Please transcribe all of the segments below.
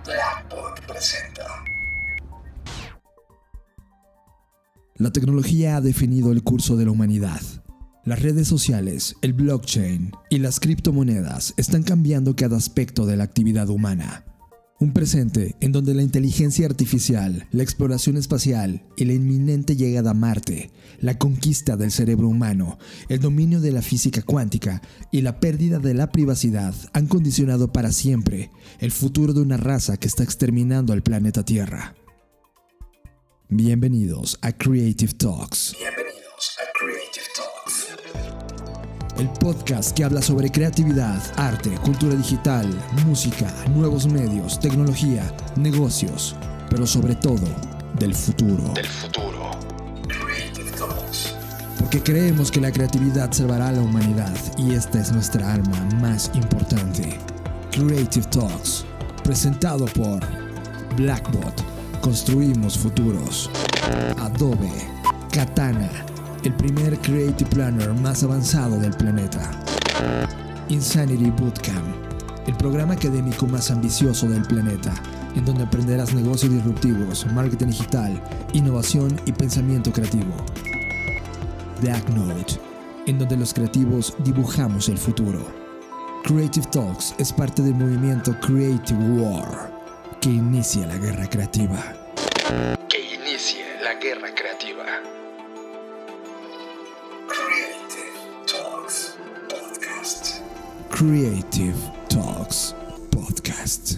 Blackboard presenta. La tecnología ha definido el curso de la humanidad. Las redes sociales, el blockchain y las criptomonedas están cambiando cada aspecto de la actividad humana. Un presente en donde la inteligencia artificial, la exploración espacial y la inminente llegada a Marte, la conquista del cerebro humano, el dominio de la física cuántica y la pérdida de la privacidad han condicionado para siempre el futuro de una raza que está exterminando al planeta Tierra. Bienvenidos a Creative Talks. El podcast que habla sobre creatividad, arte, cultura digital, música, nuevos medios, tecnología, negocios, pero sobre todo, del futuro. Creative Talks. Porque creemos que la creatividad salvará a la humanidad y esta es nuestra arma más importante. Creative Talks, presentado por Blackbot, construimos futuros. Adobe, Katana, el primer Creative Planner más avanzado del planeta. Insanity Bootcamp, el programa académico más ambicioso del planeta, en donde aprenderás negocios disruptivos, marketing digital, innovación y pensamiento creativo. Black Note, en donde los creativos dibujamos el futuro. Creative Talks es parte del movimiento Creative War, que inicia la guerra creativa. Creative Talks Podcast. Creative Talks Podcast.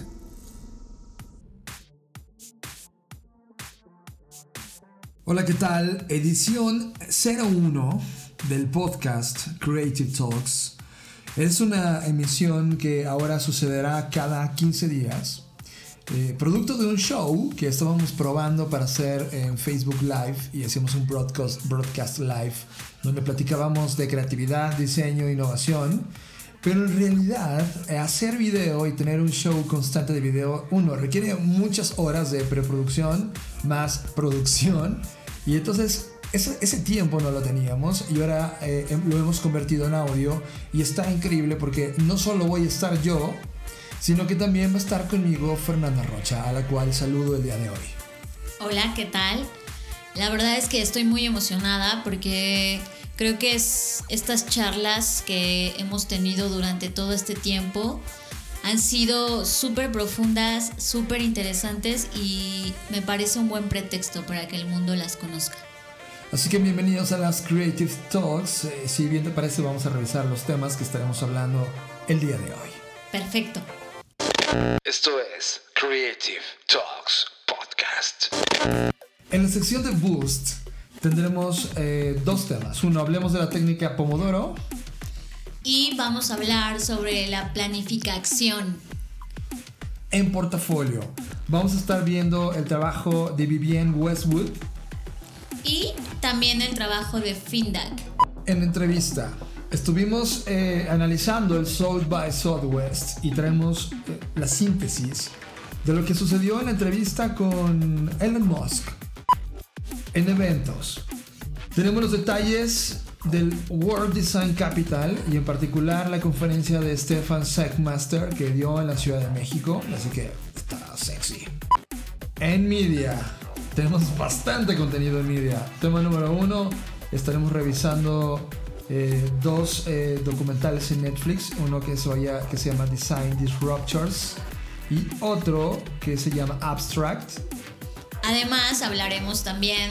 Hola, ¿qué tal? Edición 01 del podcast Creative Talks. Es una emisión que ahora sucederá cada 15 días. Producto de un show que estábamos probando para hacer en Facebook Live y hacíamos un broadcast live donde platicábamos de creatividad, diseño e innovación. Pero en realidad hacer video y tener un show constante de video, requiere muchas horas de preproducción más producción, y entonces ese tiempo no lo teníamos y ahora lo hemos convertido en audio y está increíble porque no solo voy a estar yo, sino que también va a estar conmigo Fernanda Rocha, a la cual saludo el día de hoy. Hola, ¿qué tal? La verdad es que estoy muy emocionada porque creo que estas charlas que hemos tenido durante todo este tiempo han sido súper profundas, súper interesantes y me parece un buen pretexto para que el mundo las conozca. Así que bienvenidos a las Creative Talks. Si bien te parece, vamos a revisar los temas que estaremos hablando el día de hoy. Perfecto. Esto es Creative Talks Podcast. En la sección de Boost tendremos dos temas. Uno, hablemos de la técnica Pomodoro. Y vamos a hablar sobre la planificación. En portafolio vamos a estar viendo el trabajo de Vivienne Westwood. Y también el trabajo de Findak. En entrevista estuvimos analizando el South by Southwest y traemos la síntesis de lo que sucedió en la entrevista con Elon Musk. En eventos tenemos los detalles del World Design Capital y en particular la conferencia de Stefan Sagmaster que dio en la Ciudad de México, así que está sexy. En media tenemos bastante contenido en media. Tema número 1, estaremos revisando dos documentales en Netflix, uno que se llama Design Disruptors y otro que se llama Abstract. Además hablaremos también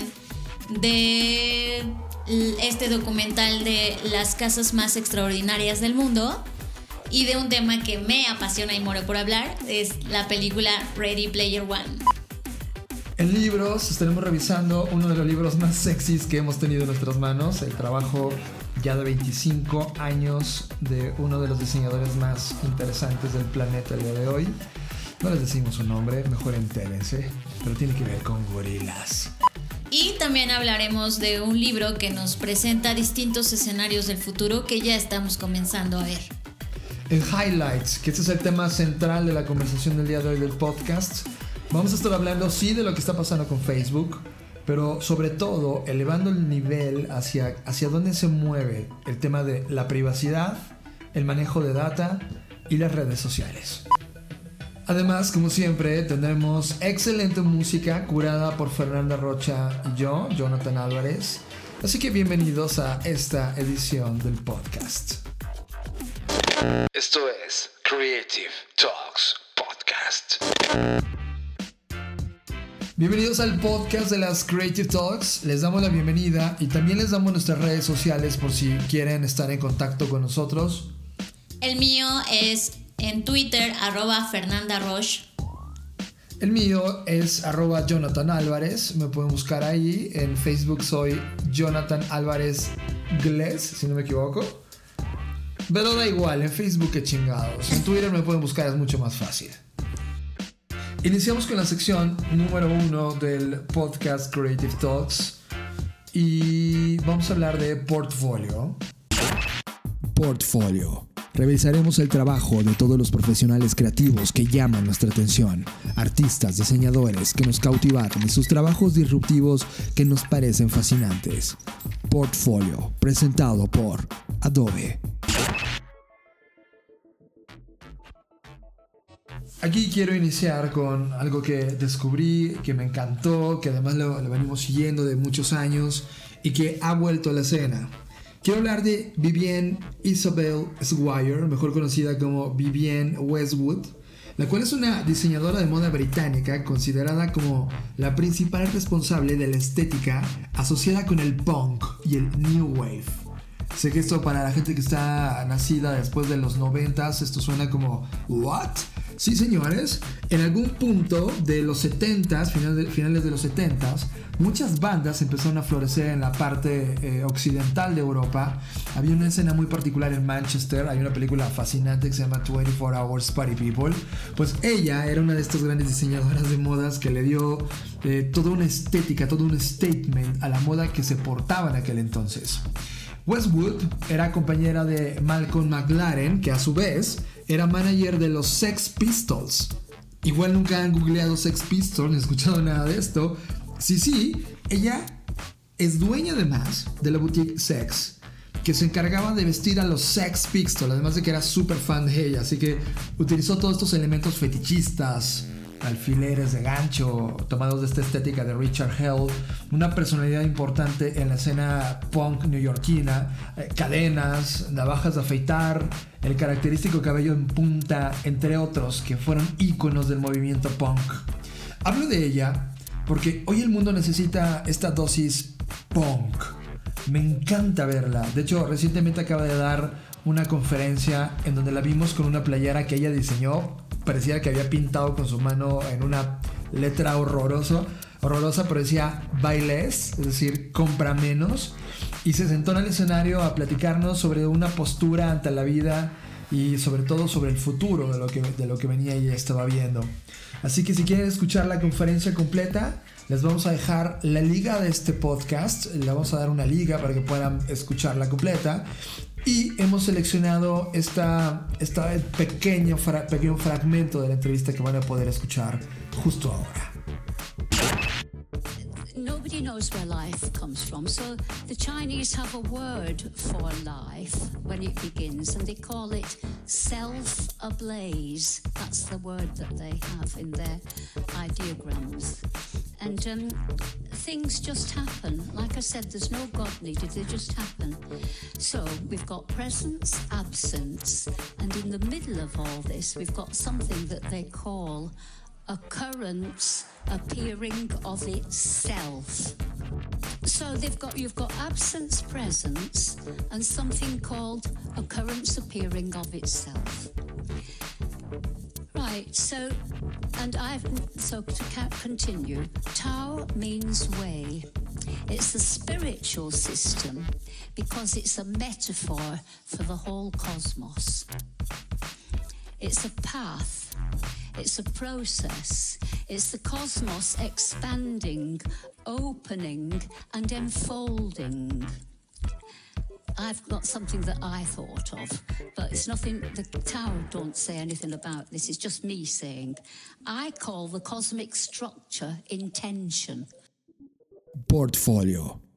de este documental de las casas más extraordinarias del mundo y de un tema que me apasiona y muero por hablar, es la película Ready Player One. En libros estaremos revisando uno de los libros más sexys que hemos tenido en nuestras manos, el trabajo ya de 25 años de uno de los diseñadores más interesantes del planeta el día de hoy. No les decimos su nombre, mejor entérense, pero tiene que ver con gorilas. Y también hablaremos de un libro que nos presenta distintos escenarios del futuro que ya estamos comenzando a ver. En Highlights, que este es el tema central de la conversación del día de hoy del podcast, vamos a estar hablando sí de lo que está pasando con Facebook, pero sobre todo elevando el nivel hacia dónde se mueve el tema de la privacidad, el manejo de data y las redes sociales. Además, como siempre, tendremos excelente música curada por Fernanda Rocha y yo, Jonathan Álvarez. Así que bienvenidos a esta edición del podcast. Esto es Creative Talks Podcast. Bienvenidos al podcast de las Creative Talks. Les damos la bienvenida y también les damos nuestras redes sociales por si quieren estar en contacto con nosotros. El mío es en Twitter, @FernandaRoche. El mío es @Jonathan Álvarez. Me pueden buscar ahí. En Facebook soy Jonathan Álvarez Glés, si no me equivoco. Pero da igual, en Facebook qué chingados. En Twitter me pueden buscar, es mucho más fácil. Iniciamos con la sección número 1 del podcast Creative Talks. Y vamos a hablar de portfolio. Portfolio. Revisaremos el trabajo de todos los profesionales creativos que llaman nuestra atención, artistas, diseñadores que nos cautivaron y sus trabajos disruptivos que nos parecen fascinantes. Portfolio, presentado por Adobe. Aquí quiero iniciar con algo que descubrí, que me encantó, que además lo venimos siguiendo de muchos años y que ha vuelto a la escena. Quiero hablar de Vivienne Isabel Squire, mejor conocida como Vivienne Westwood, la cual es una diseñadora de moda británica considerada como la principal responsable de la estética asociada con el punk y el new wave. Sé que esto para la gente que está nacida después de los 90s, esto suena como ¿what? Sí, señores, en algún punto de los 70s, finales de los 70s, muchas bandas empezaron a florecer en la parte occidental de Europa. Había una escena muy particular en Manchester, hay una película fascinante que se llama 24 Hours Party People. Pues ella era una de estas grandes diseñadoras de modas que le dio toda una estética, todo un statement a la moda que se portaba en aquel entonces. Westwood era compañera de Malcolm McLaren, que a su vez era manager de los Sex Pistols. Igual nunca han googleado Sex Pistols, ni escuchado nada de esto. Sí, ella es dueña además de la boutique Sex, que se encargaba de vestir a los Sex Pistols, además de que era súper fan de ella, así que utilizó todos estos elementos fetichistas, alfileres de gancho tomados de esta estética de Richard Hell, una personalidad importante en la escena punk neoyorquina, cadenas, navajas de afeitar, el característico cabello en punta, entre otros que fueron íconos del movimiento punk. Hablo de ella porque hoy el mundo necesita esta dosis punk. Me encanta verla. De hecho, recientemente acaba de dar una conferencia en donde la vimos con una playera que ella diseñó. Parecía que había pintado con su mano en una letra horrorosa, pero decía buy less, es decir, compra menos. Y se sentó en el escenario a platicarnos sobre una postura ante la vida y sobre todo sobre el futuro de lo que venía y estaba viendo. Así que si quieren escuchar la conferencia completa, les vamos a dejar la liga de este podcast. Le vamos a dar una liga para que puedan escucharla completa. Y hemos seleccionado este pequeño fragmento de la entrevista que van a poder escuchar justo ahora. Nobody knows where life comes from, so the Chinese have a word for life when it begins, and they call it self-ablaze. That's the word that they have in their ideograms. And things just happen. Like I said, there's no God needed, they just happen. So we've got presence, absence, and in the middle of all this, we've got something that they call occurrence appearing of itself. So you've got absence, presence, and something called occurrence appearing of itself. Right, so to continue, Tao means way. It's a spiritual system because it's a metaphor for the whole cosmos. It's a path, it's a process, it's the cosmos expanding, opening and enfolding. I've got something that I thought of, but it's nothing, the Tao don't say anything about this, it's just me saying. I call the cosmic structure intention. Portfolio.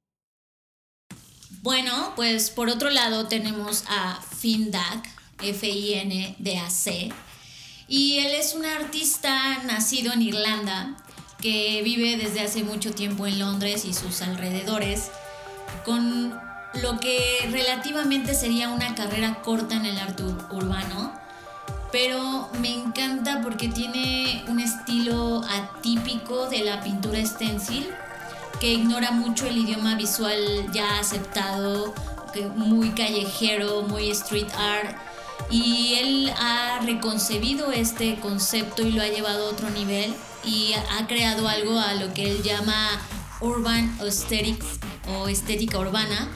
Bueno, pues por otro lado tenemos a Findac, FINDAC, Y él es un artista nacido en Irlanda que vive desde hace mucho tiempo en Londres y sus alrededores, con lo que relativamente sería una carrera corta en el arte urbano, pero me encanta porque tiene un estilo atípico de la pintura stencil, que ignora mucho el idioma visual ya aceptado, muy callejero, muy street art, y él ha reconcebido este concepto y lo ha llevado a otro nivel y ha creado algo a lo que él llama urban aesthetics o estética urbana.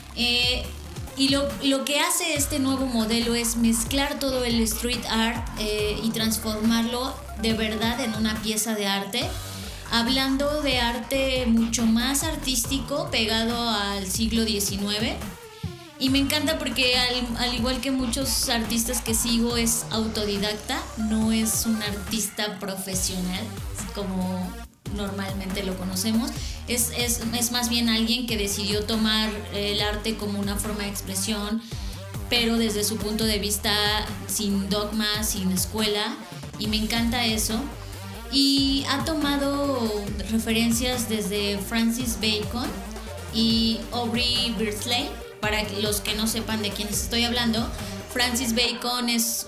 Y lo que hace este nuevo modelo es mezclar todo el street art y transformarlo de verdad en una pieza de arte, hablando de arte mucho más artístico, pegado al siglo XIX. Y me encanta porque al igual que muchos artistas que sigo, es autodidacta, no es un artista profesional como normalmente lo conocemos. Es más bien alguien que decidió tomar el arte como una forma de expresión, pero desde su punto de vista, sin dogma, sin escuela, y me encanta eso. Y ha tomado referencias desde Francis Bacon y Aubrey Beardsley. Para los que no sepan de quiénes estoy hablando, Francis Bacon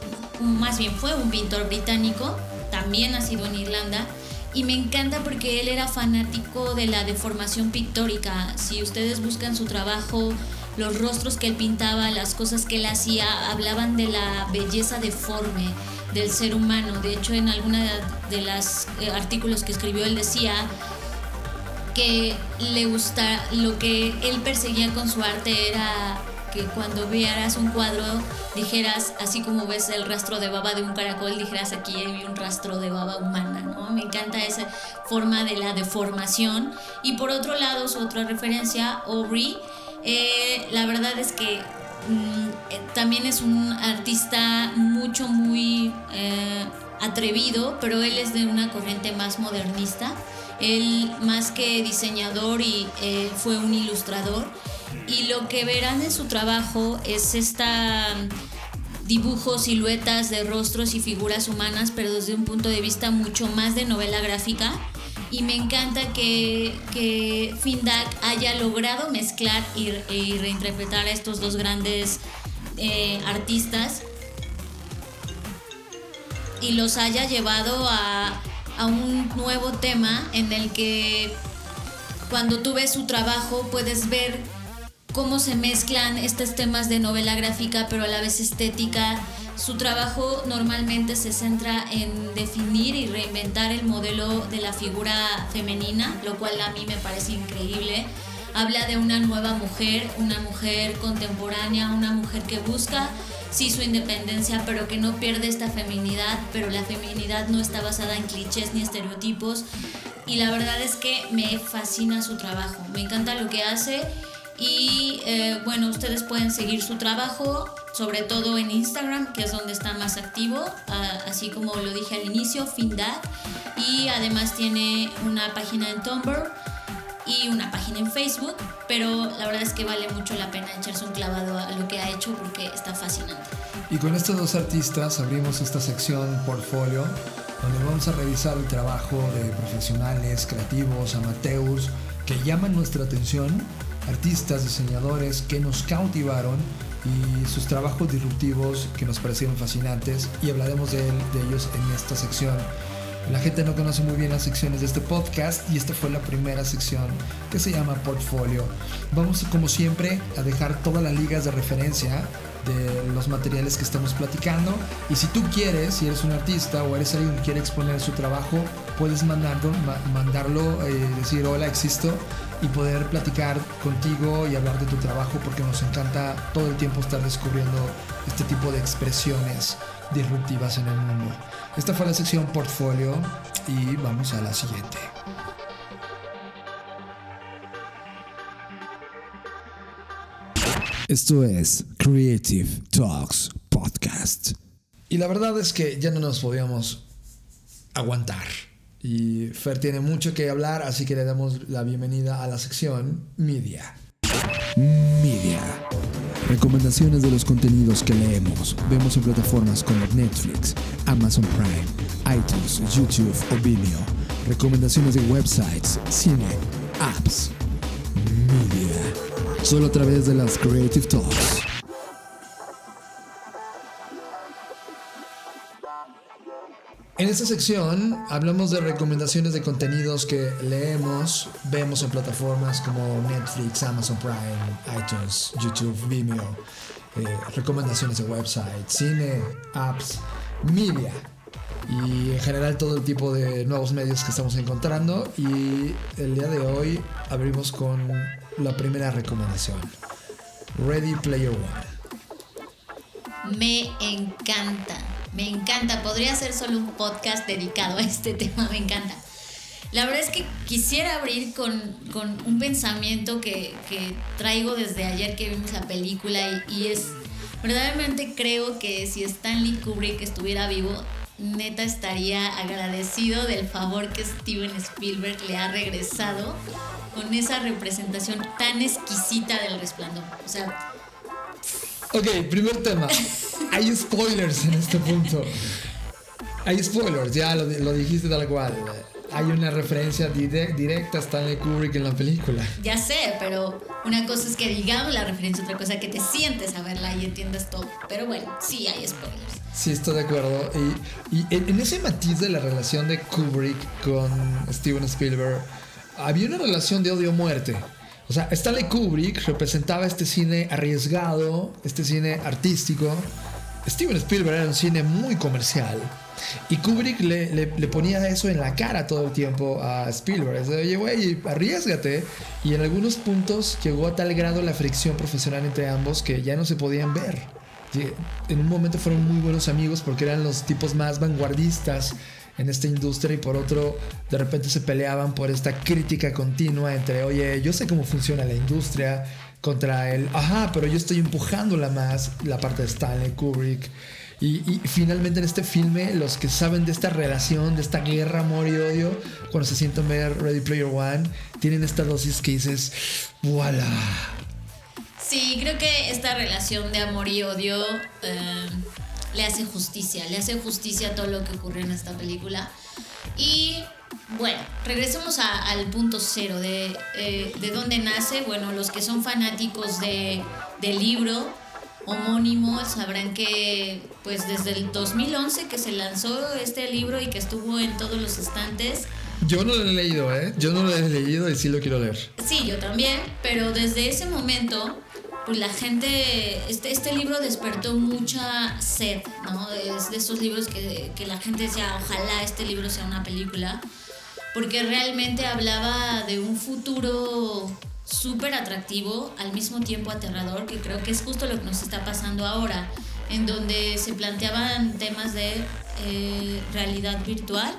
fue un pintor británico, también nacido en Irlanda, y me encanta porque él era fanático de la deformación pictórica. Si ustedes buscan su trabajo, los rostros que él pintaba, las cosas que él hacía, hablaban de la belleza deforme del ser humano. De hecho, en alguna de los artículos que escribió, él decía que lo que él perseguía con su arte era que cuando vieras un cuadro dijeras, así como ves el rastro de baba de un caracol, dijeras, aquí hay un rastro de baba humana, ¿no? Me encanta esa forma de la deformación. Y por otro lado, su otra referencia, Aubrey, la verdad es que también es un artista muy atrevido, pero él es de una corriente más modernista. Él, más que diseñador, fue un ilustrador, y lo que verán en su trabajo es dibujos, siluetas de rostros y figuras humanas, pero desde un punto de vista mucho más de novela gráfica. Y me encanta que Findak haya logrado mezclar y reinterpretar a estos dos grandes artistas y los haya llevado a un nuevo tema en el que cuando tú ves su trabajo puedes ver cómo se mezclan estos temas de novela gráfica pero a la vez estética. Su trabajo normalmente se centra en definir y reinventar el modelo de la figura femenina, lo cual a mí me parece increíble. Habla de una nueva mujer, una mujer contemporánea, una mujer que busca sí su independencia, pero que no pierde esta feminidad, pero la feminidad no está basada en clichés ni estereotipos. Y la verdad es que me fascina su trabajo, me encanta lo que hace. Y bueno, ustedes pueden seguir su trabajo, sobre todo en Instagram, que es donde está más activo, así como lo dije al inicio, Findak. Y además tiene una página en Tumblr y una página en Facebook, pero la verdad es que vale mucho la pena echarse un clavado a lo que ha hecho porque está fascinante. Y con estos dos artistas abrimos esta sección Portfolio, donde vamos a revisar el trabajo de profesionales, creativos, amateurs, que llaman nuestra atención, artistas, diseñadores que nos cautivaron y sus trabajos disruptivos que nos parecieron fascinantes, y hablaremos de ellos en esta sección. La gente no conoce muy bien las secciones de este podcast y esta fue la primera sección, que se llama Portfolio. Vamos, como siempre, a dejar todas las ligas de referencia de los materiales que estamos platicando, y si tú quieres, si eres un artista o eres alguien que quiere exponer su trabajo, puedes mandarlo, decir hola, existo, y poder platicar contigo y hablar de tu trabajo, porque nos encanta todo el tiempo estar descubriendo este tipo de expresiones disruptivas en el mundo. Esta fue la sección Portfolio y vamos a la siguiente. Esto es Creative Talks Podcast. Y la verdad es que ya no nos podíamos aguantar. Y Fer tiene mucho que hablar, así que le damos la bienvenida a la sección Media. Recomendaciones de los contenidos que leemos, vemos en plataformas como Netflix, Amazon Prime, iTunes, YouTube o Vimeo. Recomendaciones de websites, cine, apps, media. Solo a través de las Creative Talks. En esta sección hablamos de recomendaciones de contenidos que leemos, vemos en plataformas como Netflix, Amazon Prime, iTunes, YouTube, Vimeo, recomendaciones de websites, cine, apps, media y en general todo el tipo de nuevos medios que estamos encontrando. Y el día de hoy abrimos con la primera recomendación, Ready Player One. Me encanta, podría ser solo un podcast dedicado a este tema, me encanta. La verdad es que quisiera abrir con un pensamiento que traigo desde ayer que vimos la película y es, verdaderamente creo que si Stanley Kubrick estuviera vivo, neta estaría agradecido del favor que Steven Spielberg le ha regresado con esa representación tan exquisita del Resplandor. O sea... Ok, primer tema. Hay spoilers en este punto. Hay spoilers, ya lo dijiste tal cual. Hay una referencia directa a Stanley Kubrick en la película. Ya sé, pero una cosa es que digamos la referencia, otra cosa que te sientes a verla y entiendas todo. Pero bueno, sí hay spoilers. Sí, estoy de acuerdo. Y en ese matiz de la relación de Kubrick con Steven Spielberg, había una relación de odio-muerte. O sea, Stanley Kubrick representaba este cine arriesgado, este cine artístico. Steven Spielberg era un cine muy comercial. Y Kubrick le ponía eso en la cara todo el tiempo a Spielberg. Oye, güey, arriésgate. Y en algunos puntos llegó a tal grado la fricción profesional entre ambos que ya no se podían ver. En un momento fueron muy buenos amigos porque eran los tipos más vanguardistas en esta industria, y por otro, de repente se peleaban por esta crítica continua entre, oye, yo sé cómo funciona la industria, contra el, pero yo estoy empujándola más, la parte de Stanley Kubrick. Y finalmente en este filme, los que saben de esta relación, de esta guerra, amor y odio, cuando se sientan ver Ready Player One, tienen esta dosis que dices, ¡voilà! Sí, creo que esta relación de amor y odio le hace justicia a todo lo que ocurrió en esta película. Y bueno, regresemos al punto cero de dónde nace. Bueno, los que son fanáticos del libro homónimo sabrán que pues desde el 2011 que se lanzó este libro y que estuvo en todos los estantes. Yo no lo he leído, yo no lo he leído y sí lo quiero leer. Sí, yo también, pero desde ese momento pues la gente, este libro despertó mucha sed, ¿no? Es de esos libros que la gente decía, ojalá este libro sea una película, porque realmente hablaba de un futuro súper atractivo, al mismo tiempo aterrador, que creo que es justo lo que nos está pasando ahora, en donde se planteaban temas de realidad virtual.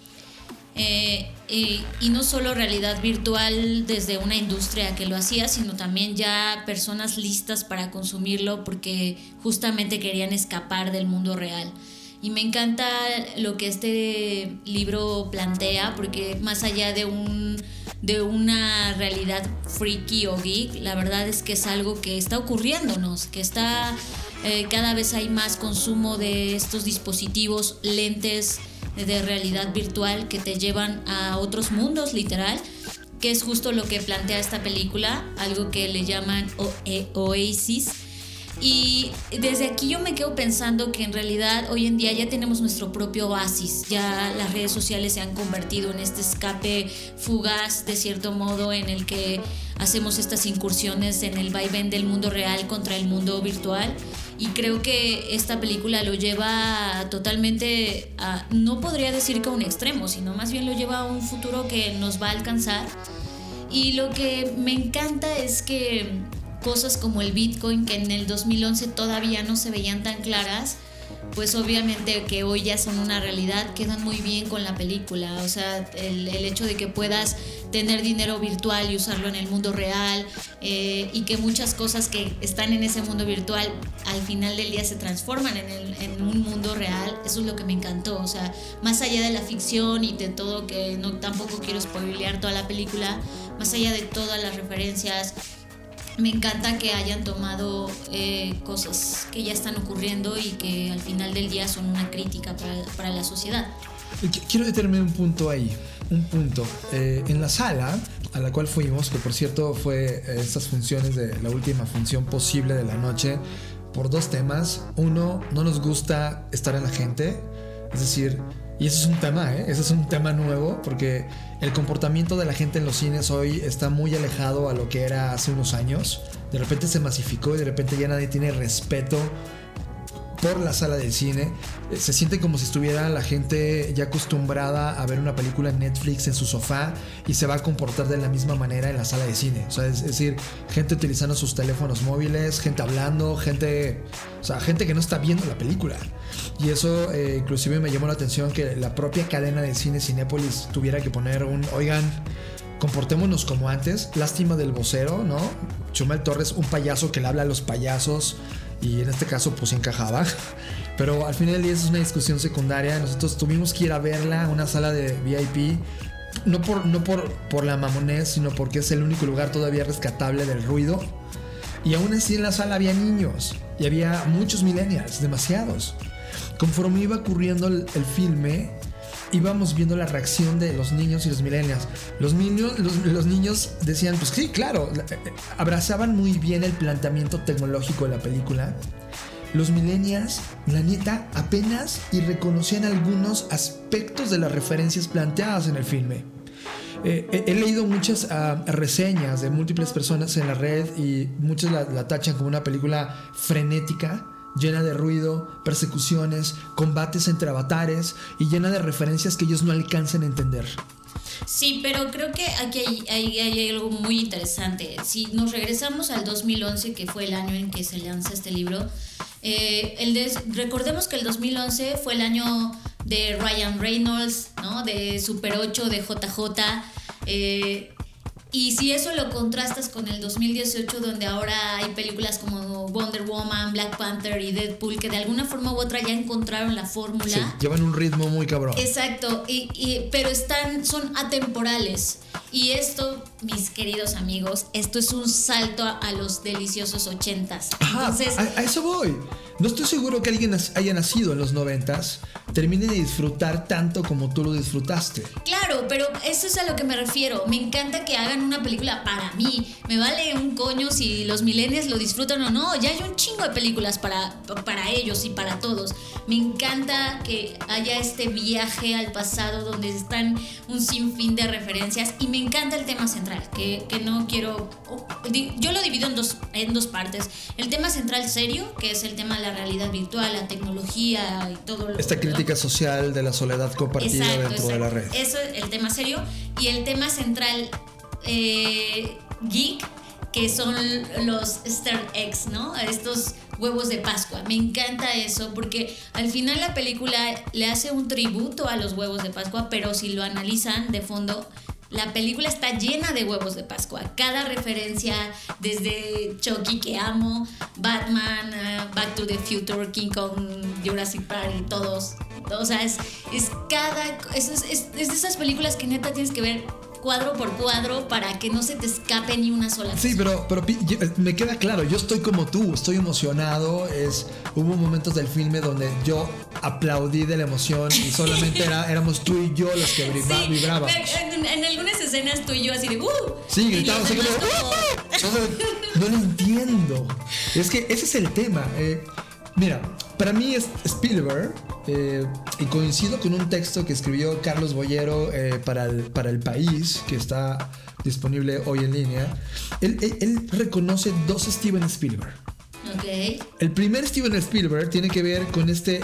Y no solo realidad virtual desde una industria que lo hacía, sino también ya personas listas para consumirlo porque justamente querían escapar del mundo real. Y me encanta lo que este libro plantea, porque más allá de una realidad freaky o geek, la verdad es que es algo que está ocurriéndonos, que está cada vez hay más consumo de estos dispositivos, lentes de realidad virtual que te llevan a otros mundos, literal, que es justo lo que plantea esta película, algo que le llaman Oasis. Y desde aquí yo me quedo pensando que en realidad hoy en día ya tenemos nuestro propio oasis, ya las redes sociales se han convertido en este escape fugaz de cierto modo en el que hacemos estas incursiones en el vaivén del mundo real contra el mundo virtual. Y creo que esta película lo lleva totalmente a, no podría decir que a un extremo, sino más bien lo lleva a un futuro que nos va a alcanzar. Y lo que me encanta es que cosas como el Bitcoin, que en el 2011 todavía no se veían tan claras, pues obviamente que hoy ya son una realidad, quedan muy bien con la película. O sea, el hecho de que puedas tener dinero virtual y usarlo en el mundo real, y que muchas cosas que están en ese mundo virtual al final del día se transforman en un mundo real, eso es lo que me encantó. O sea, más allá de la ficción y de todo, que no tampoco quiero spoilear toda la película, más allá de todas las referencias me encanta que hayan tomado cosas que ya están ocurriendo y que al final del día son una crítica para la sociedad. Quiero detenerme un punto ahí, en la sala a la cual fuimos, que por cierto fue estas funciones de la última función posible de la noche, por dos temas. Uno, no nos gusta estar en la gente, es decir, y eso es un tema, ese es un tema nuevo, porque el comportamiento de la gente en los cines hoy está muy alejado a lo que era hace unos años. De repente se masificó y de repente ya nadie tiene respeto por la sala del cine. Se siente como si estuviera la gente ya acostumbrada a ver una película en Netflix en su sofá y se va a comportar de la misma manera en la sala de cine. O sea, es decir, gente utilizando sus teléfonos móviles, gente hablando, gente que no está viendo la película. Y eso inclusive me llamó la atención que la propia cadena de cine Cinépolis tuviera que poner oigan, comportémonos como antes. Lástima del vocero, ¿no? Chumel Torres, un payaso que le habla a los payasos, y en este caso pues encajaba. Pero al final del día es una discusión secundaria. Nosotros tuvimos que ir a verla a una sala de VIP, no por la mamonés, sino porque es el único lugar todavía rescatable del ruido. Y aún así en la sala había niños y había muchos millennials, demasiados. Conforme iba ocurriendo el filme, íbamos viendo la reacción de los niños y los millennials. Los niños decían, pues sí, claro, abrazaban muy bien el planteamiento tecnológico de la película. Los millennials, la neta, apenas y reconocían algunos aspectos de las referencias planteadas en el filme. He leído muchas reseñas de múltiples personas en la red y muchos la tachan como una película frenética, llena de ruido, persecuciones, combates entre avatares y llena de referencias que ellos no alcanzan a entender. Sí, pero creo que aquí hay algo muy interesante. Si nos regresamos al 2011, que fue el año en que se lanza este libro, recordemos que el 2011 fue el año de Ryan Reynolds, ¿no? De Super 8, de JJ. Y si eso lo contrastas con el 2018, donde ahora hay películas como Wonder Woman, Black Panther y Deadpool, que de alguna forma u otra ya encontraron la fórmula. Sí, llevan un ritmo muy cabrón. Exacto, pero son atemporales. Y esto, mis queridos amigos, esto es un salto a los deliciosos 80s. Entonces, a eso voy. No estoy seguro que alguien haya nacido en los 90s termine de disfrutar tanto como tú lo disfrutaste. Claro, pero eso es a lo que me refiero. Me encanta que hagan una película para mí. Me vale un coño si los millennials lo disfrutan o no. Ya hay un chingo de películas para ellos y para todos. Me encanta que haya este viaje al pasado donde están un sinfín de referencias. Y me encanta el tema central, que no quiero... Yo lo divido en dos partes. El tema central serio, que es el tema de la realidad virtual, la tecnología y todo lo... Esta crítica social de la soledad compartida dentro de la red. Eso es el tema serio. Y el tema central geek, que son los Easter eggs, ¿no? Estos huevos de Pascua. Me encanta eso porque al final la película le hace un tributo a los huevos de Pascua, pero si lo analizan de fondo, la película está llena de huevos de Pascua. Cada referencia, desde Chucky, que amo, Batman, Back to the Future, King Kong, Jurassic Park y todos. O sea, es de esas películas que neta tienes que ver cuadro por cuadro para que no se te escape ni una sola cosa. Sí, pero me queda claro, yo estoy como tú, estoy emocionado. Hubo momentos del filme donde yo aplaudí de la emoción y solamente éramos tú y yo los que vibrábamos. En algunas escenas tú y yo así de sí, gritábamos así como no lo entiendo. Es que ese es el tema. Mira, para mí es Spielberg, y coincido con un texto que escribió Carlos Boyero para el País, que está disponible hoy en línea. Él reconoce dos Steven Spielberg. Okay. El primer Steven Spielberg tiene que ver con este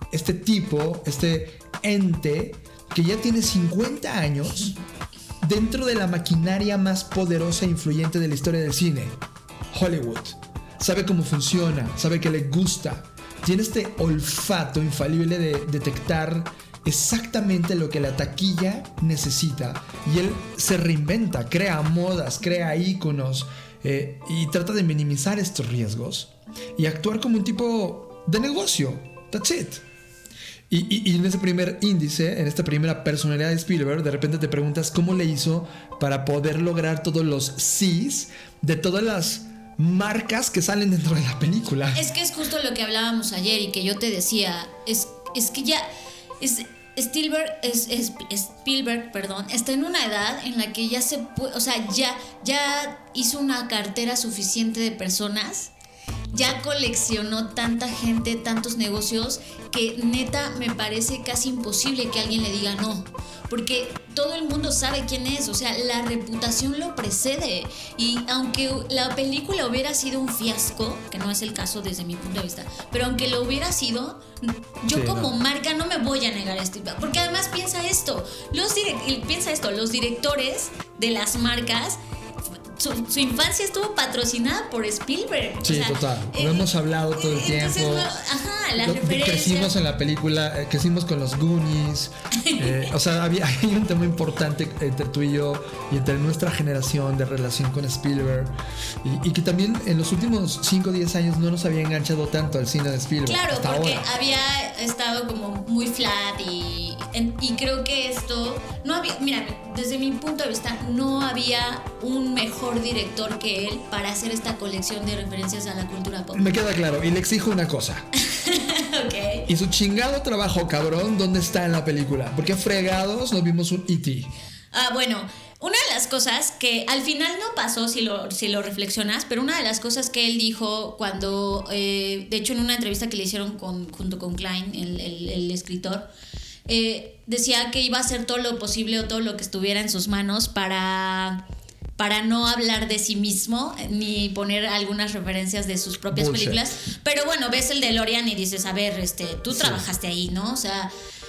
ente que ya tiene 50 años dentro de la maquinaria más poderosa e influyente de la historia del cine, Hollywood. Sabe cómo funciona, sabe que le gusta. Tiene este olfato infalible de detectar exactamente lo que la taquilla necesita. Y él se reinventa, crea modas, crea íconos, y trata de minimizar estos riesgos y actuar como un tipo de negocio. That's it. Y en ese primer índice, en esta primera personalidad de Spielberg, de repente te preguntas cómo le hizo para poder lograr todos los sís de todas las marcas que salen dentro de la película. Es que es justo lo que hablábamos ayer y que yo te decía, es que ya Spielberg está en una edad en la que ya se puede, o sea, ya hizo una cartera suficiente de personas, ya coleccionó tanta gente, tantos negocios, que neta me parece casi imposible que alguien le diga no, porque todo el mundo sabe quién es, o sea, la reputación lo precede, y aunque la película hubiera sido un fiasco, que no es el caso desde mi punto de vista, pero aunque lo hubiera sido, yo como marca no me voy a negar esto, porque además piensa esto, los directores de las marcas, su infancia estuvo patrocinada por Spielberg. Sí, o sea, total. Lo hemos hablado todo el tiempo. Las referencias. Crecimos en la película, crecimos con los Goonies. O sea, hay un tema importante entre tú y yo y entre nuestra generación de relación con Spielberg. Y que también en los últimos 5 o 10 años no nos había enganchado tanto al cine de Spielberg. Claro, hasta porque ahora había estado como muy flat y creo que esto no había, mira, desde mi punto de vista no había un mejor director que él para hacer esta colección de referencias a la cultura pop. Me queda claro, y le exijo una cosa. Okay. Y su chingado trabajo, cabrón, ¿dónde está en la película? Porque fregados nos vimos un E.T. Bueno, una de las cosas que al final no pasó, si lo reflexionas, pero una de las cosas que él dijo cuando, de hecho en una entrevista que le hicieron junto con Klein, el escritor, decía que iba a hacer todo lo posible o todo lo que estuviera en sus manos para no hablar de sí mismo ni poner algunas referencias de sus propias películas. Pero bueno, ves el DeLorean y dices, a ver, tú trabajaste ahí, ¿no? O sea,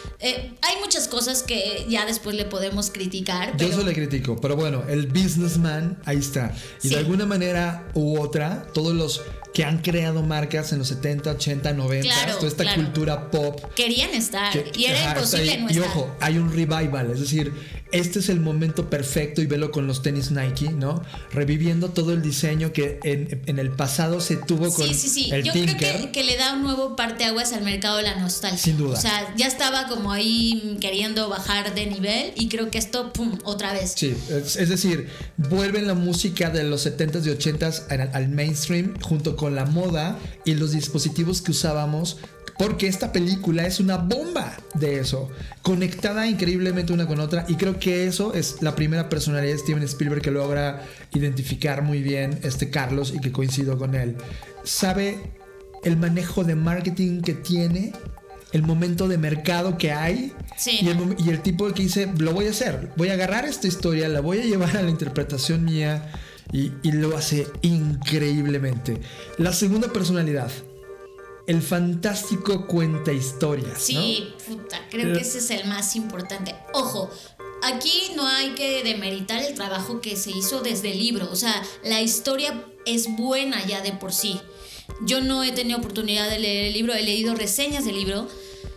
hay muchas cosas que ya después le podemos criticar. Yo eso le critico, pero bueno, el businessman ahí está. Y de alguna manera u otra, todos los que han creado marcas en los 70, 80, 90, toda esta cultura pop querían estar y era imposible no estar. Y ojo, hay un revival, es decir, este es el momento perfecto, y velo con los tenis Nike, ¿no? Reviviendo todo el diseño que en el pasado se tuvo con el Yo Tinker. creo que le da un nuevo parteaguas al mercado de la nostalgia. Sin duda. O sea, ya estaba como ahí queriendo bajar de nivel y creo que esto, pum, otra vez. Sí, es decir, vuelven la música de los 70s y 80s al mainstream junto con la moda y los dispositivos que usábamos, porque esta película es una bomba de eso, conectada increíblemente una con otra, y creo que eso es la primera personalidad de Steven Spielberg que logra identificar muy bien Carlos, y que coincido con él. Sabe el manejo de marketing que tiene, el momento de mercado que hay, y el tipo que dice, lo voy a hacer, voy a agarrar esta historia, la voy a llevar a la interpretación mía, y lo hace increíblemente. La segunda personalidad, el fantástico cuenta historias. Sí, ¿no? Puta, creo que ese es el más importante. Ojo, aquí no hay que demeritar el trabajo que se hizo desde el libro. O sea, la historia es buena ya de por sí. Yo no he tenido oportunidad de leer el libro, he leído reseñas del libro,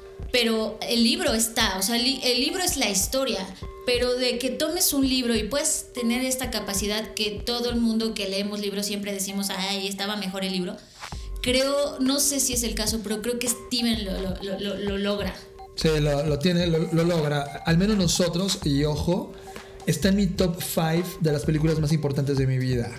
pero el libro está, o sea, el libro es la historia. Pero de que tomes un libro y puedes tener esta capacidad que todo el mundo que leemos libros siempre decimos, ay, estaba mejor el libro. Creo, no sé si es el caso, pero creo que Steven lo logra. Sí, lo tiene, lo logra. Al menos nosotros, y ojo, está en mi top 5 de las películas más importantes de mi vida.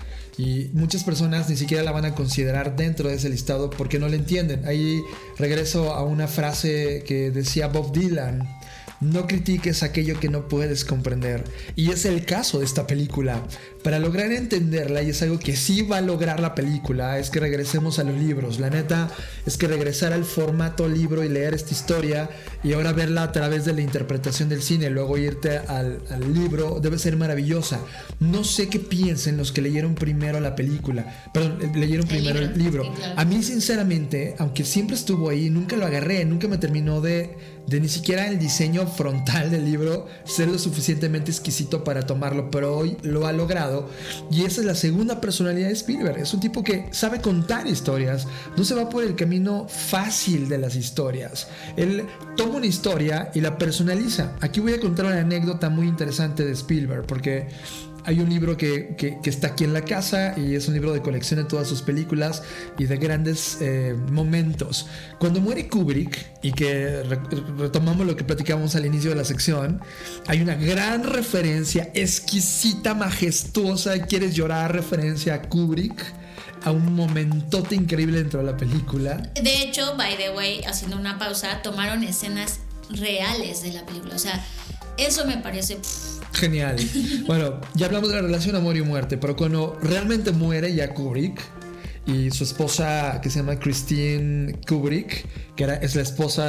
Y muchas personas ni siquiera la van a considerar dentro de ese listado porque no la entienden. Ahí regreso a una frase que decía Bob Dylan: no critiques aquello que no puedes comprender. Y es el caso de esta película. Para lograr entenderla, y es algo que sí va a lograr la película, es que regresemos a los libros. La neta es que regresar al formato libro y leer esta historia, y ahora verla a través de la interpretación del cine, luego irte al libro, debe ser maravillosa. No sé qué piensen los que leyeron primero la película, perdón, leyeron primero el libro. Sí, claro. A mí, sinceramente, aunque siempre estuvo ahí, nunca lo agarré, nunca me terminó de ni siquiera el diseño frontal del libro ser lo suficientemente exquisito para tomarlo, pero hoy lo ha logrado. Y esa es la segunda personalidad de Spielberg. Es un tipo que sabe contar historias, no se va por el camino fácil de las historias. Él toma una historia y la personaliza. Aquí voy a contar una anécdota muy interesante de Spielberg, porque hay un libro que está aquí en la casa, y es un libro de colección de todas sus películas y de grandes momentos. Cuando muere Kubrick, y que retomamos lo que platicamos al inicio de la sección, hay una gran referencia exquisita, majestuosa, quieres llorar, referencia a Kubrick, a un momentote increíble dentro de la película. De hecho, by the way, haciendo una pausa, tomaron escenas reales de la película. O sea, eso me parece genial. Bueno, ya hablamos de la relación amor y muerte, pero cuando realmente muere ya Kubrick y su esposa, que se llama Christine Kubrick, que es la esposa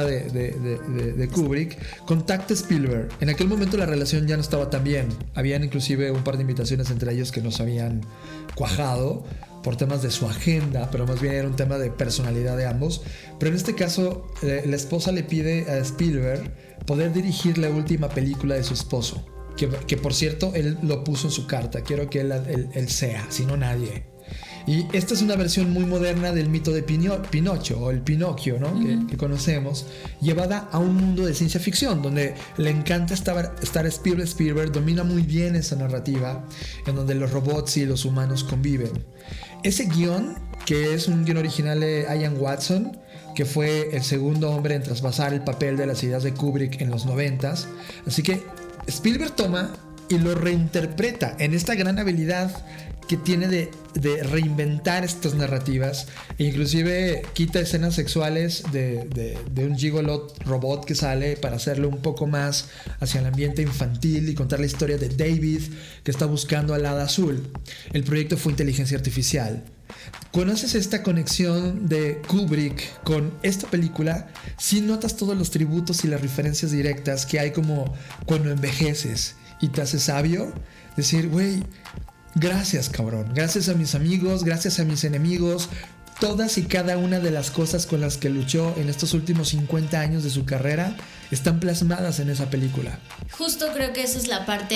de Kubrick, contacta a Spielberg. En aquel momento la relación ya no estaba tan bien. Habían inclusive un par de invitaciones entre ellos que no se habían cuajado por temas de su agenda, pero más bien era un tema de personalidad de ambos. Pero en este caso, la esposa le pide a Spielberg poder dirigir la última película de su esposo, que por cierto, él lo puso en su carta: quiero que él sea, si no nadie. Y esta es una versión muy moderna del mito de Pinocho, o el Pinocchio, ¿no? Que conocemos, llevada a un mundo de ciencia ficción, donde le encanta estar Spielberg domina muy bien esa narrativa, en donde los robots y los humanos conviven. Ese guión, que es un guión original de Ian Watson, que fue el segundo hombre en traspasar el papel de las ideas de Kubrick en los 90s, así que Spielberg toma y lo reinterpreta en esta gran habilidad que tiene de reinventar estas narrativas, e inclusive quita escenas sexuales de un gigolo robot que sale para hacerlo un poco más hacia el ambiente infantil y contar la historia de David, que está buscando al hada azul. El proyecto fue inteligencia artificial. ¿Conoces esta conexión de Kubrick con esta película? Sí notas todos los tributos y las referencias directas que hay, como cuando envejeces y te haces sabio, decir, güey, gracias, cabrón. Gracias a mis amigos, gracias a mis enemigos. Todas y cada una de las cosas con las que luchó en estos últimos 50 años de su carrera están plasmadas en esa película. Justo creo que esa es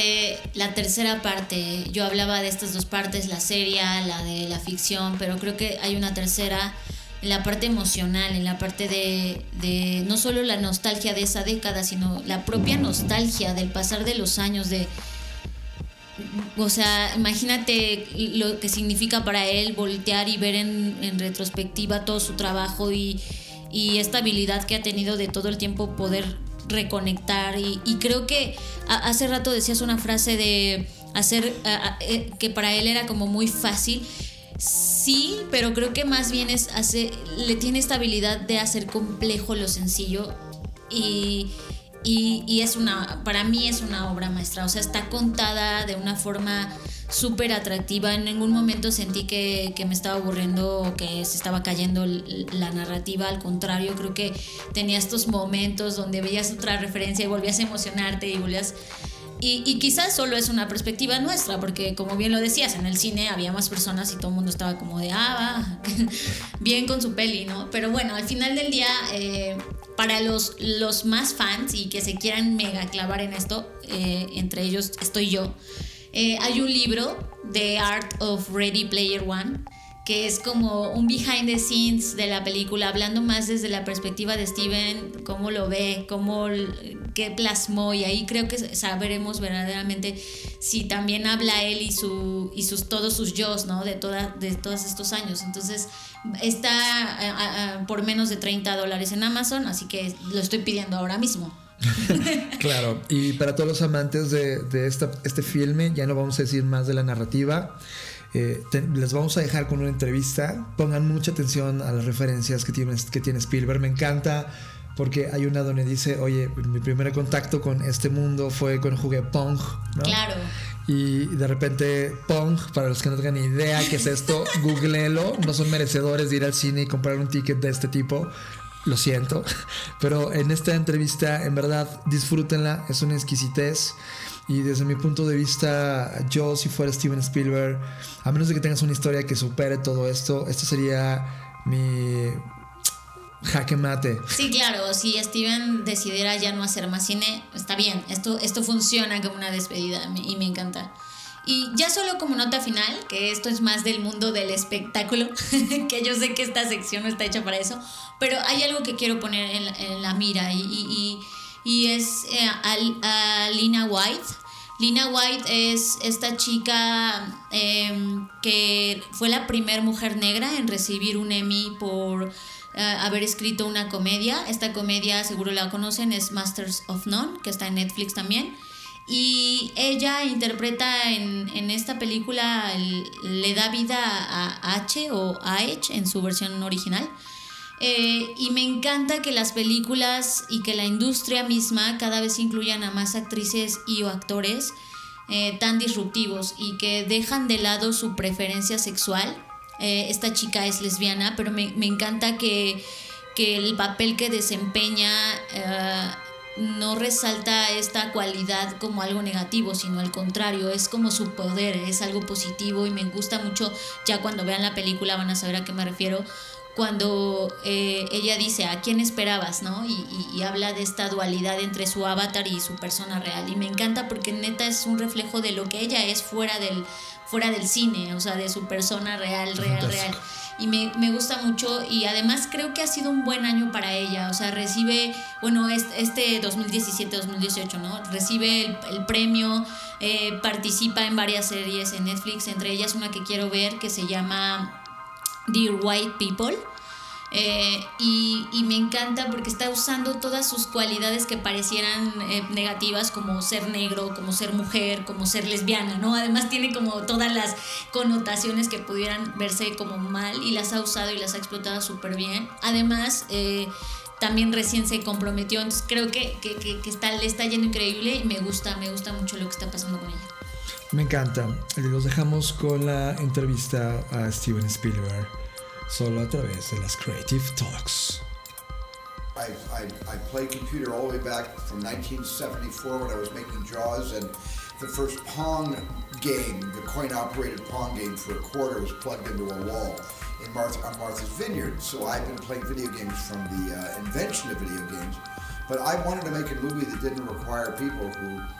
la tercera parte. Yo hablaba de estas dos partes, la seria, la de la ficción, pero creo que hay una tercera en la parte emocional, en la parte de no solo la nostalgia de esa década, sino la propia nostalgia del pasar de los años, o sea, imagínate lo que significa para él voltear y ver en retrospectiva todo su trabajo y esta habilidad que ha tenido de todo el tiempo poder reconectar. Y creo que hace rato decías una frase de hacer que para él era como muy fácil. Sí, pero creo que más bien le tiene esta habilidad de hacer complejo lo sencillo, y para mí es una obra maestra. O sea, está contada de una forma súper atractiva. En ningún momento sentí que me estaba aburriendo o que se estaba cayendo la narrativa. Al contrario, creo que tenía estos momentos donde veías otra referencia y volvías a emocionarte y volvías... Y quizás solo es una perspectiva nuestra, porque como bien lo decías, en el cine había más personas y todo el mundo estaba como de bien con su peli, ¿no? Pero bueno, al final del día, para los más fans y que se quieran mega clavar en esto, entre ellos estoy yo, hay un libro, The Art of Ready Player One, que es como un behind the scenes de la película, hablando más desde la perspectiva de Steven, cómo lo ve, qué plasmó, y ahí creo que sabremos verdaderamente si también habla él y todos sus yos, ¿no? de todos estos años. Entonces está por menos de $30 en Amazon, así que lo estoy pidiendo ahora mismo. Claro, y para todos los amantes de este filme, ya no vamos a decir más de la narrativa. Les vamos a dejar con una entrevista. Pongan mucha atención a las referencias que tiene Spielberg. Me encanta porque hay una donde dice, oye, mi primer contacto con este mundo fue cuando jugué Pong, ¿no? Claro. Y de repente Pong, para los que no tengan ni idea qué es esto, googleenlo. No son merecedores de ir al cine y comprar un ticket de este tipo, lo siento, pero en esta entrevista en verdad disfrútenla, es una exquisitez. Y desde mi punto de vista, yo, si fuera Steven Spielberg, a menos de que tengas una historia que supere todo esto, esto sería mi jaque mate. Sí, claro, si Steven decidiera ya no hacer más cine, está bien, esto funciona como una despedida y me encanta. Y ya solo como nota final, que esto es más del mundo del espectáculo, que yo sé que esta sección no está hecha para eso, pero hay algo que quiero poner en la mira y es a Lena White. Lena White es esta chica que fue la primer mujer negra en recibir un Emmy por haber escrito una comedia. Esta comedia seguro la conocen, es Masters of None, que está en Netflix también. Y ella interpreta en esta película, le da vida a H o a H en su versión original. Y me encanta que las películas y que la industria misma cada vez incluyan a más actrices y o actores tan disruptivos y que dejan de lado su preferencia sexual. Esta chica es lesbiana, pero me encanta que el papel que desempeña no resalta esta cualidad como algo negativo, sino al contrario, es como su poder, es algo positivo y me gusta mucho. Ya cuando vean la película van a saber a qué me refiero, cuando ella dice ¿a quién esperabas?, ¿no? Y habla de esta dualidad entre su avatar y su persona real, y me encanta porque neta es un reflejo de lo que ella es fuera del cine, o sea, de su persona real. Y me gusta mucho, y además creo que ha sido un buen año para ella. O sea, recibe, bueno, este 2017-2018, ¿no? Recibe el premio, participa en varias series en Netflix, entre ellas una que quiero ver que se llama Dear White People. Y me encanta porque está usando todas sus cualidades que parecieran negativas, como ser negro, como ser mujer, como ser lesbiana, ¿no? Además tiene como todas las connotaciones que pudieran verse como mal, y las ha usado y las ha explotado súper bien. Además también recién se comprometió, entonces creo que le está yendo increíble, y me gusta mucho lo que está pasando con ella. Me encanta. Los dejamos con la entrevista a Steven Spielberg, solo a través de las Creative Talks. I played computer all the way back from 1974 when I was making Jaws, and the first Pong game, the coin-operated Pong game for a quarter, was plugged into a wall on Martha's Vineyard. So I've been playing video games from the invention of video games, but I wanted to make a movie that didn't require people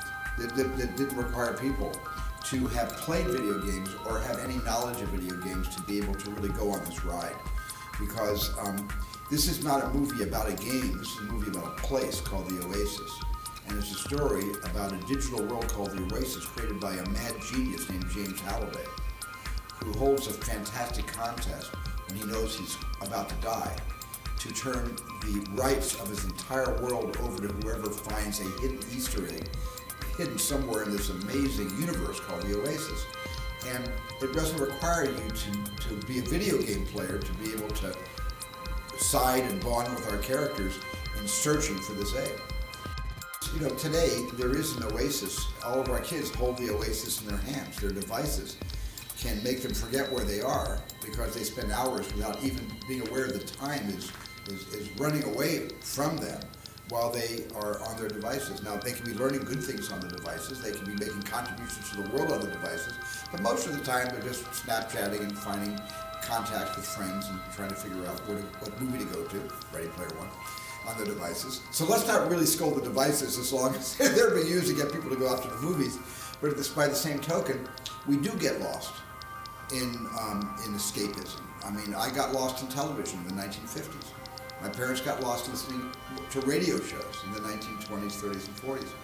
to have played video games or have any knowledge of video games to be able to really go on this ride. Because this is not a movie about a game, this is a movie about a place called the Oasis. And it's a story about a digital world called the Oasis, created by a mad genius named James Halliday, who holds a fantastic contest when he knows he's about to die, to turn the rights of his entire world over to whoever finds a hidden Easter egg hidden somewhere in this amazing universe called the Oasis. And it doesn't require you to be a video game player to be able to side and bond with our characters in searching for this egg. You know, today there is an Oasis. All of our kids hold the Oasis in their hands. Their devices can make them forget where they are because they spend hours without even being aware the time is running away from them while they are on their devices. Now, they can be learning good things on the devices. They can be making contributions to the world on the devices. But most of the time, they're just Snapchatting and finding contacts with friends and trying to figure out what movie to go to, Ready Player One, on the devices. So let's not really scold the devices as long as they're being used to get people to go out to the movies. But by the same token, we do get lost in escapism. I mean, I got lost in television in the 1950s. My parents got lost listening to radio shows in the 1920s, 30s, and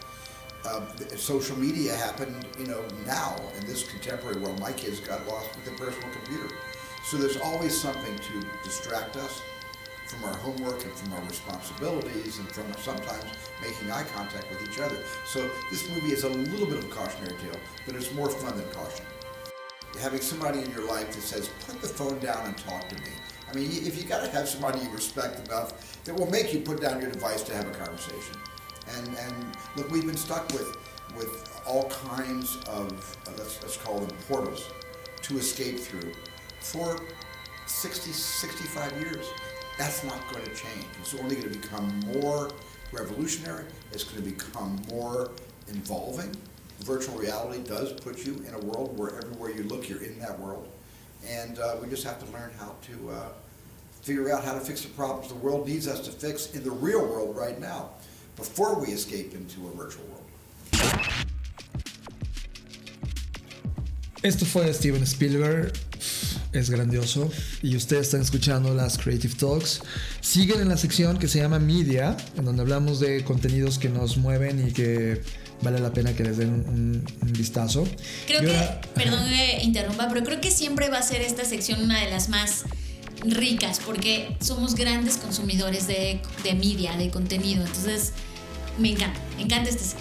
40s. Social media happened, now in this contemporary world. My kids got lost with their personal computer. So there's always something to distract us from our homework and from our responsibilities and from sometimes making eye contact with each other. So this movie is a little bit of a cautionary tale, but it's more fun than caution. Having somebody in your life that says, put the phone down and talk to me. I mean, if you got to have somebody you respect enough that will make you put down your device to have a conversation. And look, we've been stuck with all kinds of, let's call them portals, to escape through for 60, 65 years. That's not going to change. It's only going to become more revolutionary. It's going to become more involving. Virtual reality does put you in a world where everywhere you look, you're in that world. And we just have to learn how to figure out how to fix the problems the world needs us to fix in the real world right now, before we escape into a virtual world. Esto fue Steven Spielberg. Es grandioso. Y ustedes están escuchando las Creative Talks. Siguen en la sección que se llama Media, en donde hablamos de contenidos que nos mueven y que vale la pena que les den un vistazo. Creo perdón que interrumpa, pero creo que siempre va a ser esta sección una de las más ricas, porque somos grandes consumidores de media, de contenido. Entonces, me encanta esta sección.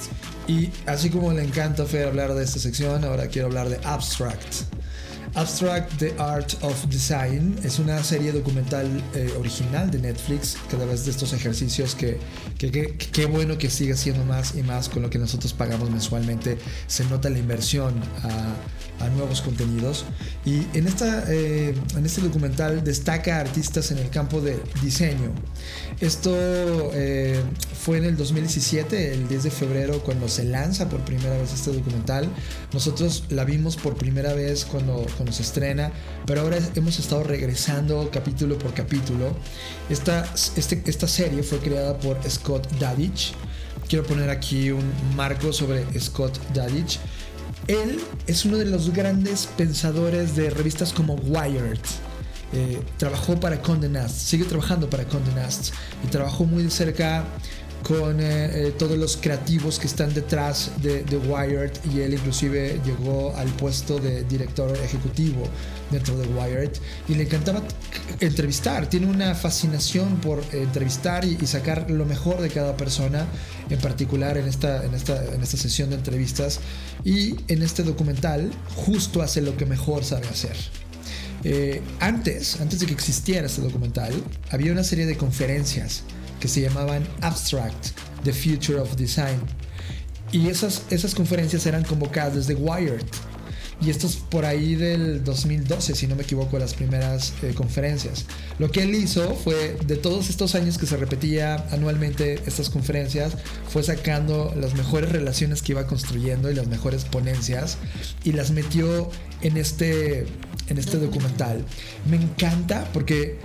Y así como le encanta a Fer hablar de esta sección, ahora quiero hablar de Abstract. Abstract, The Art of Design es una serie documental original de Netflix, que a través de estos ejercicios que qué bueno que siga siendo más y más con lo que nosotros pagamos mensualmente. Se nota la inversión a nuevos contenidos. Y en este documental destaca artistas en el campo de diseño. Esto fue en el 2017, el 10 de febrero, cuando se lanza por primera vez este documental. Nosotros la vimos por primera vez cuando se estrena, pero ahora hemos estado regresando capítulo por capítulo. Esta serie fue creada por Scott Dadich. Quiero poner aquí un marco sobre Scott Dadich. Él es uno de los grandes pensadores de revistas como Wired. Trabajó para Condé Nast, sigue trabajando para Condé Nast y trabajó muy de cerca con todos los creativos que están detrás de Wired, y él inclusive llegó al puesto de director ejecutivo dentro de Wired, y le encantaba entrevistar. Tiene una fascinación por entrevistar y sacar lo mejor de cada persona, en particular en esta sesión de entrevistas, y en este documental justo hace lo que mejor sabe hacer. Antes de que existiera este documental, había una serie de conferencias que se llamaban Abstract, The Future of Design, y esas conferencias eran convocadas desde Wired, y esto es por ahí del 2012, si no me equivoco, las primeras conferencias. Lo que él hizo fue, de todos estos años que se repetía anualmente estas conferencias, fue sacando las mejores relaciones que iba construyendo y las mejores ponencias, y las metió en este documental. Me encanta porque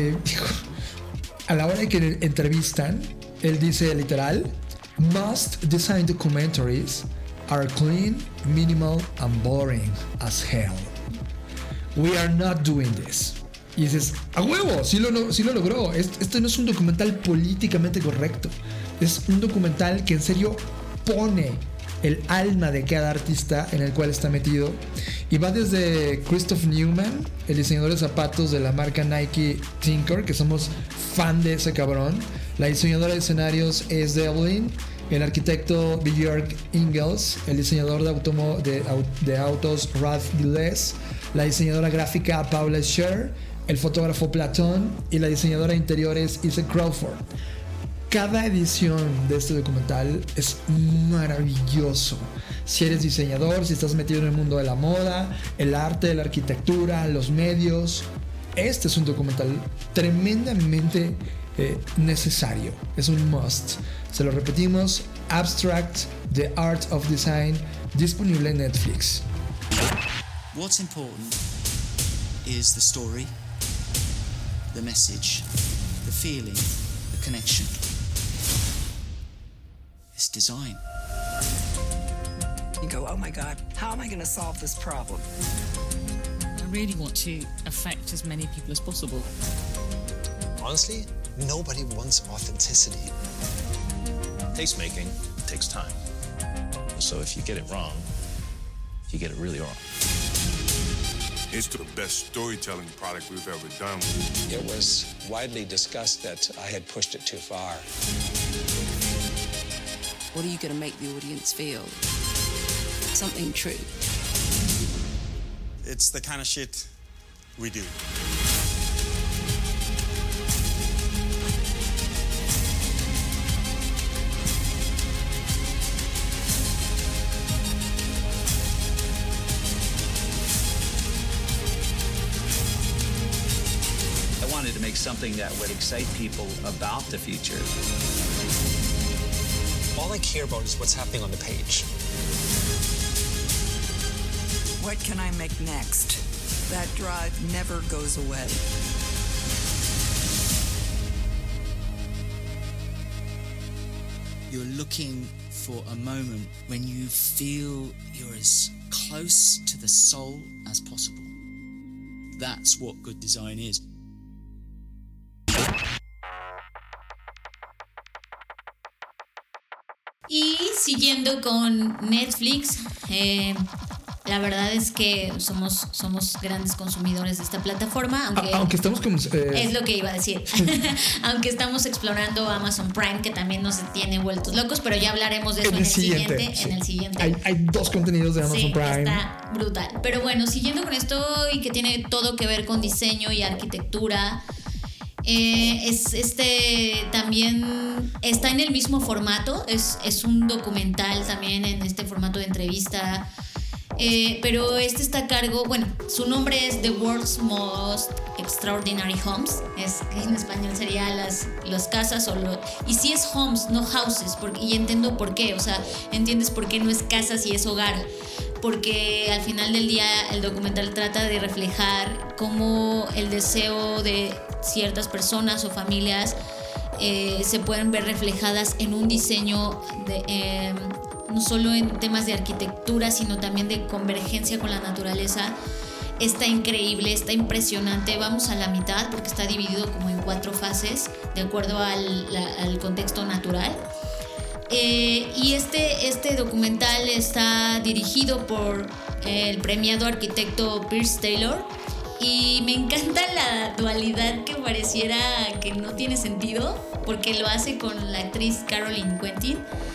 a la hora de que entrevistan, él dice literal: "Most design documentaries are clean, minimal, and boring as hell. We are not doing this." Y dices, ¡a huevo! Sí lo logró. Esto no es un documental políticamente correcto. Es un documental que en serio pone el alma de cada artista en el cual está metido. Y va desde Christoph Neumann, el diseñador de zapatos de la marca Nike Tinker, que somos fan de ese cabrón. La diseñadora de escenarios es Devlin. El arquitecto Björk Ingels, el diseñador de autos Ralph Gilles, la diseñadora gráfica Paula Scher, el fotógrafo Platón y la diseñadora de interiores Isa Crawford. Cada edición de este documental es maravilloso. Si eres diseñador, si estás metido en el mundo de la moda, el arte, la arquitectura, los medios, este es un documental tremendamente necesario. Es un must. Se lo repetimos: Abstract, The Art of Design, disponible en Netflix. What's important is the story, the message, the feeling, the connection. It's design. You go, oh my God, how am I going to solve this problem? I really want to affect as many people as possible. Honestly, nobody wants authenticity. Taste-making takes time. So if you get it wrong, you get it really wrong. It's the best storytelling product we've ever done. It was widely discussed that I had pushed it too far. What are you going to make the audience feel? Something true. It's the kind of shit we do. To make something that would excite people about the future. All I care about is what's happening on the page. What can I make next? That drive never goes away. You're looking for a moment when you feel you're as close to the soul as possible. That's what good design is. Y siguiendo con Netflix, La verdad es que somos grandes consumidores de esta plataforma, aunque estamos como... es lo que iba a decir. Aunque estamos explorando Amazon Prime, que también nos tiene vueltos locos, pero ya hablaremos de eso en el siguiente. Sí. En el siguiente. Hay 2 contenidos de Amazon Prime. Está brutal. Pero bueno, siguiendo con esto y que tiene todo que ver con diseño y arquitectura, también está en el mismo formato, es un documental también en este formato de entrevista, pero está a cargo, bueno, su nombre es The World's Most Extraordinary Homes, que en español sería las casas y sí es homes, no houses, y entiendo por qué, o sea, entiendes por qué no es casas y es hogar, porque al final del día el documental trata de reflejar cómo el deseo de ciertas personas o familias se pueden ver reflejadas en un diseño no solo en temas de arquitectura, sino también de convergencia con la naturaleza. Está increíble, está impresionante. Vamos a la mitad porque está dividido como en 4 fases de acuerdo al contexto natural. Y este documental está dirigido por el premiado arquitecto Piers Taylor, y me encanta la dualidad que pareciera que no tiene sentido, porque lo hace con la actriz Caroline Quentin,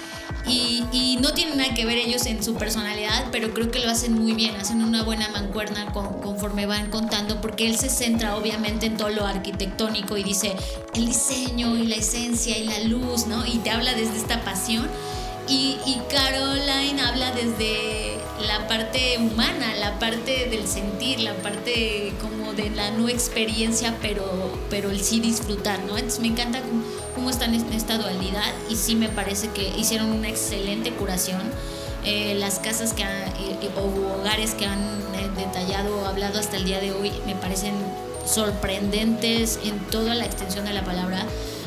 y no tienen nada que ver ellos en su personalidad, pero creo que lo hacen muy bien, hacen una buena mancuerna conforme van contando, porque él se centra obviamente en todo lo arquitectónico y dice el diseño y la esencia y la luz, ¿no? Y te habla desde esta pasión, y Caroline habla desde la parte humana, la parte del sentir, la parte como de la no experiencia, pero el sí disfrutar, ¿no? Entonces me encanta cómo están en esta dualidad, y sí me parece que hicieron una excelente curación. Las casas o hogares que han detallado o hablado hasta el día de hoy me parecen sorprendentes en toda la extensión de la palabra.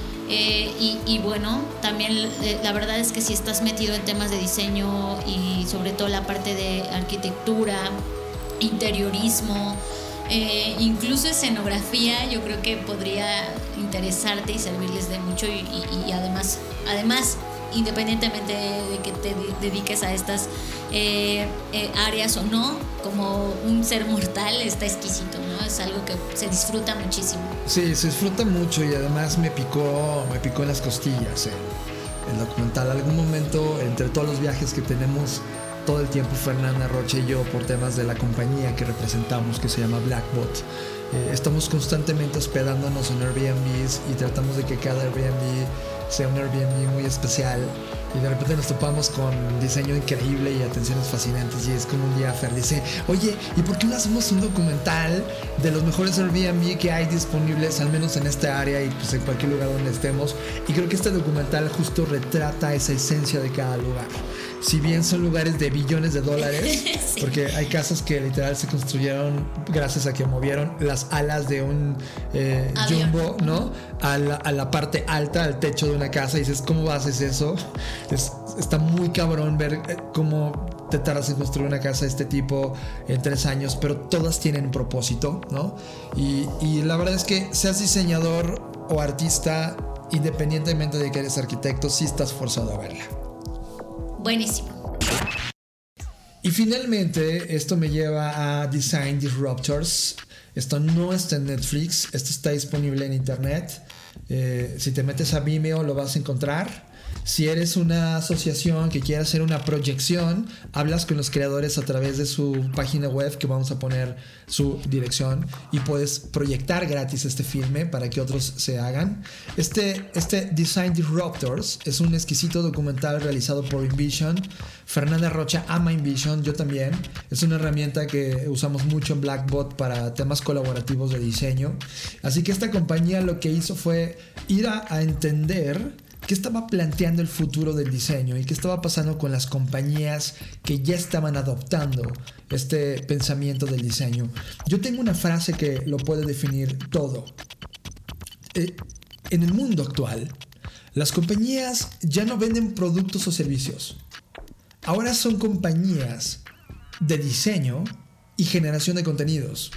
Y bueno, también la verdad es que si estás metido en temas de diseño y sobre todo la parte de arquitectura, interiorismo, incluso escenografía, yo creo que podría interesarte y servirles de mucho, y además independientemente de que te dediques a estas áreas o no, como un ser mortal, está exquisito, ¿no? Es algo que se disfruta muchísimo. Sí, se disfruta mucho, y además me picó en las costillas el documental. Algún momento, entre todos los viajes que tenemos todo el tiempo, Fernanda Rocha y yo, por temas de la compañía que representamos, que se llama Blackbot, estamos constantemente hospedándonos en Airbnbs, y tratamos de que cada Airbnb sea un Airbnb muy especial, y de repente nos topamos con diseño increíble y atenciones fascinantes, y es como un día Fer dice, oye, ¿y por qué no hacemos un documental de los mejores Airbnb que hay disponibles, al menos en esta área y pues en cualquier lugar donde estemos? Y creo que este documental justo retrata esa esencia de cada lugar. Si bien son lugares de billones de dólares, sí, porque hay casas que literal se construyeron gracias a que movieron las alas de un jumbo, ¿no? A la parte alta, al techo de una casa, y dices, ¿cómo haces eso? Está muy cabrón ver cómo te tardas en construir una casa de este tipo en 3 años, pero todas tienen un propósito, ¿no? Y la verdad es que seas diseñador o artista, independientemente de que eres arquitecto, sí estás forzado a verla. Buenísimo. Y finalmente esto me lleva a Design Disruptors. Esto no está en Netflix, esto está disponible en internet. Si te metes a Vimeo lo vas a encontrar. Si eres una asociación que quiere hacer una proyección, hablas con los creadores a través de su página web, que vamos a poner su dirección, y puedes proyectar gratis este filme para que otros se hagan. Este Design Disruptors es un exquisito documental realizado por InVision. Fernanda Rocha ama InVision, yo también. Es una herramienta que usamos mucho en Blackbot para temas colaborativos de diseño. Así que esta compañía lo que hizo fue ir a entender qué estaba planteando el futuro del diseño y qué estaba pasando con las compañías que ya estaban adoptando este pensamiento del diseño. Yo tengo una frase que lo puede definir todo. En el mundo actual, las compañías ya no venden productos o servicios. Ahora son compañías de diseño y generación de contenidos.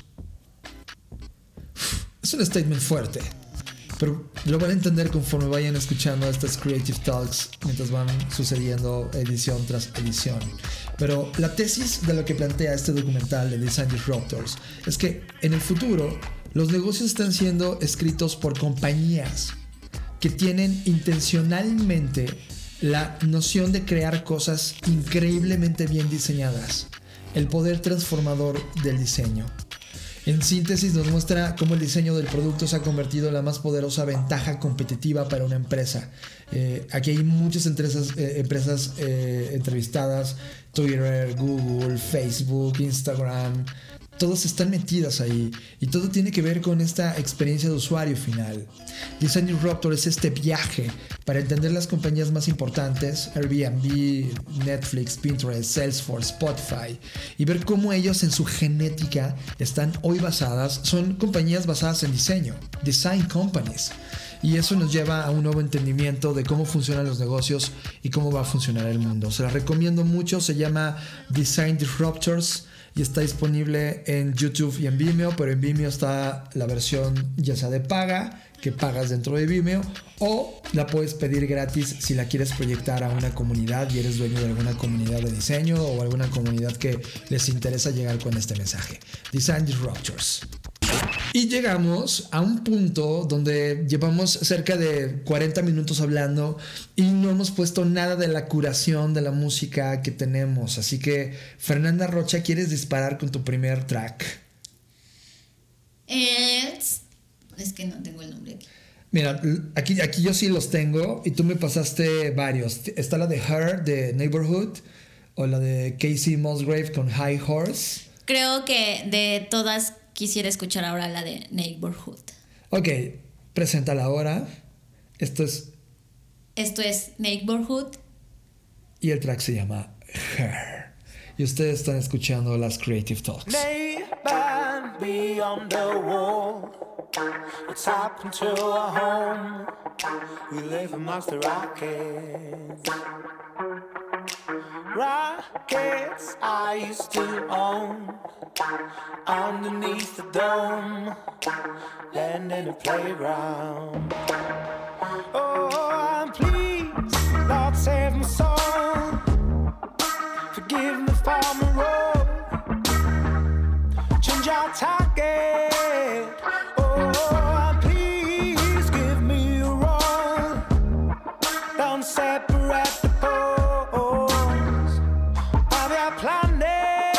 Es un statement fuerte, pero lo van a entender conforme vayan escuchando estas Creative Talks mientras van sucediendo edición tras edición. Pero la tesis de lo que plantea este documental de Design Disruptors es que en el futuro los negocios están siendo escritos por compañías que tienen intencionalmente la noción de crear cosas increíblemente bien diseñadas, el poder transformador del diseño. En síntesis nos muestra cómo el diseño del producto se ha convertido en la más poderosa ventaja competitiva para una empresa. Aquí hay muchas empresas entrevistadas, Twitter, Google, Facebook, Instagram, todas están metidas ahí y todo tiene que ver con esta experiencia de usuario final. Design Disruptor es este viaje para entender las compañías más importantes, Airbnb, Netflix, Pinterest, Salesforce, Spotify, y ver cómo ellos en su genética están hoy basadas, son compañías basadas en diseño, design companies. Y eso nos lleva a un nuevo entendimiento de cómo funcionan los negocios y cómo va a funcionar el mundo. Se las recomiendo mucho, se llama Design Disruptors y está disponible en YouTube y en Vimeo, pero en Vimeo está la versión ya sea de paga, que pagas dentro de Vimeo, o la puedes pedir gratis si la quieres proyectar a una comunidad y eres dueño de alguna comunidad de diseño o alguna comunidad que les interesa llegar con este mensaje. Design Disruptors. Y llegamos a un punto donde llevamos cerca de 40 minutos hablando y no hemos puesto nada de la curación de la música que tenemos. Así que, Fernanda Rocha, ¿quieres disparar con tu primer track? Es que no tengo el nombre aquí. Mira, aquí yo sí los tengo y tú me pasaste varios. Está la de Her, de Neighborhood, o la de Casey Musgrave con High Horse. Creo que de todas quisiera escuchar ahora la de Neighborhood. Ok, preséntala ahora. Esto es Neighborhood. Y el track se llama Her. Y ustedes están escuchando las Creative Talks. Neighbor beyond the wall, it's happened to our home. We live amongst the rockets. Rockets I used to own, underneath the dome, land in a playground. Oh, please, Lord, save my soul. Forgive me for my role. Change our target. Oh, please give me a role. Don't separate the poles of your planet.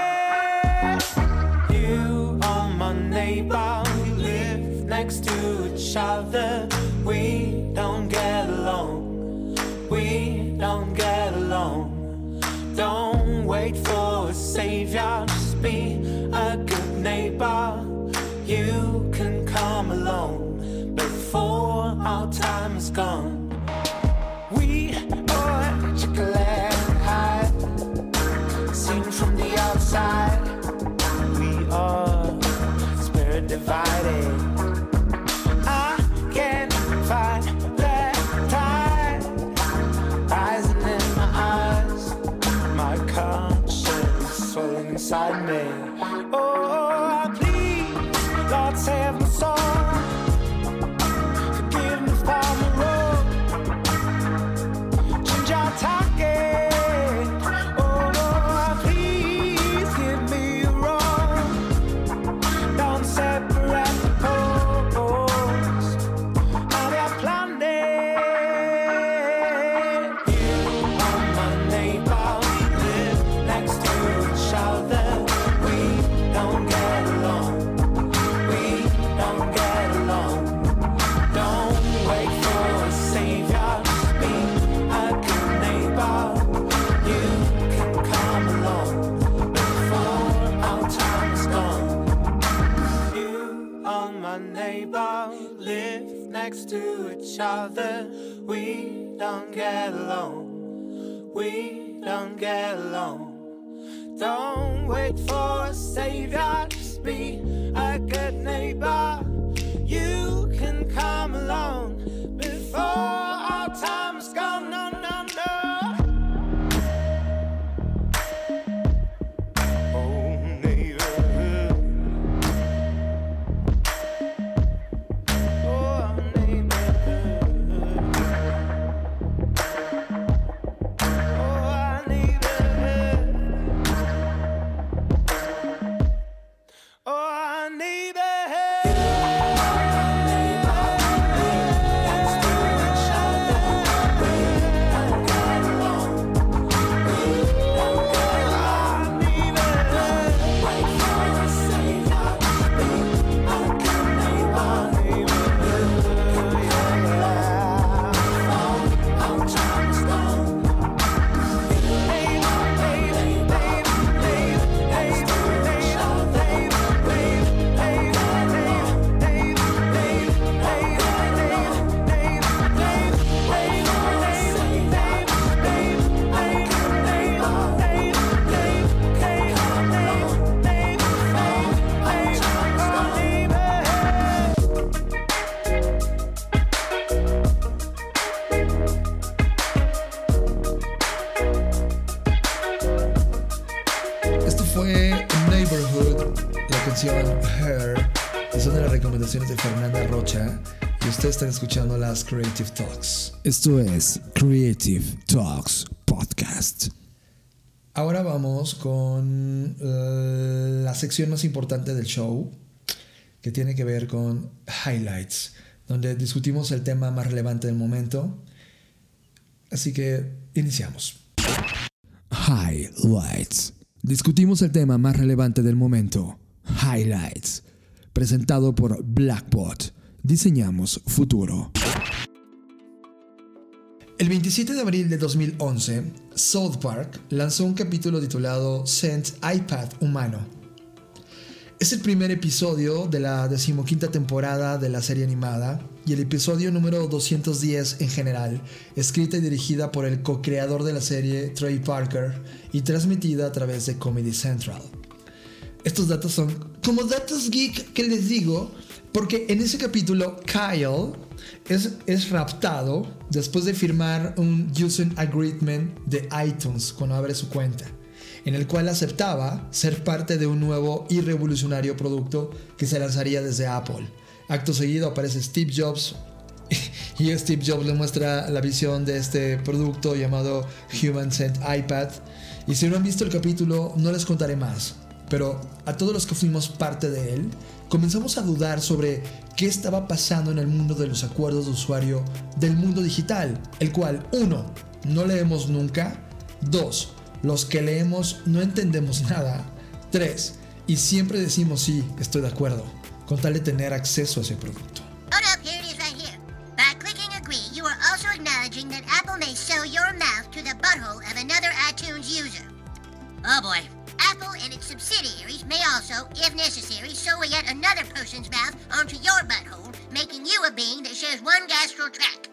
You are my neighbor. We live next to each other. We don't get along. We don't get along. Don't wait for a savior, just be a good neighbor. You can come along before our time is gone. We are chocolate high, seen from the outside. We are spirit divided. I can't find that tide rising in my eyes. My conscience swelling inside me. Oh, please, Lord, save my soul. Forgive me for my road. Change our target. Oh, please give me a road. Don't separate the poles of your planet. You are my neighbor. Next to each other, we don't get along. We don't get along. Don't wait for a savior, just be a good neighbor. You can come along before our time is gone. You are my neighbor, live next to each other. We don't get along. We don't get along. Don't wait for a savior, just be a good neighbor. You can come along before our time is gone. No, no, no. Oh, neighborhood. Oh, neighborhood. Oh, neighborhood. fue Neighborhood, la canción Her, y son de las recomendaciones de Fernanda Rocha, y ustedes están escuchando las Creative Talks. Esto es Creative Talks Podcast. Ahora vamos con la sección más importante del show, que tiene que ver con Highlights, donde discutimos el tema más relevante del momento. Así que iniciamos. Highlights. Discutimos el tema más relevante del momento. Highlights. Presentado por Blackbot. Diseñamos futuro. El 27 de abril de 2011, South Park lanzó un capítulo titulado Sent iPad Humano. Es el primer episodio de la 15ª temporada de la serie animada y el episodio número 210 en general, escrita y dirigida por el co-creador de la serie, Trey Parker, y transmitida a través de Comedy Central. Estos datos son como datos geek que les digo, porque en ese capítulo Kyle es raptado después de firmar un User Agreement de iTunes cuando abre su cuenta, en el cual aceptaba ser parte de un nuevo y revolucionario producto que se lanzaría desde Apple. Acto seguido aparece Steve Jobs y Steve Jobs le muestra la visión de este producto llamado Human Sent iPad. Y si no han visto el capítulo, no les contaré más, pero a todos los que fuimos parte de él, comenzamos a dudar sobre qué estaba pasando en el mundo de los acuerdos de usuario del mundo digital, el cual 1. No leemos nunca, 2. Los que leemos no entendemos nada, 3. Y siempre decimos sí, estoy de acuerdo, con tal de tener acceso a ese producto. Oh no, here it is right here. By clicking agree, you are also acknowledging that Apple may sell your mouse to the butthole of another iTunes user. Oh boy. Apple and its subsidiaries may also, if necessary, sew yet another person's mouth onto your butthole, making you a being that shares one gastral tract.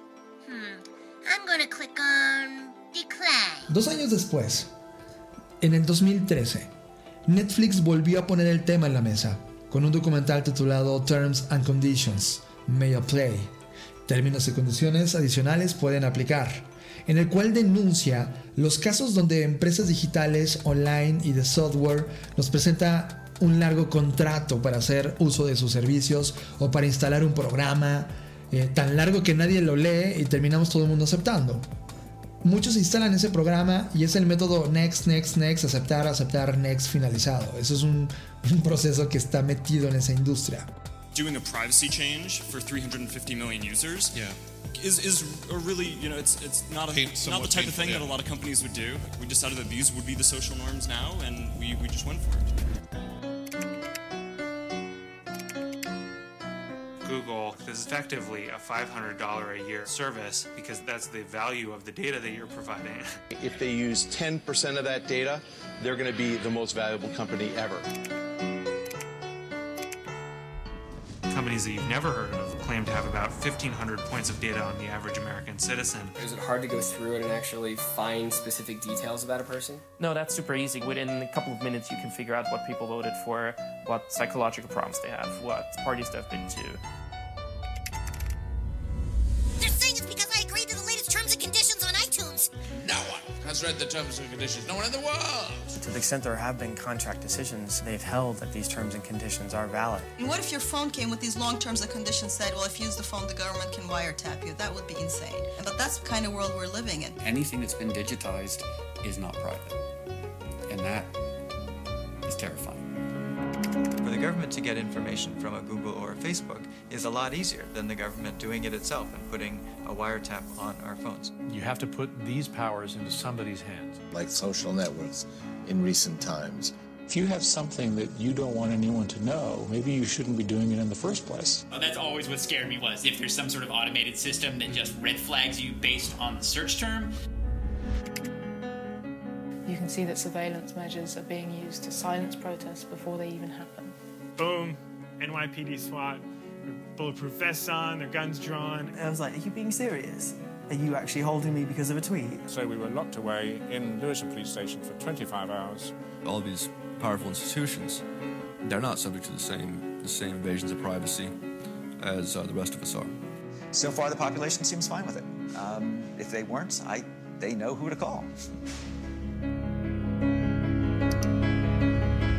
I'm gonna click on decline. 2 años después, en el 2013, Netflix volvió a poner el tema en la mesa, con un documental titulado Terms and Conditions, May Apply. Términos y condiciones adicionales pueden aplicar, en el cual denuncia los casos donde empresas digitales, online y de software nos presenta un largo contrato para hacer uso de sus servicios o para instalar un programa tan largo que nadie lo lee y terminamos todo el mundo aceptando. Muchos instalan ese programa y es el método next, next, next, aceptar, aceptar, next, finalizado. Eso es un proceso que está metido en esa industria. Doing a privacy change for 350 million users is a really, you know, it's not the type of thing that a lot of companies would do. We decided that these would be the social norms now, and we just went for it. Google is effectively a $500 a year service because that's the value of the data that you're providing. If they use 10% of that data, they're going to be the most valuable company ever. Companies that you've never heard of claim to have about 1,500 points of data on the average American citizen. Is it hard to go through it and actually find specific details about a person? No, that's super easy. Within a couple of minutes, you can figure out what people voted for, what psychological problems they have, what parties they've been to. They're saying it's because I agreed to the latest terms and conditions on iTunes. No one has read the terms and conditions. No one in the world. To the extent there have been contract decisions, they've held that these terms and conditions are valid. And what if your phone came with these long terms and conditions said, well, if you use the phone, the government can wiretap you? That would be insane. But that's the kind of world we're living in. Anything that's been digitized is not private. And that is terrifying. For the government to get information from a Google or a Facebook is a lot easier than the government doing it itself and putting a wiretap on our phones. You have to put these powers into somebody's hands. Like social networks in recent times. If you have something that you don't want anyone to know, maybe you shouldn't be doing it in the first place. That's always what scared me, was if there's some sort of automated system that just red flags you based on the search term. You can see that surveillance measures are being used to silence protests before they even happen. Boom, NYPD SWAT, their bulletproof vests on, their guns drawn. I was like, are you being serious? Are you actually holding me because of a tweet? So we were locked away in Lewisham Police Station for 25 hours. All these powerful institutions, they're not subject to the same invasions of privacy as the rest of us are. So far, the population seems fine with it. If they weren't, they know who to call.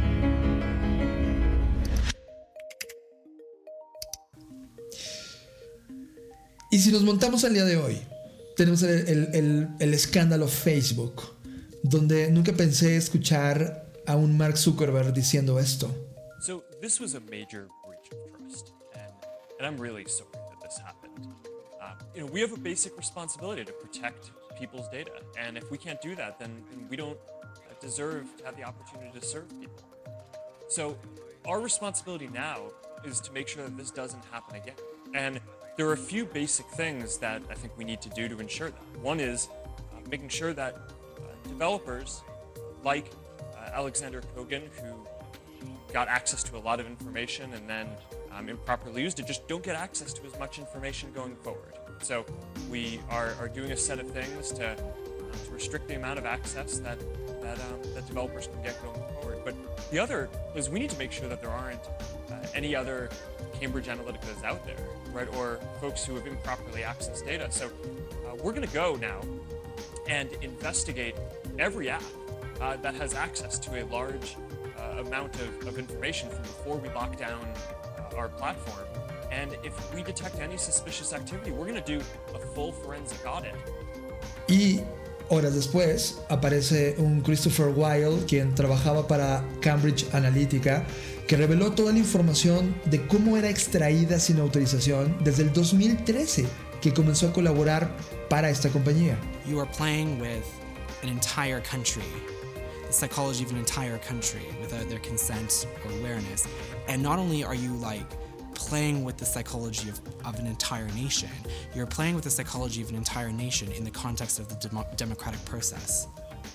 Y si nos montamos al día de hoy, tenemos el escándalo Facebook, donde nunca pensé escuchar a un Mark Zuckerberg diciendo esto. So this was a major breach of trust, and I'm really sorry that this happened. We have a basic responsibility to protect people's data, and if we can't do that, then we don't deserve to have the opportunity to serve people. So our responsibility now is to make sure that this doesn't happen again. And there are a few basic things that I think we need to do to ensure that. One is making sure that developers like Alexander Kogan, who got access to a lot of information and then improperly used it, just don't get access to as much information going forward. So we are doing a set of things to restrict the amount of access that developers can get going forward. But the other is we need to make sure that there aren't any other Cambridge Analyticas out there, right, or folks who have improperly accessed data. So we're going to go now and investigate every app that has access to a large amount of information from before we lock down our platform. And if we detect any suspicious activity, we're going to do a full forensic audit. Y horas después aparece un Christopher Weil, quien trabajaba para Cambridge Analytica, que reveló toda la información de cómo era extraída sin autorización desde el 2013, que comenzó a colaborar para esta compañía. You are playing with an entire country, the psychology of an entire country without their consent or awareness. And not only are you playing with the psychology of an entire nation, you're playing with the psychology of an entire nation in the context of the democratic process.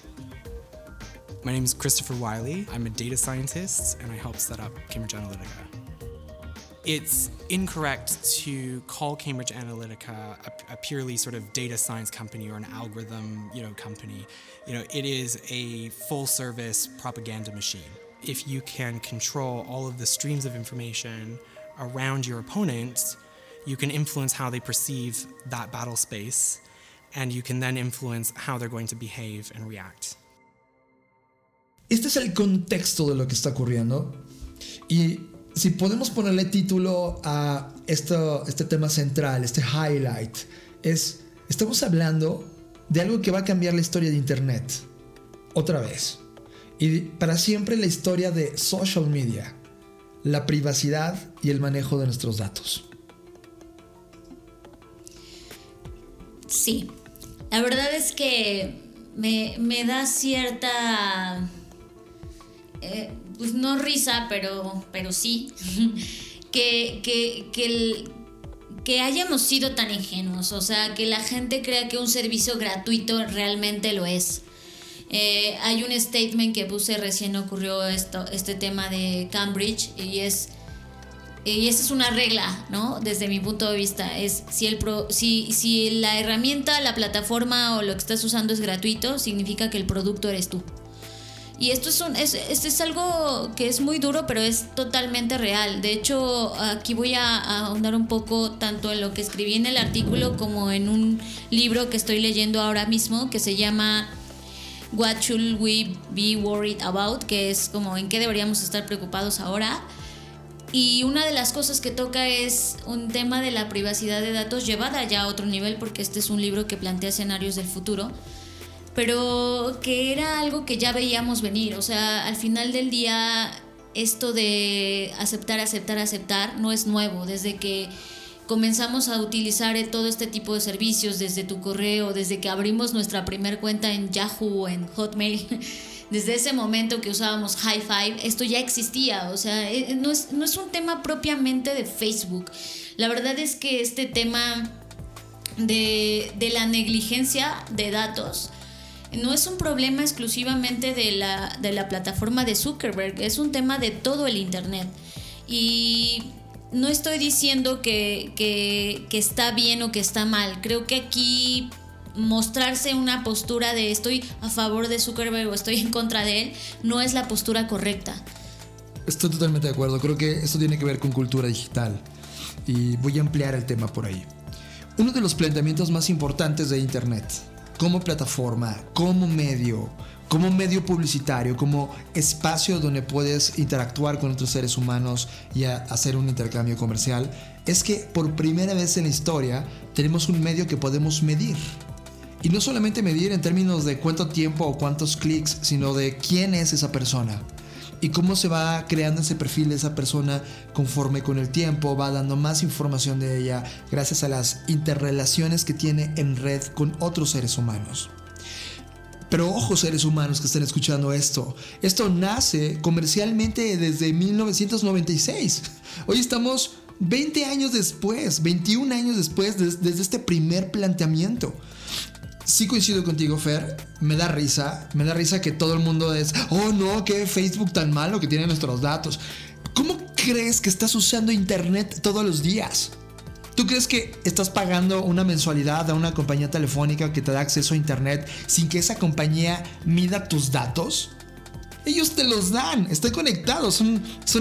My name is Christopher Wiley. I'm a data scientist and I helped set up Cambridge Analytica. It's incorrect to call Cambridge Analytica a purely sort of data science company or an algorithm, company. It is a full-service propaganda machine. If you can control all of the streams of information around your opponents, you can influence how they perceive that battle space, and you can then influence how they're going to behave and react. Este es el contexto de lo que está ocurriendo. Y si podemos ponerle título a este tema central, este highlight, estamos hablando de algo que va a cambiar la historia de Internet. Otra vez. Y para siempre la historia de social media, la privacidad y el manejo de nuestros datos. Sí, la verdad es que me da cierta, pues no risa, pero sí, que hayamos sido tan ingenuos, o sea, que la gente crea que un servicio gratuito realmente lo es. Hay un statement que puse recién, ocurrió este tema de Cambridge y esa es una regla, ¿no? Desde mi punto de vista es si la herramienta, la plataforma o lo que estás usando es gratuito, significa que el producto eres tú. Y esto es algo que es muy duro, pero es totalmente real. De hecho, aquí voy a ahondar un poco tanto en lo que escribí en el artículo como en un libro que estoy leyendo ahora mismo que se llama What Should We Be Worried About, que es como en qué deberíamos estar preocupados ahora. Y una de las cosas que toca es un tema de la privacidad de datos llevada ya a otro nivel, porque este es un libro que plantea escenarios del futuro, pero que era algo que ya veíamos venir. O sea, al final del día esto de aceptar no es nuevo. Desde que comenzamos a utilizar todo este tipo de servicios, desde tu correo, desde que abrimos nuestra primer cuenta en Yahoo o en Hotmail, desde ese momento que usábamos Hi5, esto ya existía. O sea, no es un tema propiamente de Facebook. La verdad es que este tema de la negligencia de datos no es un problema exclusivamente de la plataforma de Zuckerberg, es un tema de todo el Internet. Y no estoy diciendo que está bien o que está mal. Creo que aquí mostrarse una postura de estoy a favor de Zuckerberg o estoy en contra de él no es la postura correcta. Estoy totalmente de acuerdo. Creo que esto tiene que ver con cultura digital y voy a ampliar el tema por ahí. Uno de los planteamientos más importantes de Internet como plataforma, como medio publicitario, como espacio donde puedes interactuar con otros seres humanos y hacer un intercambio comercial, es que por primera vez en la historia tenemos un medio que podemos medir. Y no solamente medir en términos de cuánto tiempo o cuántos clics, sino de quién es esa persona. Y cómo se va creando ese perfil de esa persona conforme con el tiempo, va dando más información de ella gracias a las interrelaciones que tiene en red con otros seres humanos. Pero ojo, seres humanos que estén escuchando esto nace comercialmente desde 1996. Hoy estamos 20 años después, 21 años después desde este primer planteamiento. Sí coincido contigo, Fer, me da risa que todo el mundo es, oh no, qué Facebook tan malo que tiene nuestros datos. ¿Cómo crees que estás usando internet todos los días? ¿Tú crees que estás pagando una mensualidad a una compañía telefónica que te da acceso a internet sin que esa compañía mida tus datos? Ellos te los dan, están conectados, son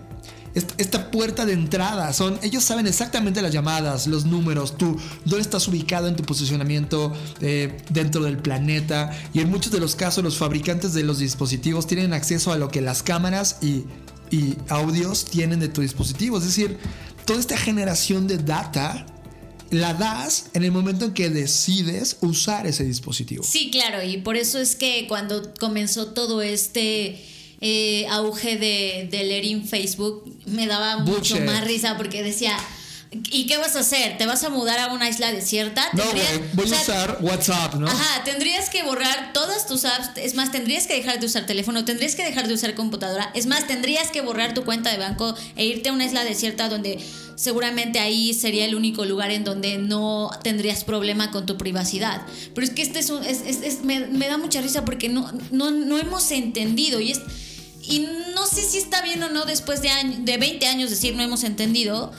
esta puerta de entrada. Ellos saben exactamente las llamadas, los números, tú dónde estás ubicado en tu posicionamiento dentro del planeta. Y en muchos de los casos los fabricantes de los dispositivos tienen acceso a lo que las cámaras y audios tienen de tu dispositivo. Es decir, toda esta generación de data la das en el momento en que decides usar ese dispositivo. Sí, claro, y por eso es que cuando comenzó todo este auge de leer en Facebook, me daba mucho más risa porque decía, ¿y qué vas a hacer? ¿Te vas a mudar a una isla desierta? No, voy a usar WhatsApp, ¿no? Ajá, tendrías que borrar todas tus apps. Es más, tendrías que dejar de usar teléfono, tendrías que dejar de usar computadora. Es más, tendrías que borrar tu cuenta de banco e irte a una isla desierta donde seguramente ahí sería el único lugar en donde no tendrías problema con tu privacidad. Pero es que me da mucha risa porque no hemos entendido y no sé si está bien o no después de 20 años decir no hemos entendido.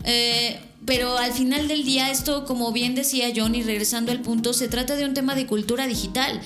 Pero al final del día esto, como bien decía John, y regresando al punto, se trata de un tema de cultura digital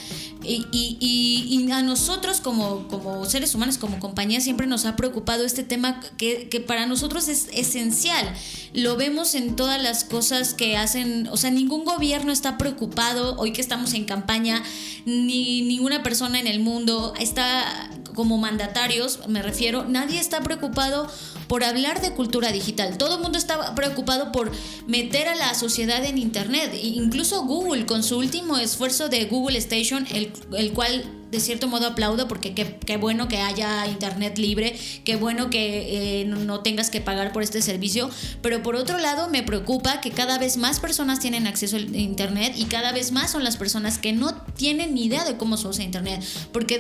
y a nosotros como seres humanos, como compañía, siempre nos ha preocupado este tema que para nosotros es esencial. Lo vemos en todas las cosas que hacen. O sea, ningún gobierno está preocupado hoy que estamos en campaña, ni ninguna persona en el mundo está, como mandatarios me refiero, nadie está preocupado por hablar de cultura digital. Todo el mundo está preocupado por meter a la sociedad en internet. Incluso Google, con su último esfuerzo de Google Station, el cual de cierto modo aplaudo, porque qué bueno que haya internet libre, qué bueno que no tengas que pagar por este servicio. Pero por otro lado me preocupa que cada vez más personas tienen acceso a internet y cada vez más son las personas que no tienen ni idea de cómo se usa internet, porque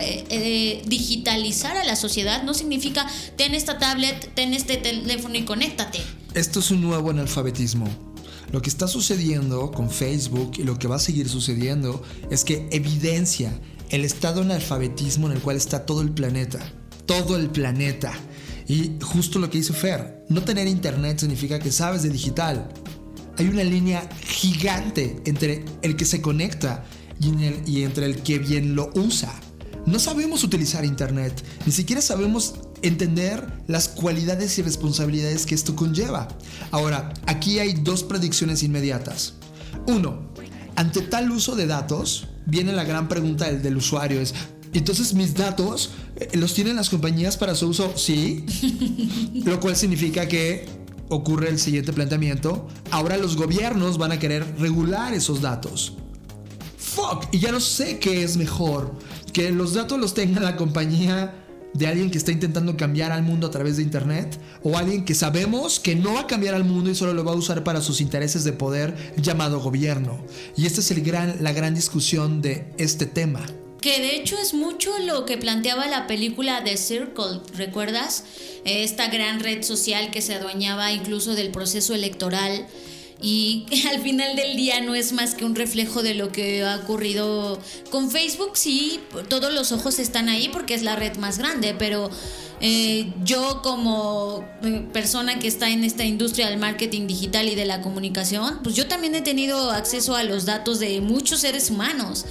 digitalizar a la sociedad no significa ten esta tablet, ten este teléfono y conéctate. Esto es un nuevo analfabetismo. Lo que está sucediendo con Facebook y lo que va a seguir sucediendo es que evidencia el estado de analfabetismo en el cual está todo el planeta. Todo el planeta. Y justo lo que dice Fer, no tener internet significa que sabes de digital. Hay una línea gigante entre el que se conecta y entre el que bien lo usa. No sabemos utilizar internet, ni siquiera sabemos entender las cualidades y responsabilidades que esto conlleva. Ahora, aquí hay dos predicciones inmediatas. Uno, ante tal uso de datos, viene la gran pregunta del usuario, es, entonces mis datos los tienen las compañías para su uso, sí, lo cual significa que ocurre el siguiente planteamiento, ahora los gobiernos van a querer regular esos datos. Fuck, y ya no sé qué es mejor, que los datos los tenga la compañía de alguien que está intentando cambiar al mundo a través de internet, o alguien que sabemos que no va a cambiar al mundo y solo lo va a usar para sus intereses de poder, llamado gobierno. Y esta es la gran discusión de este tema. Que de hecho es mucho lo que planteaba la película The Circle, ¿recuerdas? Esta gran red social que se adueñaba incluso del proceso electoral y al final del día no es más que un reflejo de lo que ha ocurrido con Facebook. Sí, todos los ojos están ahí porque es la red más grande, pero yo como persona que está en esta industria del marketing digital y de la comunicación, pues yo también he tenido acceso a los datos de muchos seres humanos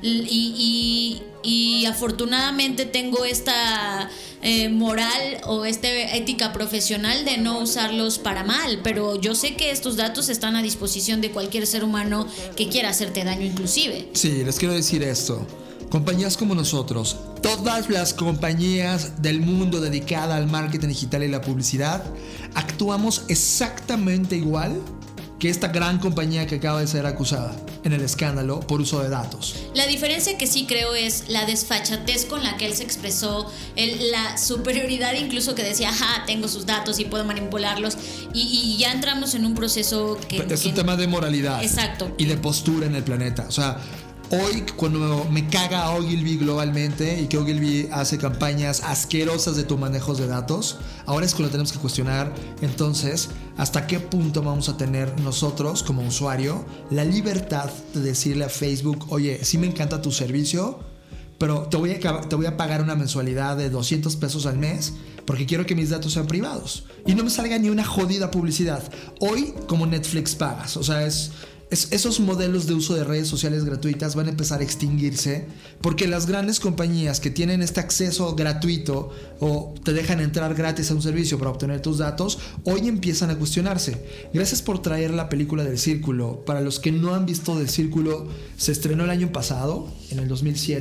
y afortunadamente tengo esta moral o esta ética profesional de no usarlos para mal, pero yo sé que estos datos están a disposición de cualquier ser humano que quiera hacerte daño inclusive. Sí, les quiero decir esto. compañías como nosotros, todas las compañías del mundo dedicada al marketing digital y la publicidad, actuamos exactamente igual que esta gran compañía que acaba de ser acusada en el escándalo por uso de datos. La diferencia que sí creo es la desfachatez con la que él se expresó, la superioridad incluso que decía, ajá, tengo sus datos y puedo manipularlos, y ya entramos en un proceso que... Es un tema de moralidad. Exacto. Y de postura en el planeta. O sea, hoy cuando me caga Ogilvy globalmente y que Ogilvy hace campañas asquerosas de tu manejo de datos, ahora es cuando tenemos que cuestionar entonces hasta qué punto vamos a tener nosotros como usuario la libertad de decirle a Facebook, oye, sí me encanta tu servicio, pero te voy a pagar una mensualidad de $200 al mes porque quiero que mis datos sean privados y no me salga ni una jodida publicidad. Hoy como Netflix pagas, o sea, esos modelos de uso de redes sociales gratuitas van a empezar a extinguirse porque las grandes compañías que tienen este acceso gratuito o te dejan entrar gratis a un servicio para obtener tus datos, hoy empiezan a cuestionarse. Gracias por traer la película del Círculo. Para los que no han visto del Círculo, se estrenó el año pasado, en el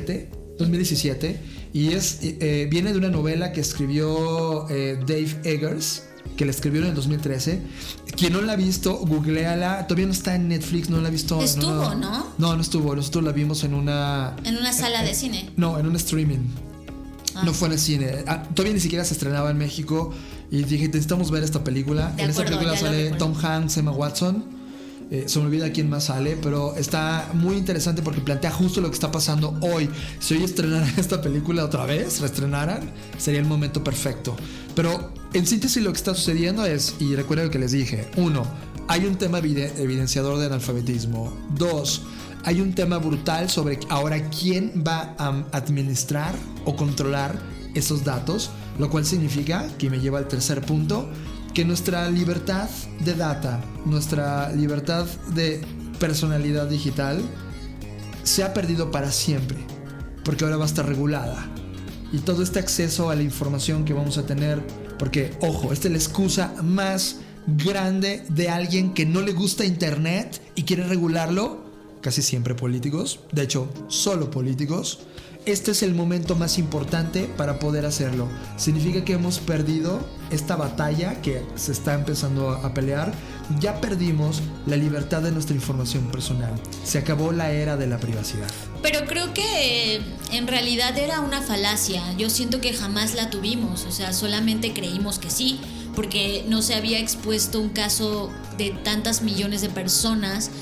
2017, y viene de una novela que escribió Dave Eggers, que la escribió en el 2013. Quien no la ha visto, googleala. Todavía no está en Netflix, no la ha visto. Estuvo, ¿no? No estuvo. Nosotros la vimos en una sala de cine. No, en un streaming. No fue en el cine. Todavía ni siquiera se estrenaba en México. Y dije, necesitamos ver esta película. En esta película sale Tom Hanks, Emma Watson. Se me olvida quién más sale, pero está muy interesante porque plantea justo lo que está pasando hoy. Si hoy estrenaran esta película otra vez, reestrenaran, sería el momento perfecto. Pero en síntesis lo que está sucediendo es, y recuerden lo que les dije, 1, hay un tema evidenciador de analfabetismo. 2, hay un tema brutal sobre ahora quién va a administrar o controlar esos datos, lo cual significa, que me lleva al tercer punto, que nuestra libertad de data, nuestra libertad de personalidad digital se ha perdido para siempre, porque ahora va a estar regulada. Y todo este acceso a la información que vamos a tener, porque, ojo, esta es la excusa más grande de alguien que no le gusta Internet y quiere regularlo, casi siempre políticos, de hecho, solo políticos. Este es el momento más importante para poder hacerlo. Significa que hemos perdido esta batalla que se está empezando a pelear. Ya perdimos la libertad de nuestra información personal. Se acabó la era de la privacidad. Pero creo que en realidad era una falacia. Yo siento que jamás la tuvimos. O sea, solamente creímos que sí, porque no se había expuesto un caso de tantas millones de personas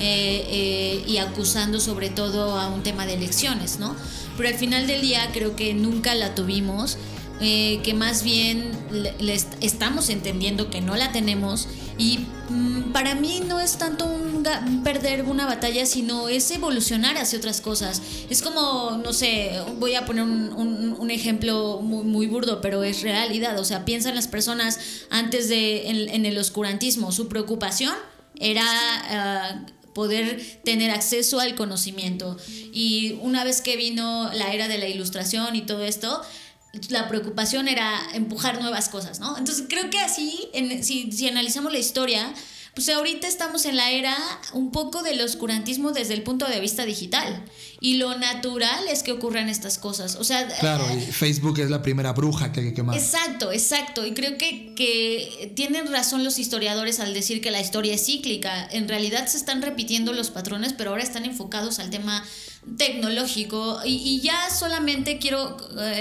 y acusando sobre todo a un tema de elecciones, ¿no? Pero al final del día creo que nunca la tuvimos, que más bien estamos entendiendo que no la tenemos. Y para mí no es tanto un perder una batalla, sino es evolucionar hacia otras cosas. Es como, no sé, voy a poner un ejemplo muy, muy burdo, pero es realidad. O sea, piensan las personas antes en el oscurantismo. Su preocupación era poder tener acceso al conocimiento. Y una vez que vino la era de la ilustración y todo esto, la preocupación era empujar nuevas cosas, ¿no? Entonces creo que así, si analizamos la historia, pues ahorita estamos en la era un poco del oscurantismo desde el punto de vista digital. Y lo natural es que ocurran estas cosas. O sea, claro, y Facebook es la primera bruja que hay que quemar. Exacto. Y creo que tienen razón los historiadores al decir que la historia es cíclica. En realidad se están repitiendo los patrones, pero ahora están enfocados al tema tecnológico. Y ya solamente quiero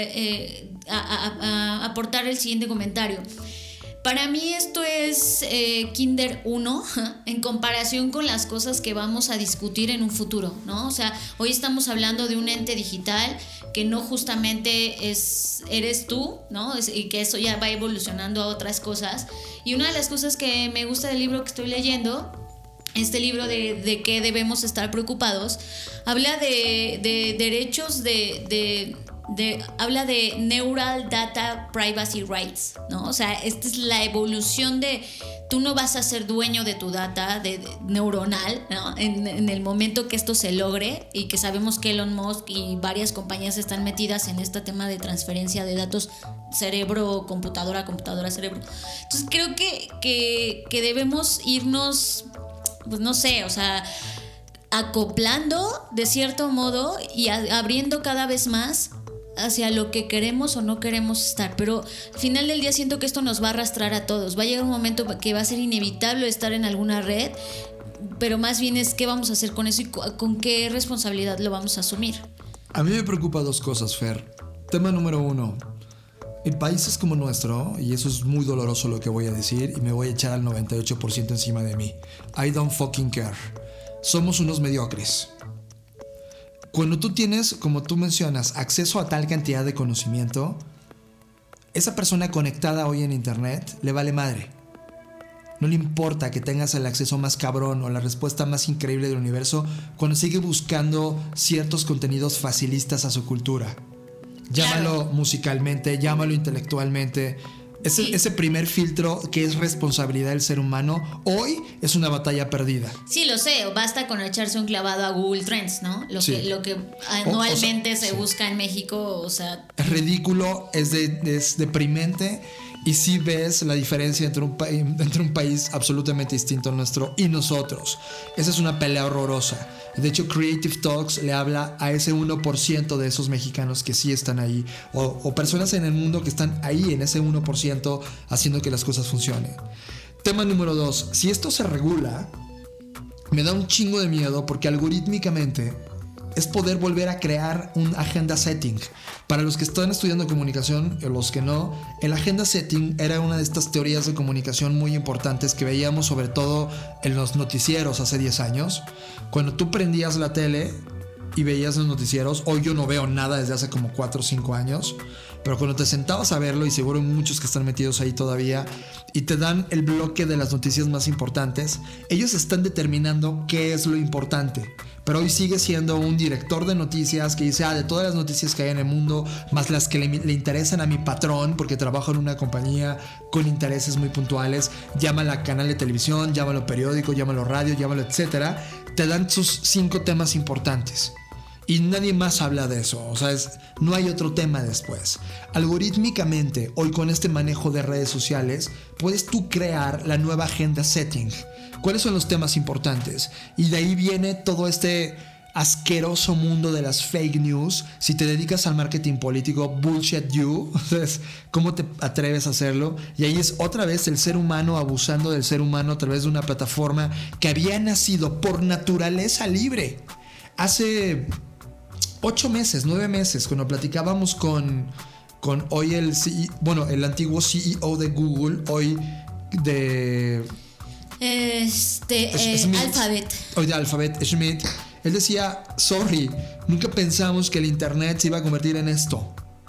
aportar el siguiente comentario. Para mí esto es Kinder 1 en comparación con las cosas que vamos a discutir en un futuro, ¿no? O sea, hoy estamos hablando de un ente digital que no justamente eres tú, ¿no? Y que eso ya va evolucionando a otras cosas. Y una de las cosas que me gusta del libro que estoy leyendo, este libro de qué debemos estar preocupados, habla de derechos habla de Neural Data Privacy Rights, ¿no? O sea, esta es la evolución de tú no vas a ser dueño de tu data neuronal, ¿no? En el momento que esto se logre, y que sabemos que Elon Musk y varias compañías están metidas en este tema de transferencia de datos cerebro, computadora, cerebro. Entonces creo que debemos irnos, pues no sé, o sea, acoplando de cierto modo y abriendo cada vez más hacia lo que queremos o no queremos estar. Pero al final del día siento que esto nos va a arrastrar a todos. Va a llegar un momento que va a ser inevitable estar en alguna red, pero más bien es qué vamos a hacer con eso y con qué responsabilidad lo vamos a asumir. A mí me preocupa dos cosas, Fer. Tema número 1. En países como nuestro, y eso es muy doloroso lo que voy a decir, y me voy a echar al 98% encima de mí. I don't fucking care. Somos unos mediocres. Cuando tú tienes, como tú mencionas, acceso a tal cantidad de conocimiento, esa persona conectada hoy en internet le vale madre. No le importa que tengas el acceso más cabrón o la respuesta más increíble del universo cuando sigue buscando ciertos contenidos facilistas a su cultura. Llámalo musicalmente, llámalo intelectualmente. Ese primer filtro que es responsabilidad del ser humano, hoy es una batalla perdida. Sí, lo sé, basta con echarse un clavado a Google Trends, ¿no? Lo que anualmente se busca en México, o sea... Es ridículo, es deprimente, y sí ves la diferencia entre un país absolutamente distinto al nuestro y nosotros. Esa es una pelea horrorosa. De hecho, Creative Talks le habla a ese 1% de esos mexicanos que sí están ahí, o personas en el mundo que están ahí en ese 1% haciendo que las cosas funcionen. Tema número 2. Si esto se regula, me da un chingo de miedo porque algorítmicamente es poder volver a crear un agenda setting. Para los que están estudiando comunicación, o los que no, el agenda setting era una de estas teorías de comunicación muy importantes que veíamos sobre todo en los noticieros hace 10 años. Cuando tú prendías la tele y veías los noticieros, hoy yo no veo nada desde hace como 4 o 5 años, pero cuando te sentabas a verlo, y seguro hay muchos que están metidos ahí todavía, y te dan el bloque de las noticias más importantes, ellos están determinando qué es lo importante. Pero hoy sigue siendo un director de noticias que dice, de todas las noticias que hay en el mundo, más las que le interesan a mi patrón, porque trabajo en una compañía con intereses muy puntuales, llámalo a canal de televisión, llámalo periódico, llámalo radio, llámalo etcétera, te dan sus 5 temas importantes. Y nadie más habla de eso, o sea, no hay otro tema después. Algorítmicamente, hoy con este manejo de redes sociales, puedes tú crear la nueva agenda setting. ¿Cuáles son los temas importantes? Y de ahí viene todo este asqueroso mundo de las fake news. Si te dedicas al marketing político, bullshit you. ¿Cómo te atreves a hacerlo? Y ahí es otra vez el ser humano abusando del ser humano a través de una plataforma que había nacido por naturaleza libre. Hace 8 meses, 9 meses, cuando platicábamos con hoy el antiguo CEO de Google, hoy de... Alphabet. Hoy de Alphabet, Schmidt. Él decía, sorry, nunca pensamos que el internet se iba a convertir en esto.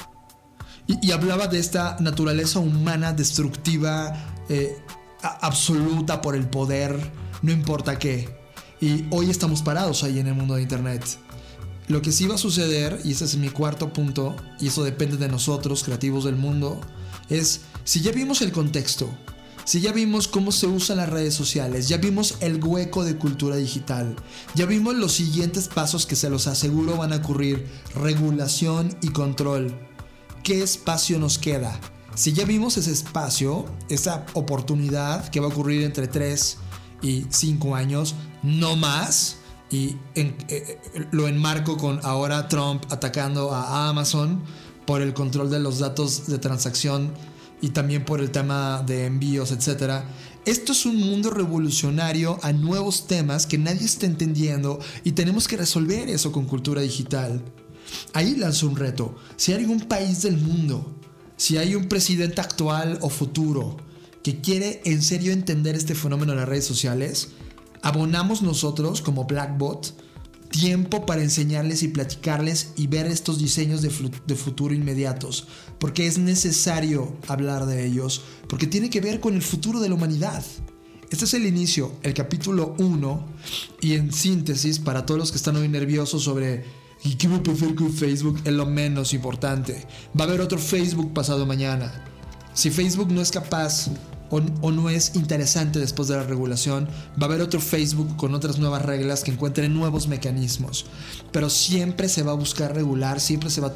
Y hablaba de esta naturaleza humana destructiva, absoluta por el poder, no importa qué. Y hoy estamos parados ahí en el mundo de internet. Lo que sí va a suceder, y ese es mi cuarto punto, y eso depende de nosotros, creativos del mundo, es si ya vimos el contexto, si ya vimos cómo se usan las redes sociales, ya vimos el hueco de cultura digital, ya vimos los siguientes pasos que se los aseguro van a ocurrir: regulación y control. ¿Qué espacio nos queda? Si ya vimos ese espacio, esa oportunidad que va a ocurrir entre 3 y 5 años, no más, y lo enmarco con ahora Trump atacando a Amazon por el control de los datos de transacción y también por el tema de envíos, etc. Esto es un mundo revolucionario a nuevos temas que nadie está entendiendo y tenemos que resolver eso con cultura digital. Ahí lanzo un reto. Si hay algún país del mundo, si hay un presidente actual o futuro que quiere en serio entender este fenómeno de las redes sociales, abonamos nosotros como Blackbot tiempo para enseñarles y platicarles y ver estos diseños de futuro inmediatos, porque es necesario hablar de ellos, porque tiene que ver con el futuro de la humanidad. Este es el inicio, el capítulo 1, y en síntesis, para todos los que están hoy nerviosos sobre ¿qué me prefiero con Facebook? Es lo menos importante. Va a haber otro Facebook pasado mañana. Si Facebook no es capaz o no es interesante después de la regulación, va a haber otro Facebook con otras nuevas reglas que encuentren nuevos mecanismos. Pero siempre se va a buscar regular, siempre se va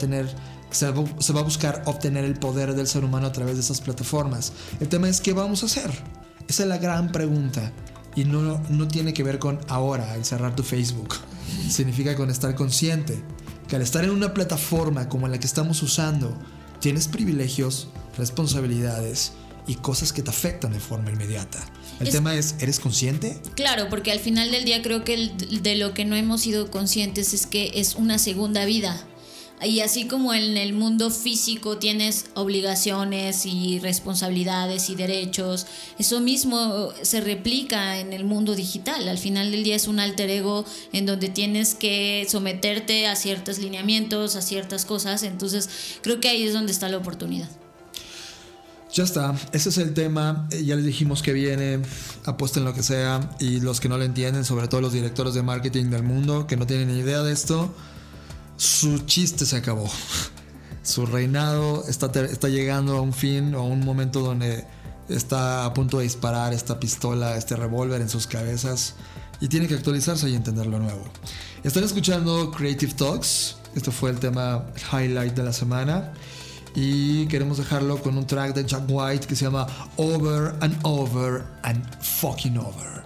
a buscar obtener el poder del ser humano a través de esas plataformas. El tema es ¿qué vamos a hacer? Esa es la gran pregunta. Y no tiene que ver con ahora, el cerrar tu Facebook. Significa con estar consciente que al estar en una plataforma como la que estamos usando, tienes privilegios, responsabilidades y cosas que te afectan de forma inmediata. El tema es, ¿eres consciente? Claro, porque al final del día creo que de lo que no hemos sido conscientes es que es una segunda vida. Y así como en el mundo físico tienes obligaciones y responsabilidades y derechos, eso mismo se replica en el mundo digital. Al final del día es un alter ego en donde tienes que someterte a ciertos lineamientos, a ciertas cosas. Entonces creo que ahí es donde está la oportunidad. Ya está, ese es el tema. Ya les dijimos que viene, apuesten lo que sea. Y los que no lo entienden, sobre todo los directores de marketing del mundo que no tienen ni idea de esto, su chiste se acabó. Su reinado está llegando a un fin o a un momento donde está a punto de disparar esta pistola, este revólver en sus cabezas, y tiene que actualizarse y entender lo nuevo. Están escuchando Creative Talks. Este fue el tema highlight de la semana y queremos dejarlo con un track de Jack White que se llama Over and Over and Fucking Over.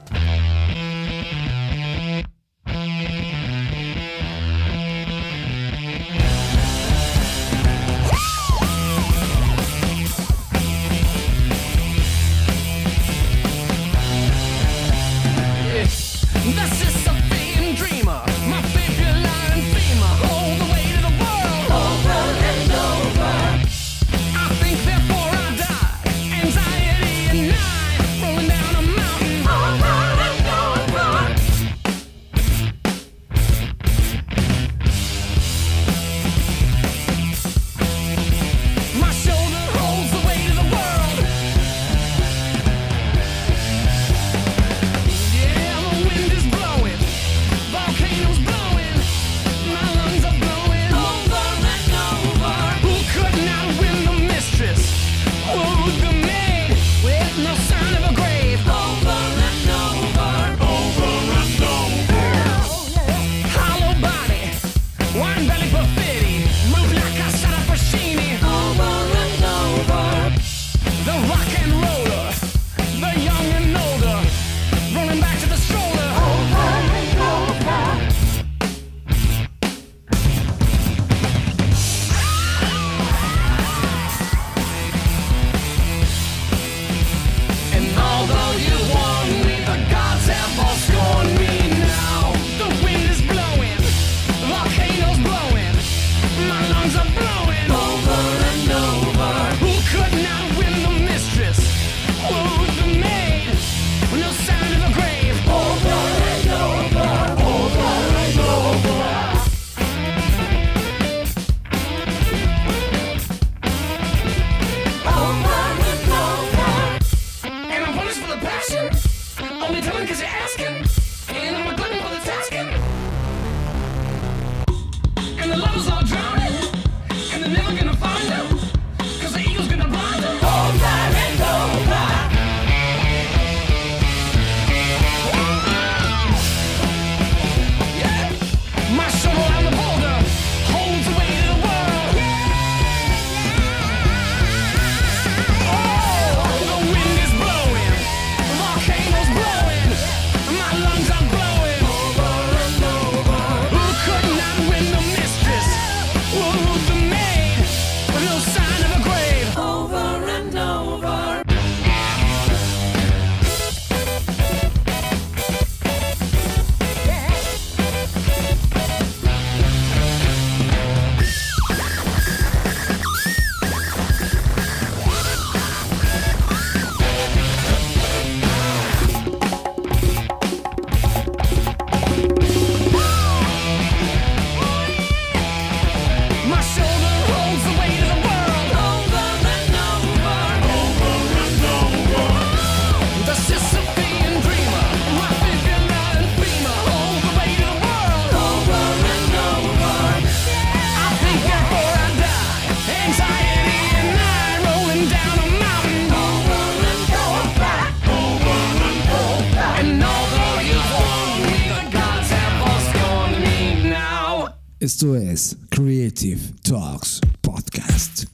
Esto es Creative Talks Podcast.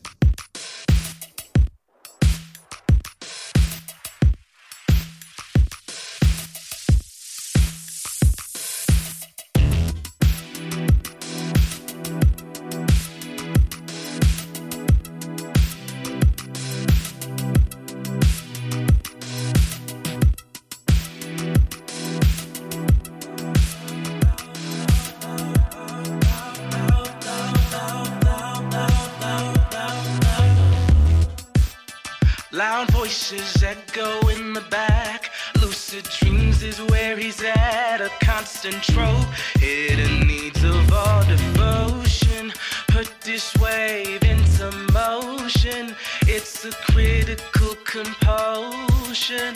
Loud voices echo in the back. Lucid dreams is where he's at. A constant trope. Hidden needs of all devotion. Put this wave into motion. It's a critical compulsion.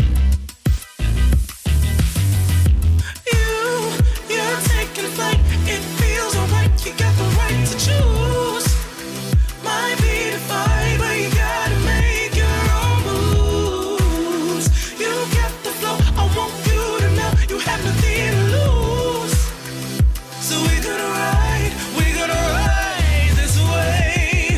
You're taking flight. It feels alright. You got the right to choose. Might be defined, but you gotta make your own moves. You get the flow. I want you to know you have nothing to lose. So we're gonna ride this wave.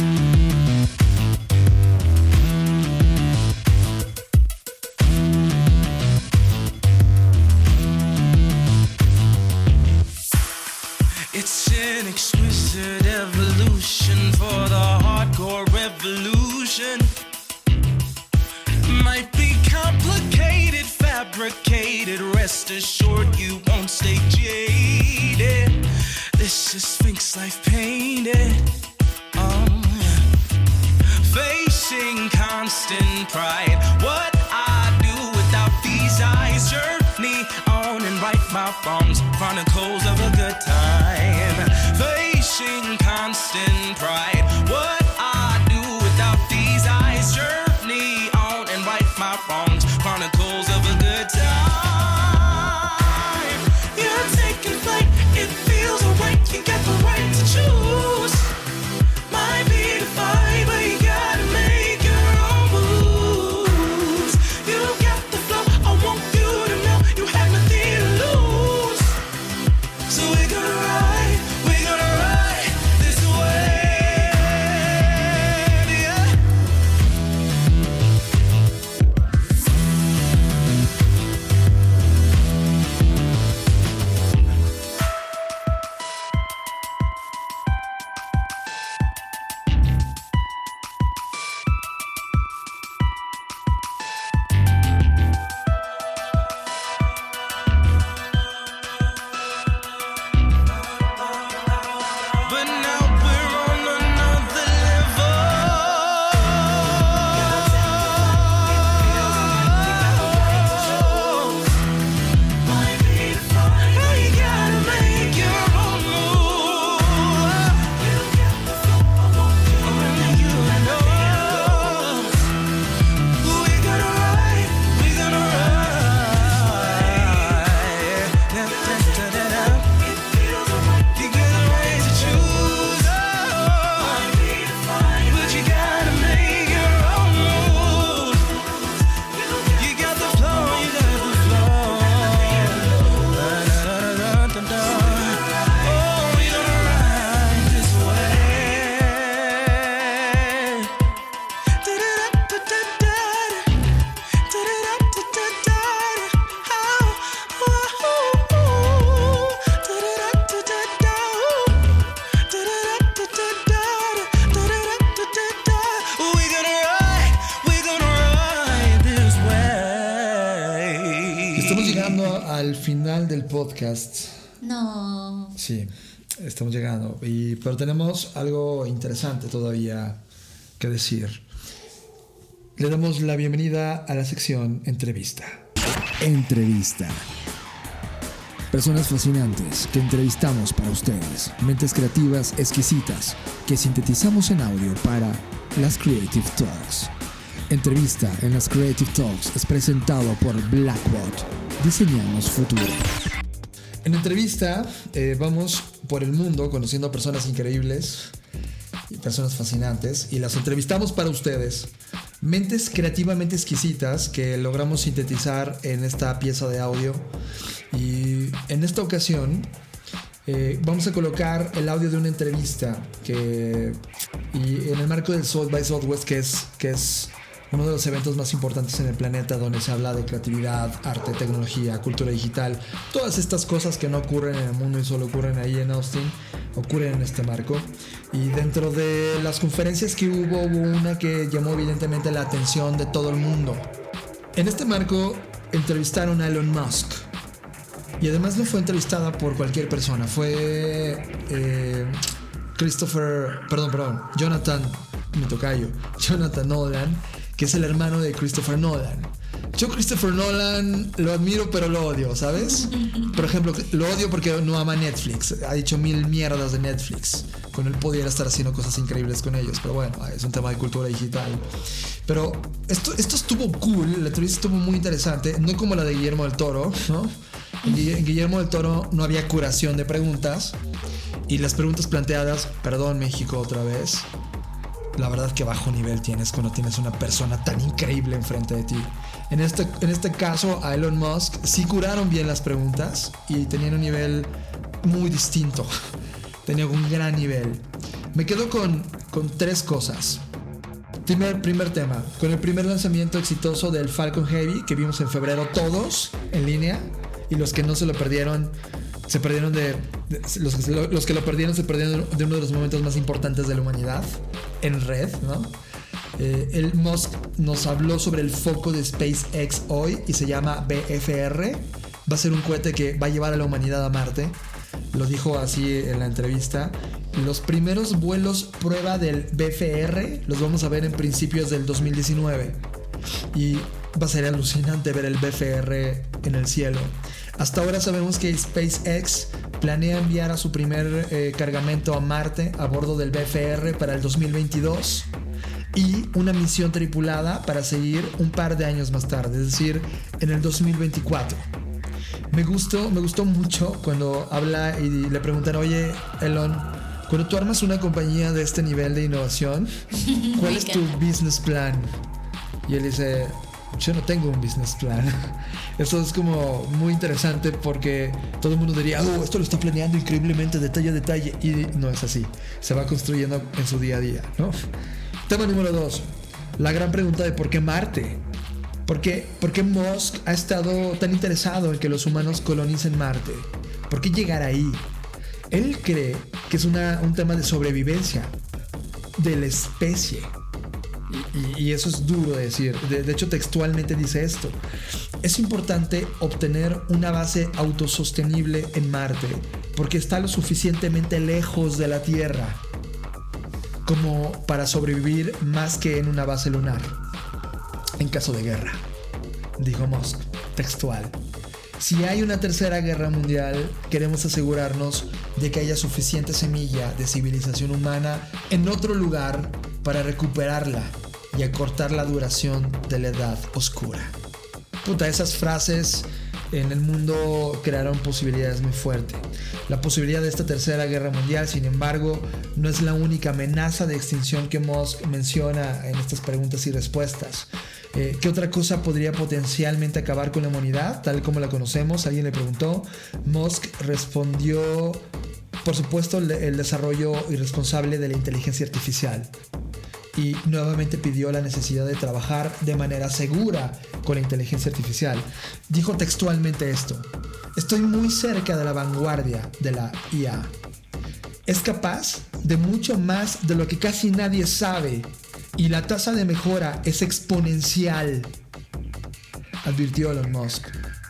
It's an exquisite evolution for the hardcore revolution. Might be complicated, fabricated. Rest assured you won't stay jaded. This is Sphinx life painted. Facing constant pride. What I do without these eyes. Journey on and right my wrongs. Chronicles of a good time. Facing constant pride. What I do without these eyes. Journey on and right my wrongs. Chronicles of a good time. You're taking flight. It feels alright. You got the right to choose. Might be defined, but you gotta make your own moves. You got the flow. I want you to know you have nothing to lose. So we're gonna ride this wave, yeah. But now we're on another level. Might be defined, but you gotta make your own move. You got the flow. I want you to know. We're gonna ride. Da, da, da, da, da. You got the right to choose, but you gotta make your own move. You got the flow, you got the flow. Da-da-da-da-da-da. Oh, we gonna ride this way. Da-da-da-da-da-da. Da-da-da-da-da-da. Estamos llegando al final del podcast. No. Sí, estamos llegando. Pero tenemos algo interesante todavía que decir. Le damos la bienvenida a la sección Entrevista. Entrevista. Personas fascinantes que entrevistamos para ustedes. Mentes creativas exquisitas que sintetizamos en audio para las Creative Talks. Entrevista en las Creative Talks es presentado por Blackbot. Diseñamos futuro. En entrevista vamos por el mundo conociendo a personas increíbles y personas fascinantes y las entrevistamos para ustedes. Mentes creativamente exquisitas que logramos sintetizar en esta pieza de audio. Y en esta ocasión vamos a colocar el audio de una entrevista y en el marco del South by Southwest, que es uno de los eventos más importantes en el planeta, donde se habla de creatividad, arte, tecnología, cultura digital. Todas estas cosas que no ocurren en el mundo y solo ocurren ahí en Austin, ocurren en este marco. Y dentro de las conferencias que hubo una que llamó evidentemente la atención de todo el mundo. En este marco entrevistaron a Elon Musk. Y además no fue entrevistada por cualquier persona. Fue Jonathan, mi tocayo, Jonathan Nolan, que es el hermano de Christopher Nolan. Yo Christopher Nolan lo admiro pero lo odio, ¿sabes? Por ejemplo, lo odio porque no ama Netflix. Ha dicho 1000 mierdas de Netflix, cuando él pudiera estar haciendo cosas increíbles con ellos. Pero bueno, es un tema de cultura digital. Pero esto estuvo cool, la entrevista estuvo muy interesante. No como la de Guillermo del Toro, ¿no? En Guillermo del Toro no había curación de preguntas. Y las preguntas planteadas, perdón México otra vez, la verdad que bajo nivel tienes cuando tienes una persona tan increíble enfrente de ti. En este caso a Elon Musk sí curaron bien las preguntas y tenían un nivel muy distinto. Tenían un gran nivel. Me quedo con 3 cosas. Primer tema, con el primer lanzamiento exitoso del Falcon Heavy que vimos en febrero todos en línea, y los que no se lo perdieron se perdieron los que lo perdieron se perdieron de uno de los momentos más importantes de la humanidad en red, ¿no? El Musk nos habló sobre el foco de SpaceX hoy y se llama BFR. Va a ser un cohete que va a llevar a la humanidad a Marte. Lo dijo así en la entrevista. Los primeros vuelos prueba del BFR los vamos a ver en principios del 2019 y va a ser alucinante ver el BFR en el cielo. Hasta ahora sabemos que SpaceX planea enviar a su primer cargamento a Marte a bordo del BFR para el 2022 y una misión tripulada para seguir un par de años más tarde, es decir, en el 2024. Me gustó mucho cuando habla y le preguntan, oye, Elon, cuando tú armas una compañía de este nivel de innovación, ¿cuál es tu business plan? Y él dice, yo no tengo un business plan. Eso es como muy interesante porque todo el mundo diría, esto lo está planeando increíblemente detalle a detalle, y no es así, se va construyendo en su día a día, ¿no? Tema número 2, la gran pregunta de por qué Marte. ¿Por qué Musk ha estado tan interesado en que los humanos colonicen Marte? ¿Por qué llegar ahí? Él cree que es un tema de sobrevivencia de la especie. Y eso es duro de decir. De hecho, textualmente dice esto. Es importante obtener una base autosostenible en Marte porque está lo suficientemente lejos de la Tierra como para sobrevivir más que en una base lunar en caso de guerra, dijo Musk, textual. Si hay una tercera guerra mundial, queremos asegurarnos de que haya suficiente semilla de civilización humana en otro lugar para recuperarla y acortar la duración de la edad oscura. Puta, esas frases en el mundo crearon posibilidades muy fuertes. La posibilidad de esta tercera guerra mundial, sin embargo, no es la única amenaza de extinción que Musk menciona en estas preguntas y respuestas. ¿Qué otra cosa podría potencialmente acabar con la humanidad, tal como la conocemos? Alguien le preguntó. Musk respondió, por supuesto, el desarrollo irresponsable de la inteligencia artificial. Y nuevamente pidió la necesidad de trabajar de manera segura con la inteligencia artificial. Dijo textualmente esto: estoy muy cerca de la vanguardia de la IA. Es capaz de mucho más de lo que casi nadie sabe y la tasa de mejora es exponencial, advirtió Elon Musk.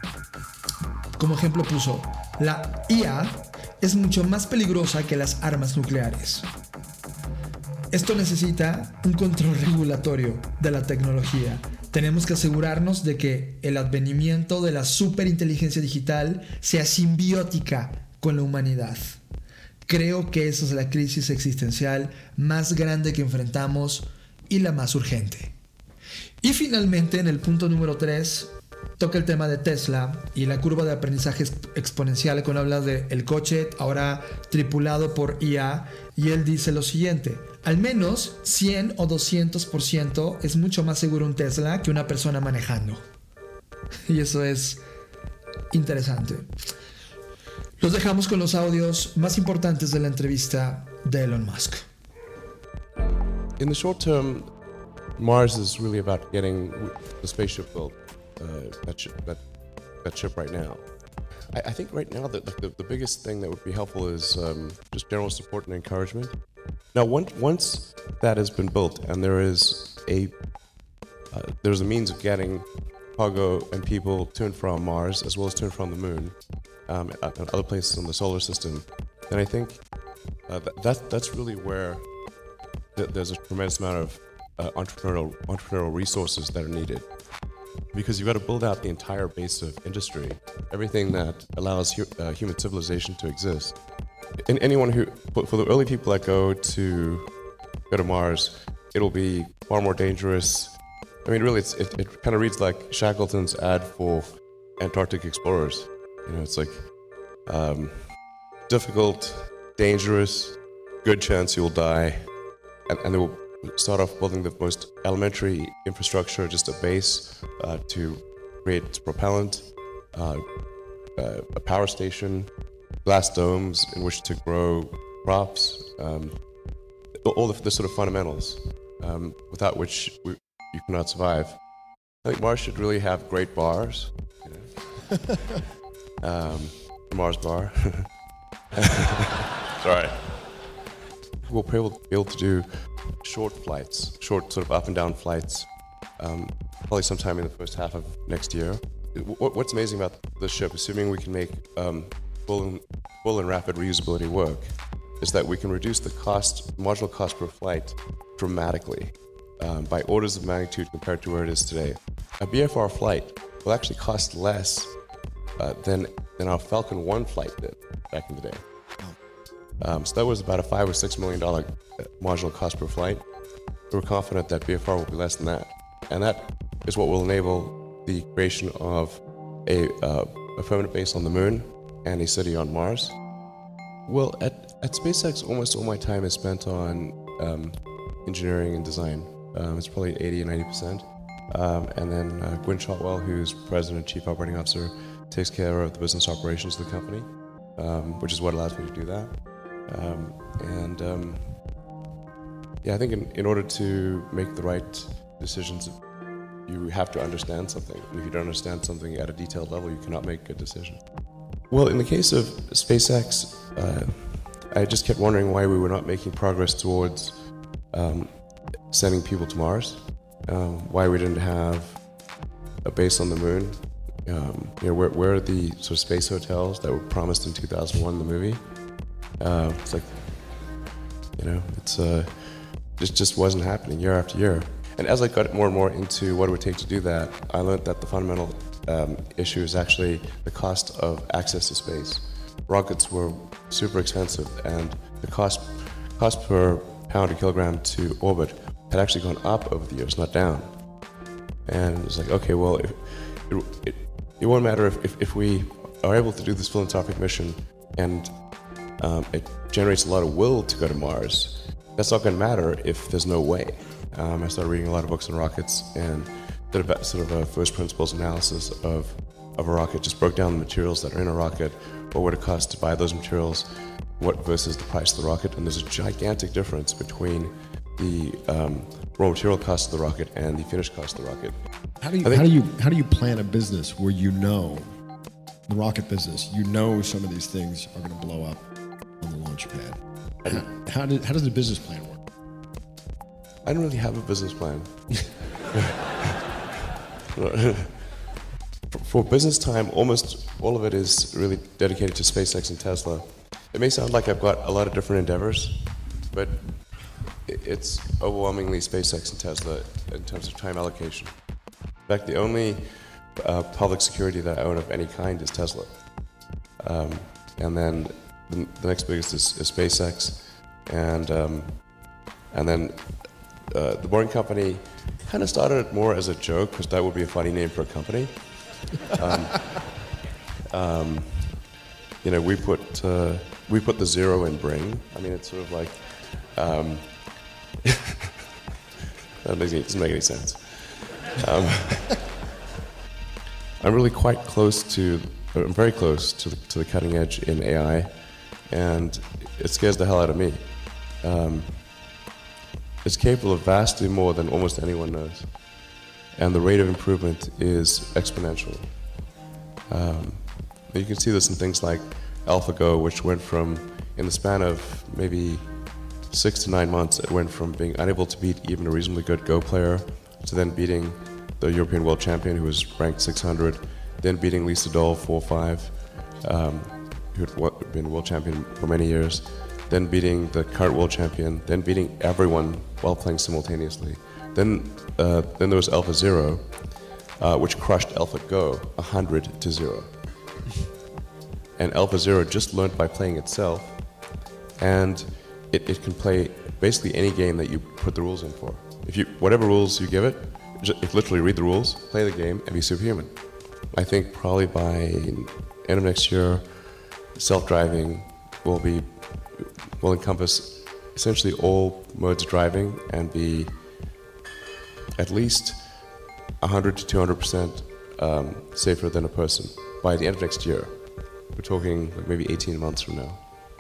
Como ejemplo puso, la IA es mucho más peligrosa que las armas nucleares. Esto necesita un control regulatorio de la tecnología. Tenemos que asegurarnos de que el advenimiento de la superinteligencia digital sea simbiótica con la humanidad. Creo que esa es la crisis existencial más grande que enfrentamos y la más urgente. Y finalmente, en el punto número 3, toca el tema de Tesla y la curva de aprendizaje exponencial cuando habla de el coche ahora tripulado por IA, y él dice lo siguiente: al menos 100 o 200% es mucho más seguro un Tesla que una persona manejando. Y eso es interesante. Los dejamos con los audios más importantes de la entrevista de Elon Musk. In the short term, Mars is really about getting the spaceship built, that ship right now. I think right now that the biggest thing that would be helpful is just general support and encouragement. Now, once that has been built and there's a means of getting cargo and people to and from Mars as well as to and from the Moon, and other places in the solar system, then I think that's really where there's a tremendous amount of entrepreneurial resources that are needed. Because you've got to build out the entire base of industry, everything that allows human civilization to exist. And anyone who, for the early people that go to Mars, it'll be far more dangerous. I mean, really, it kind of reads like Shackleton's ad for Antarctic explorers. You know, it's like difficult, dangerous, good chance you'll die, and they will start off building the most elementary infrastructure, just a base to create propellant, a power station, glass domes in which to grow crops, all the sort of fundamentals without which you cannot survive. I think Mars should really have great bars. You know? Mars bar. Sorry. We'll be able to do short flights, short sort of up and down flights, probably sometime in the first half of next year. What's amazing about this ship, assuming we can make full and rapid reusability work, is that we can reduce the marginal cost per flight dramatically by orders of magnitude compared to where it is today. A BFR flight will actually cost less than our Falcon 1 flight did back in the day. So that was about a $5 or $6 million marginal cost per flight. We're confident that BFR will be less than that. And that is what will enable the creation of a permanent base on the moon and a city on Mars. Well, at SpaceX, almost all my time is spent on engineering and design. It's probably 80 or 90%. And then Gwynne Shotwell, who's president and chief operating officer, takes care of the business operations of the company, which is what allows me to do that. I think in order to make the right decisions, you have to understand something. And if you don't understand something at a detailed level, you cannot make good decisions. Well, in the case of SpaceX, I just kept wondering why we were not making progress towards sending people to Mars, why we didn't have a base on the moon. Where are the sort of space hotels that were promised in 2001, the movie? It's like, it just wasn't happening year after year. And as I got more and more into what it would take to do that, I learned that the fundamental issue is actually the cost of access to space. Rockets were super expensive, and the cost per pound or kilogram to orbit had actually gone up over the years, not down. And it's like, okay, well, it won't matter if we are able to do this philanthropic mission and it generates a lot of will to go to Mars. That's not going to matter if there's no way. I started reading a lot of books on rockets and did a first principles analysis of a rocket, just broke down the materials that are in a rocket, what would it cost to buy those materials, what versus the price of the rocket, and there's a gigantic difference between the raw material cost of the rocket and the finished cost of the rocket. How do you plan a business where the rocket business, some of these things are going to blow up on the launch pad? How does the business plan work? I don't really have a business plan. For business time, almost all of it is really dedicated to SpaceX and Tesla. It may sound like I've got a lot of different endeavors, but it's overwhelmingly SpaceX and Tesla in terms of time allocation. In fact, the only public security that I own of any kind is Tesla. And then the next biggest is SpaceX. And then the Boring Company kind of started more as a joke, because that would be a funny name for a company. We put the zero in Bring. I mean, it's sort of like that doesn't make any sense. I'm really quite close to. I'm very close to the cutting edge in AI, and it scares the hell out of me. It's capable of vastly more than almost anyone knows, and the rate of improvement is exponential. You can see this in things like AlphaGo, which went from, in the span of maybe 6 to 9 months, it went from being unable to beat even a reasonably good Go player to then beating the European world champion, who was ranked 600, then beating Lisa Doll 4-5, who had been world champion for many years, then beating the current world champion, then beating everyone while playing simultaneously. Then there was AlphaZero, which crushed AlphaGo 100-0. And AlphaZero just learned by playing itself, and it can play basically any game that you put the rules in for. Whatever rules you give it, it literally read the rules, play the game, and be superhuman. I think probably by end of next year, self-driving will encompass essentially all modes of driving and be at least 100 to 200% safer than a person by the end of next year. We're talking like maybe 18 months from now.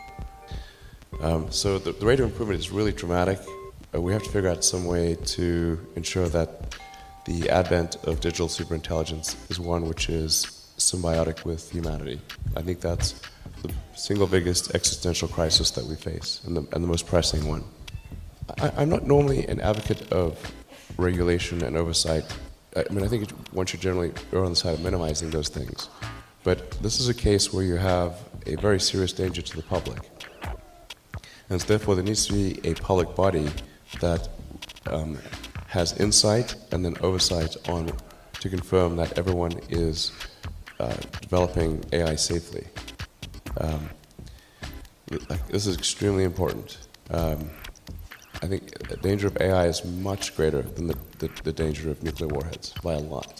So the rate of improvement is really dramatic. We have to figure out some way to ensure that the advent of digital superintelligence is one which is symbiotic with humanity. I think that's the single biggest existential crisis that we face, and the most pressing one. I'm not normally an advocate of regulation and oversight. I think one should generally err on the side of minimizing those things. But this is a case where you have a very serious danger to the public. And so therefore there needs to be a public body that has insight and then oversight on to confirm that everyone is developing AI safely. This is extremely important. I think the danger of AI is much greater than the danger of nuclear warheads by a lot.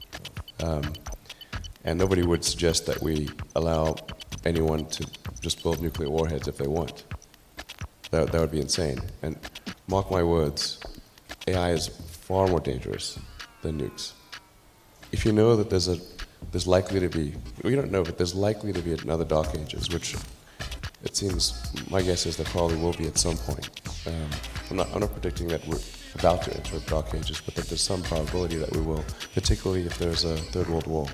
And nobody would suggest that we allow anyone to just build nuclear warheads if they want. That would be insane. And mark my words, AI is far more dangerous than nukes. If you know that there's likely to be, we don't know, but there's likely to be another Dark Ages, which it seems, my guess is there probably will be at some point. I'm not predicting that we're about to enter Dark Ages, but that there's some probability that we will, particularly if there's a Third World War.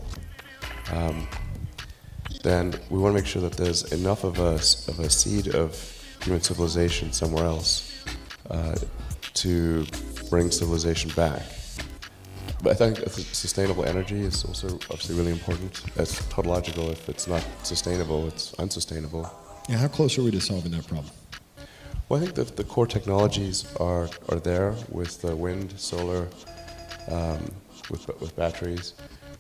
Then we want to make sure that there's enough of a seed of human civilization somewhere else to bring civilization back. But I think sustainable energy is also obviously really important. It's tautological. If it's not sustainable, it's unsustainable. Yeah, how close are we to solving that problem? Well, I think that the core technologies are there with wind, solar, with batteries.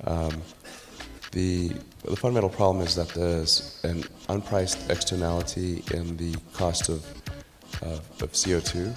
The fundamental problem is that there's an unpriced externality in the cost of CO2.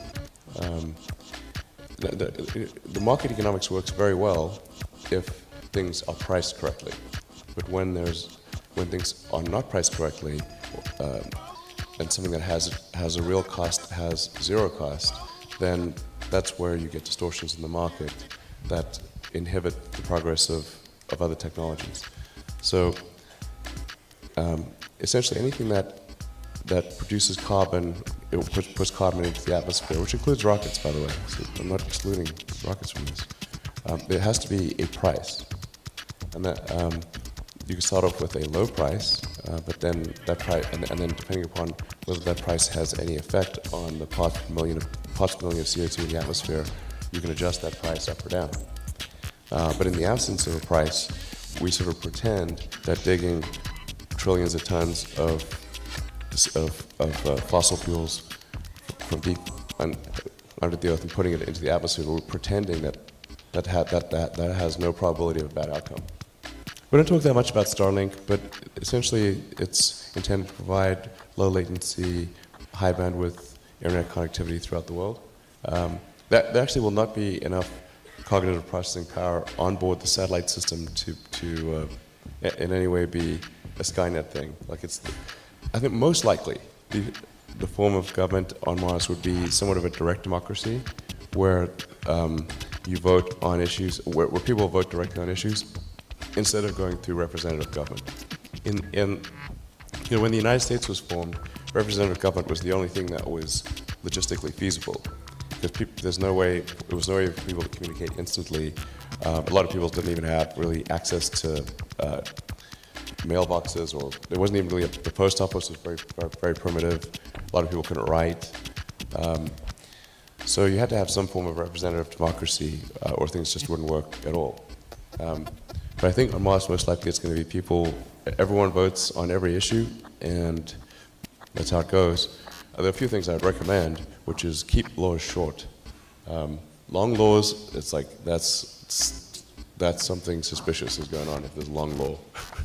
The market economics works very well if things are priced correctly, but when things are not priced correctly, and something that has a real cost has zero cost, then that's where you get distortions in the market that inhibit the progress of other technologies. So essentially anything that produces carbon, it puts carbon into the atmosphere, which includes rockets, by the way. So I'm not excluding rockets from this. There has to be a price, and that you can start off with a low price, but then that price, and then depending upon whether that price has any effect on the parts per million of CO2 in the atmosphere, you can adjust that price up or down. But in the absence of a price, we sort of pretend that digging trillions of tons of fossil fuels from deep under the earth and putting it into the atmosphere, we're pretending that has no probability of a bad outcome. We don't talk that much about Starlink, but essentially it's intended to provide low latency, high bandwidth internet connectivity throughout the world. There actually will not be enough cognitive processing power on board the satellite system to in any way be a Skynet thing. I think most likely the form of government on Mars would be somewhat of a direct democracy, where you vote on issues, where people vote directly on issues, instead of going through representative government. When the United States was formed, representative government was the only thing that was logistically feasible. Because there was no way for people to communicate instantly. A lot of people didn't even have really access to mailboxes, or there wasn't even really the post office was very, very primitive. A lot of people couldn't write. So you had to have some form of representative democracy, or things just wouldn't work at all. But I think on Mars, most likely it's going to be everyone votes on every issue, and that's how it goes. there are a few things I'd recommend, which is keep laws short. Long laws, it's like that's something suspicious is going on if there's long law.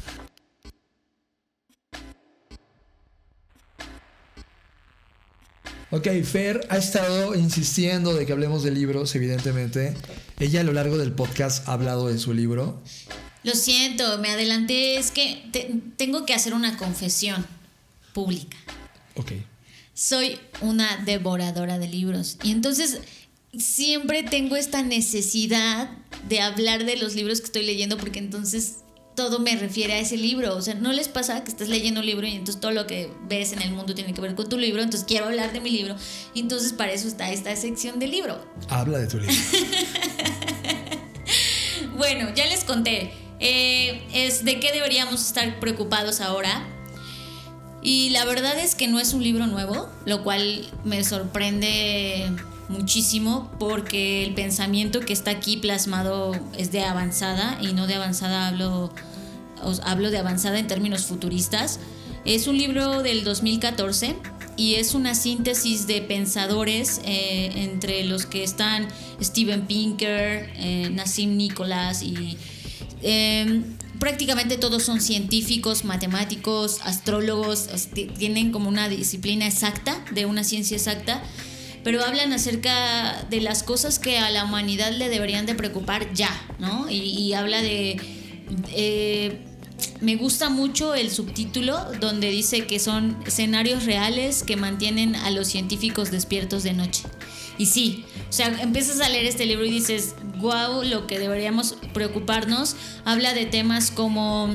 Ok, Fer ha estado insistiendo de que hablemos de libros, evidentemente. Ella a lo largo del podcast ha hablado de su libro. Lo siento, me adelanté. Es que tengo que hacer una confesión pública. Ok. Soy una devoradora de libros. Y entonces siempre tengo esta necesidad de hablar de los libros que estoy leyendo, porque entonces todo me refiere a ese libro. O sea, ¿no les pasa que estás leyendo un libro y entonces todo lo que ves en el mundo tiene que ver con tu libro? Entonces quiero hablar de mi libro. Y entonces para eso está esta sección de libro. Habla de tu libro. Bueno, ya les conté. Es de qué deberíamos estar preocupados ahora. Y la verdad es que no es un libro nuevo, lo cual me sorprende muchísimo, porque el pensamiento que está aquí plasmado es de avanzada, y no de avanzada hablo de avanzada en términos futuristas. Es un libro del 2014 y es una síntesis de pensadores, entre los que están Steven Pinker, Nassim Nicholas y prácticamente todos son científicos, matemáticos, astrólogos, tienen como una disciplina exacta, de una ciencia exacta, pero hablan acerca de las cosas que a la humanidad le deberían de preocupar ya, ¿no? Y habla de... me gusta mucho el subtítulo donde dice que son escenarios reales que mantienen a los científicos despiertos de noche. Y sí, o sea, empiezas a leer este libro y dices, wow, lo que deberíamos preocuparnos. Habla de temas como,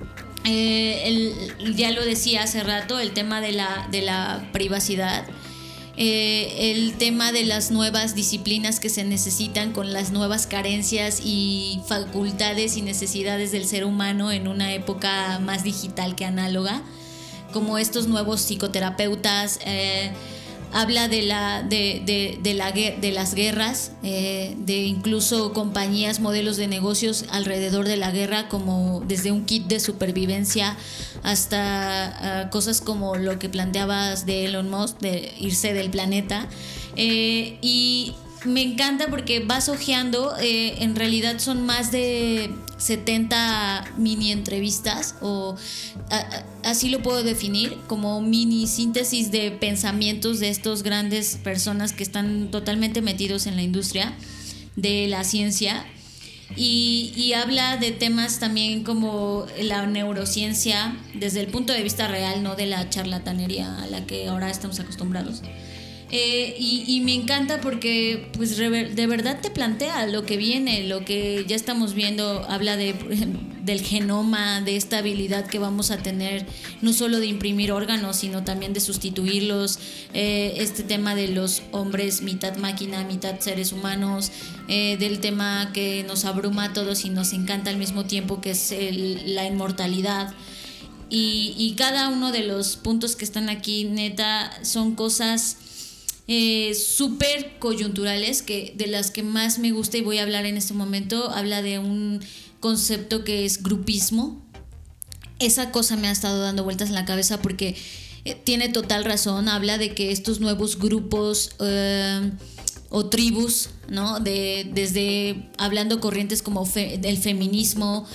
ya lo decía hace rato, el tema de la privacidad. El tema de las nuevas disciplinas que se necesitan con las nuevas carencias y facultades y necesidades del ser humano en una época más digital que análoga, como estos nuevos psicoterapeutas. Habla de las guerras, de incluso compañías, modelos de negocios alrededor de la guerra, como desde un kit de supervivencia hasta cosas como lo que planteabas de Elon Musk, de irse del planeta. Y me encanta porque vas hojeando, en realidad son más de 70 mini entrevistas, o así lo puedo definir, como mini síntesis de pensamientos de estos grandes personas que están totalmente metidos en la industria de la ciencia. Y habla de temas también como la neurociencia desde el punto de vista real, no de la charlatanería a la que ahora estamos acostumbrados. Y me encanta porque pues de verdad te plantea lo que viene, lo que ya estamos viendo. Habla del genoma, de esta habilidad que vamos a tener, no solo de imprimir órganos, sino también de sustituirlos. Este tema de los hombres mitad máquina, mitad seres humanos, del tema que nos abruma a todos y nos encanta al mismo tiempo, que es la inmortalidad. Y cada uno de los puntos que están aquí, neta, son cosas súper coyunturales, que de las que más me gusta y voy a hablar en este momento. Habla de un concepto que es grupismo. Esa cosa me ha estado dando vueltas en la cabeza porque tiene total razón. Habla de que estos nuevos grupos o tribus, ¿no? Desde hablando corrientes como el feminismo,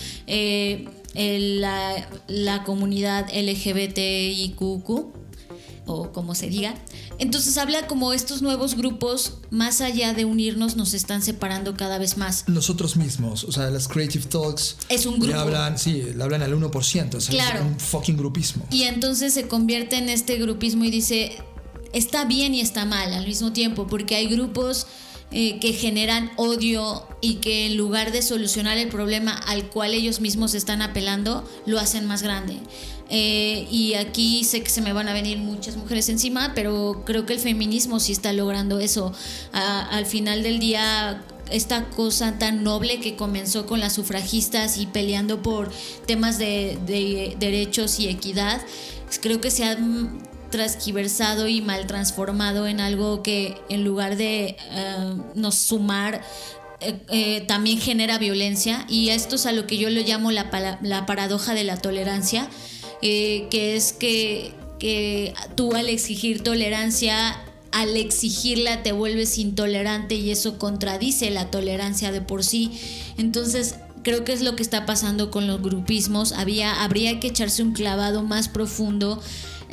la comunidad LGBTIQ, o como se diga. Entonces habla como estos nuevos grupos, más allá de unirnos, nos están separando cada vez más. Nosotros mismos, o sea, las Creative Talks es un grupo. Le hablan al 1%, o sea, claro. Es un fucking grupismo. Y entonces se convierte en este grupismo y dice, está bien y está mal al mismo tiempo, porque hay grupos que generan odio y que en lugar de solucionar el problema al cual ellos mismos están apelando, lo hacen más grande. Y aquí sé que se me van a venir muchas mujeres encima, pero creo que el feminismo sí está logrando eso. Al final del día, esta cosa tan noble que comenzó con las sufragistas y peleando por temas de derechos y equidad, creo que se ha transgiversado y mal transformado en algo que, en lugar de nos sumar, también genera violencia. Y esto es a lo que yo le llamo la paradoja de la tolerancia, que es que que tú al exigir tolerancia, al exigirla te vuelves intolerante y eso contradice la tolerancia de por sí. Entonces creo que es lo que está pasando con los grupismos. Habría que echarse un clavado más profundo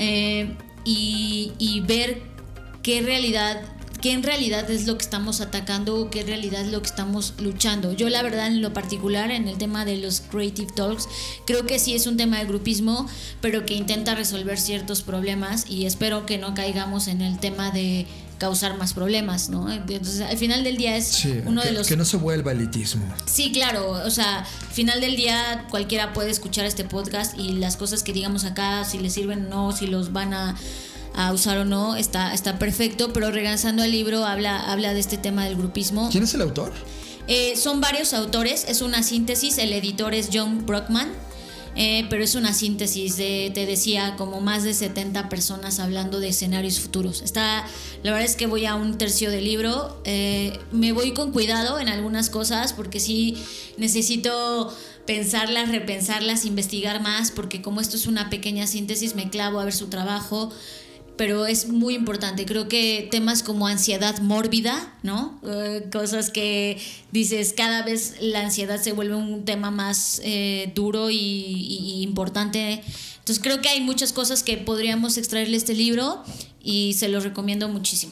y ver qué en realidad es lo que estamos atacando o qué en realidad es lo que estamos luchando. Yo la verdad, en lo particular, en el tema de los Creative Talks, creo que sí es un tema de grupismo, pero que intenta resolver ciertos problemas, y espero que no caigamos en el tema de causar más problemas, ¿no? Entonces, al final del día es uno de los... Que no se vuelva elitismo. Sí, claro, o sea, al final del día cualquiera puede escuchar este podcast y las cosas que digamos acá, si les sirven o no, si los van a usar o no, está perfecto, pero regresando al libro habla de este tema del grupismo. ¿Quién es el autor? Son varios autores, es una síntesis, el editor es John Brockman, pero es una síntesis de, te decía, como más de 70 personas hablando de escenarios futuros. La verdad es que voy a un tercio del libro, me voy con cuidado en algunas cosas porque sí necesito pensarlas, repensarlas, investigar más, porque como esto es una pequeña síntesis me clavo a ver su trabajo. Pero es muy importante, creo que temas como ansiedad mórbida, ¿no? Cosas que dices, cada vez la ansiedad se vuelve un tema más duro y importante. Entonces creo que hay muchas cosas que podríamos extraerle de este libro y se los recomiendo muchísimo.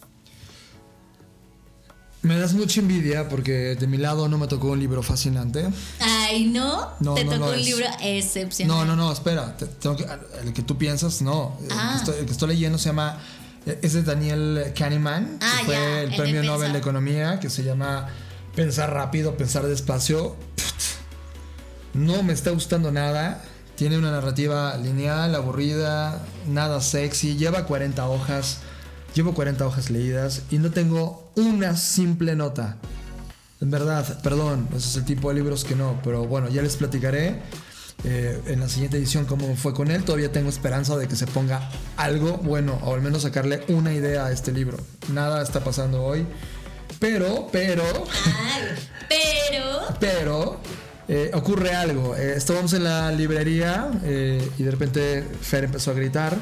Me das mucha envidia porque de mi lado no me tocó un libro fascinante. Ay, ¿no? Te tocó un libro excepcional. No, espera. El que tú piensas, no. El que estoy leyendo se llama... Es de Daniel Kahneman, que fue el premio Nobel de Economía, que se llama Pensar rápido, pensar despacio. No me está gustando nada. Tiene una narrativa lineal, aburrida, nada sexy. Lleva 40 hojas. Llevo 40 hojas leídas y no tengo una simple nota. En verdad, perdón, ese es el tipo de libros que no. Pero bueno, ya les platicaré en la siguiente edición cómo fue con él. Todavía tengo esperanza de que se ponga algo bueno, o al menos sacarle una idea a este libro. Nada está pasando hoy. Pero ocurre algo. Estábamos en la librería y de repente Fer empezó a gritar.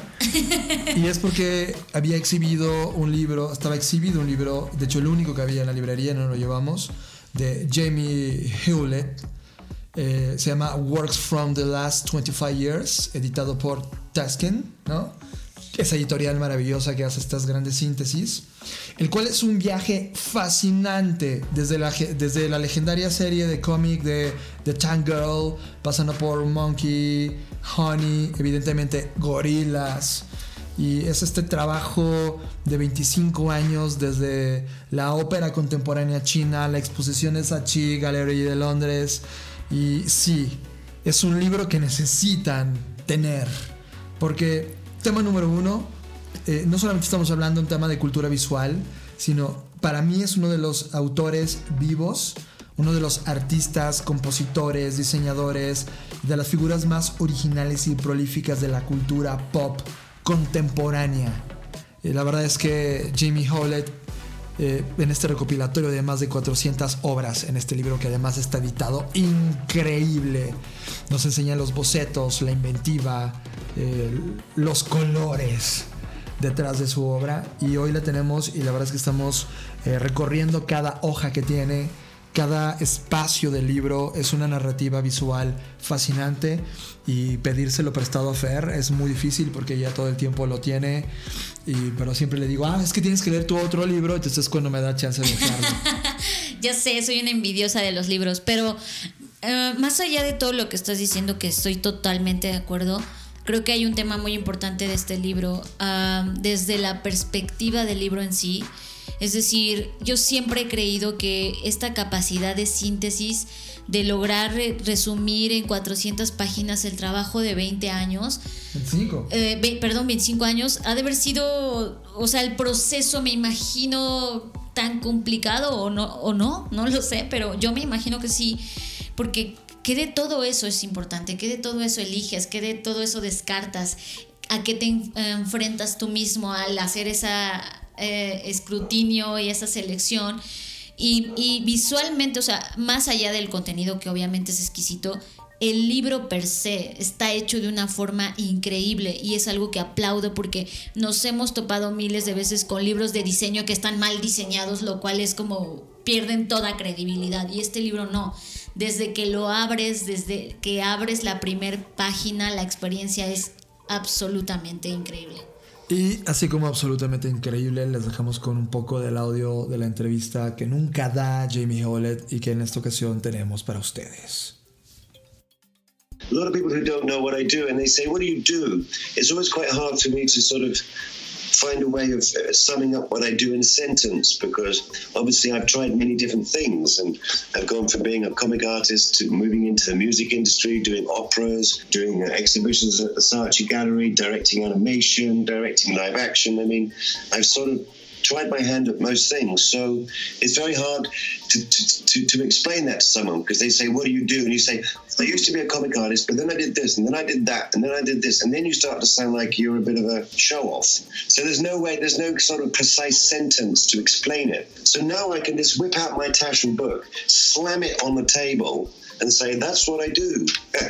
Y es porque estaba exhibido un libro, de hecho el único que había en la librería, no lo llevamos, de Jamie Hewlett. Se llama Works from the Last 25 Years, editado por Tasken, ¿no? Esa editorial maravillosa que hace estas grandes síntesis, el cual es un viaje fascinante desde la legendaria serie de cómic de The Tank Girl, pasando por Monkey, Honey, evidentemente Gorillaz, y es este trabajo de 25 años desde la ópera contemporánea china, la exposición de Saatchi Gallery de Londres, y sí, es un libro que necesitan tener, porque tema número 1, no solamente estamos hablando de un tema de cultura visual, sino para mí es uno de los autores vivos, uno de los artistas, compositores, diseñadores, de las figuras más originales y prolíficas de la cultura pop contemporánea. La verdad es que Jamie Hewlett, en este recopilatorio de más de 400 obras, en este libro que además está editado increíble, nos enseña los bocetos, la inventiva, los colores detrás de su obra, y hoy la tenemos y la verdad es que estamos recorriendo cada hoja que tiene, cada espacio del libro. Es una narrativa visual fascinante y pedírselo prestado a Fer es muy difícil porque ella todo el tiempo lo tiene, pero siempre le digo, es que tienes que leer tu otro libro, entonces es cuando me da chance de dejarlo. Ya sé, soy una envidiosa de los libros, pero más allá de todo lo que estás diciendo, que estoy totalmente de acuerdo, creo que hay un tema muy importante de este libro, desde la perspectiva del libro en sí. Es decir, yo siempre he creído que esta capacidad de síntesis, de lograr resumir en 400 páginas el trabajo de 20 años. 25 años, ha de haber sido, o sea, el proceso, me imagino, tan complicado o no lo sé, pero yo me imagino que sí, porque ¿qué de todo eso es importante? ¿Qué de todo eso eliges? ¿Qué de todo eso descartas? ¿A qué te enfrentas tú mismo al hacer esa escrutinio y esa selección? Y visualmente, o sea, más allá del contenido, que obviamente es exquisito, el libro per se está hecho de una forma increíble y es algo que aplaudo porque nos hemos topado miles de veces con libros de diseño que están mal diseñados, lo cual es como pierden toda credibilidad, y este libro no. Desde que lo abres, desde que abres la primer página, la experiencia es absolutamente increíble. Y así como absolutamente increíble, les dejamos con un poco del audio de la entrevista que nunca da Jamie Hewlett y que en esta ocasión tenemos para ustedes. A lot of people who don't know what I do, and they say, what do you do? It's always quite hard for me to sort of find a way of summing up what I do in a sentence, because obviously I've tried many different things, and I've gone from being a comic artist to moving into the music industry, doing operas, doing exhibitions at the Saatchi Gallery, directing animation, directing live action. I mean, I've sort of tried my hand at most things, so it's very hard to explain that to someone, because they say, what do you do? And you say, I used to be a comic artist, but then I did this, and then I did that, and then I did this, and then you start to sound like you're a bit of a show-off. So there's no sort of precise sentence to explain it. So now I can just whip out my Taschen book, slam it on the table, and say, that's what I do.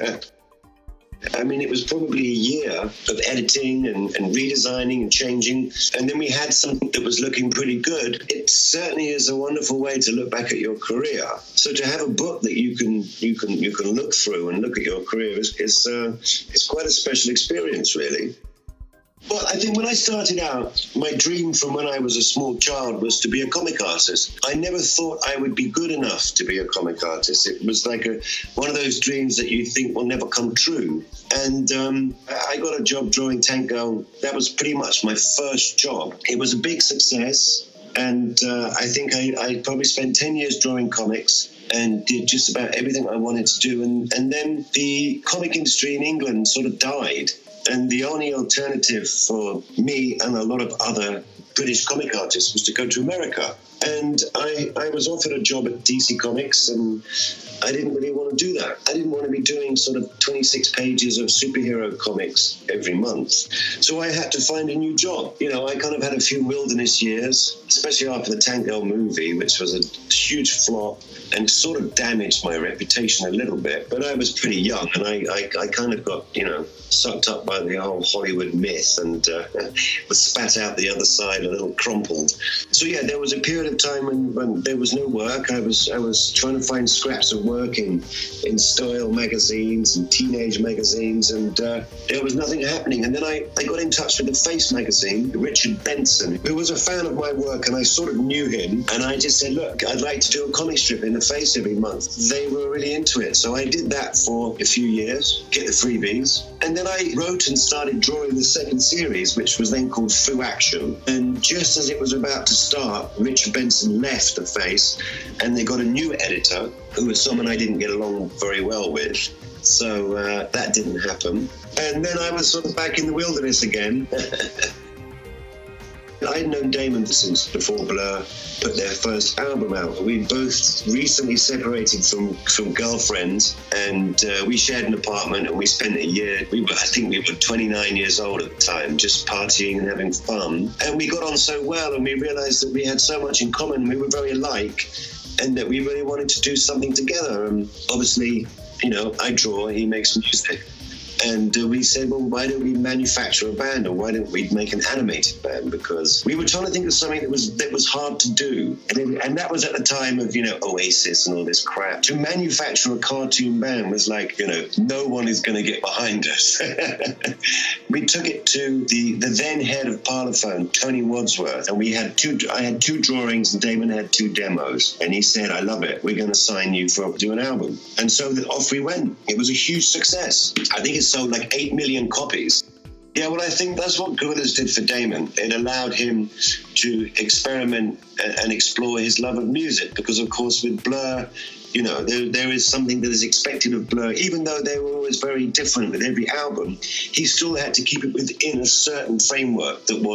I mean, it was probably a year of editing and redesigning and changing, and then we had something that was looking pretty good. It certainly is a wonderful way to look back at your career. So to have a book that you can look through and look at your career is quite a special experience, really. Well, I think when I started out, my dream from when I was a small child was to be a comic artist. I never thought I would be good enough to be a comic artist. It was like one of those dreams that you think will never come true. And I got a job drawing Tank Girl. That was pretty much my first job. It was a big success. And I think I probably spent 10 years drawing comics and did just about everything I wanted to do. And then the comic industry in England sort of died. And the only alternative for me and a lot of other British comic artists was to go to America. And I was offered a job at DC Comics, and I didn't really want to do that. I didn't want to be doing sort of 26 pages of superhero comics every month. So I had to find a new job. You know, I kind of had a few wilderness years, especially after the Tank Girl movie, which was a huge flop and sort of damaged my reputation a little bit. But I was pretty young, and I kind of got, sucked up by the whole Hollywood myth and was spat out the other side a little crumpled. So yeah, there was a period of time when there was no work. I was trying to find scraps of work in style magazines and teenage magazines, and there was nothing happening. And then I got in touch with the Face magazine, Richard Benson, who was a fan of my work, and I sort of knew him. And I just said, look, I'd like to do a comic strip in the Face every month. They were really into it. So I did that for a few years, get the freebies. And then I wrote and started drawing the second series, which was then called Fu Action. And just as it was about to start, Richard Benson left the Face, and they got a new editor who was someone I didn't get along very well with. So that didn't happen. And then I was sort of back in the wilderness again. I'd known Damon since before Blur put their first album out. We both recently separated from girlfriends, and we shared an apartment, and we spent a year. I think we were 29 years old at the time, just partying and having fun. And we got on so well, and we realized that we had so much in common. We were very alike, and that we really wanted to do something together. And obviously, I draw, he makes music. And we said, well, why don't we manufacture a band, or why don't we make an animated band? Because we were trying to think of something that was hard to do. And that was at the time of, Oasis and all this crap. To manufacture a cartoon band was like, no one is going to get behind us. We took it to the then head of Parlophone, Tony Wadsworth, and I had two drawings and Damon had 2 demos. And he said, I love it. We're going to sign you to do an album. And so off we went. It was a huge success. I think it's sold like 8 million copies. Yeah, well, I think that's what Gorillaz did for Damon. It allowed him to experiment and explore his love of music, because, of course, with Blur, there is something that is expected of Blur. Even though they were always very different with every album, he still had to keep it within a certain framework that was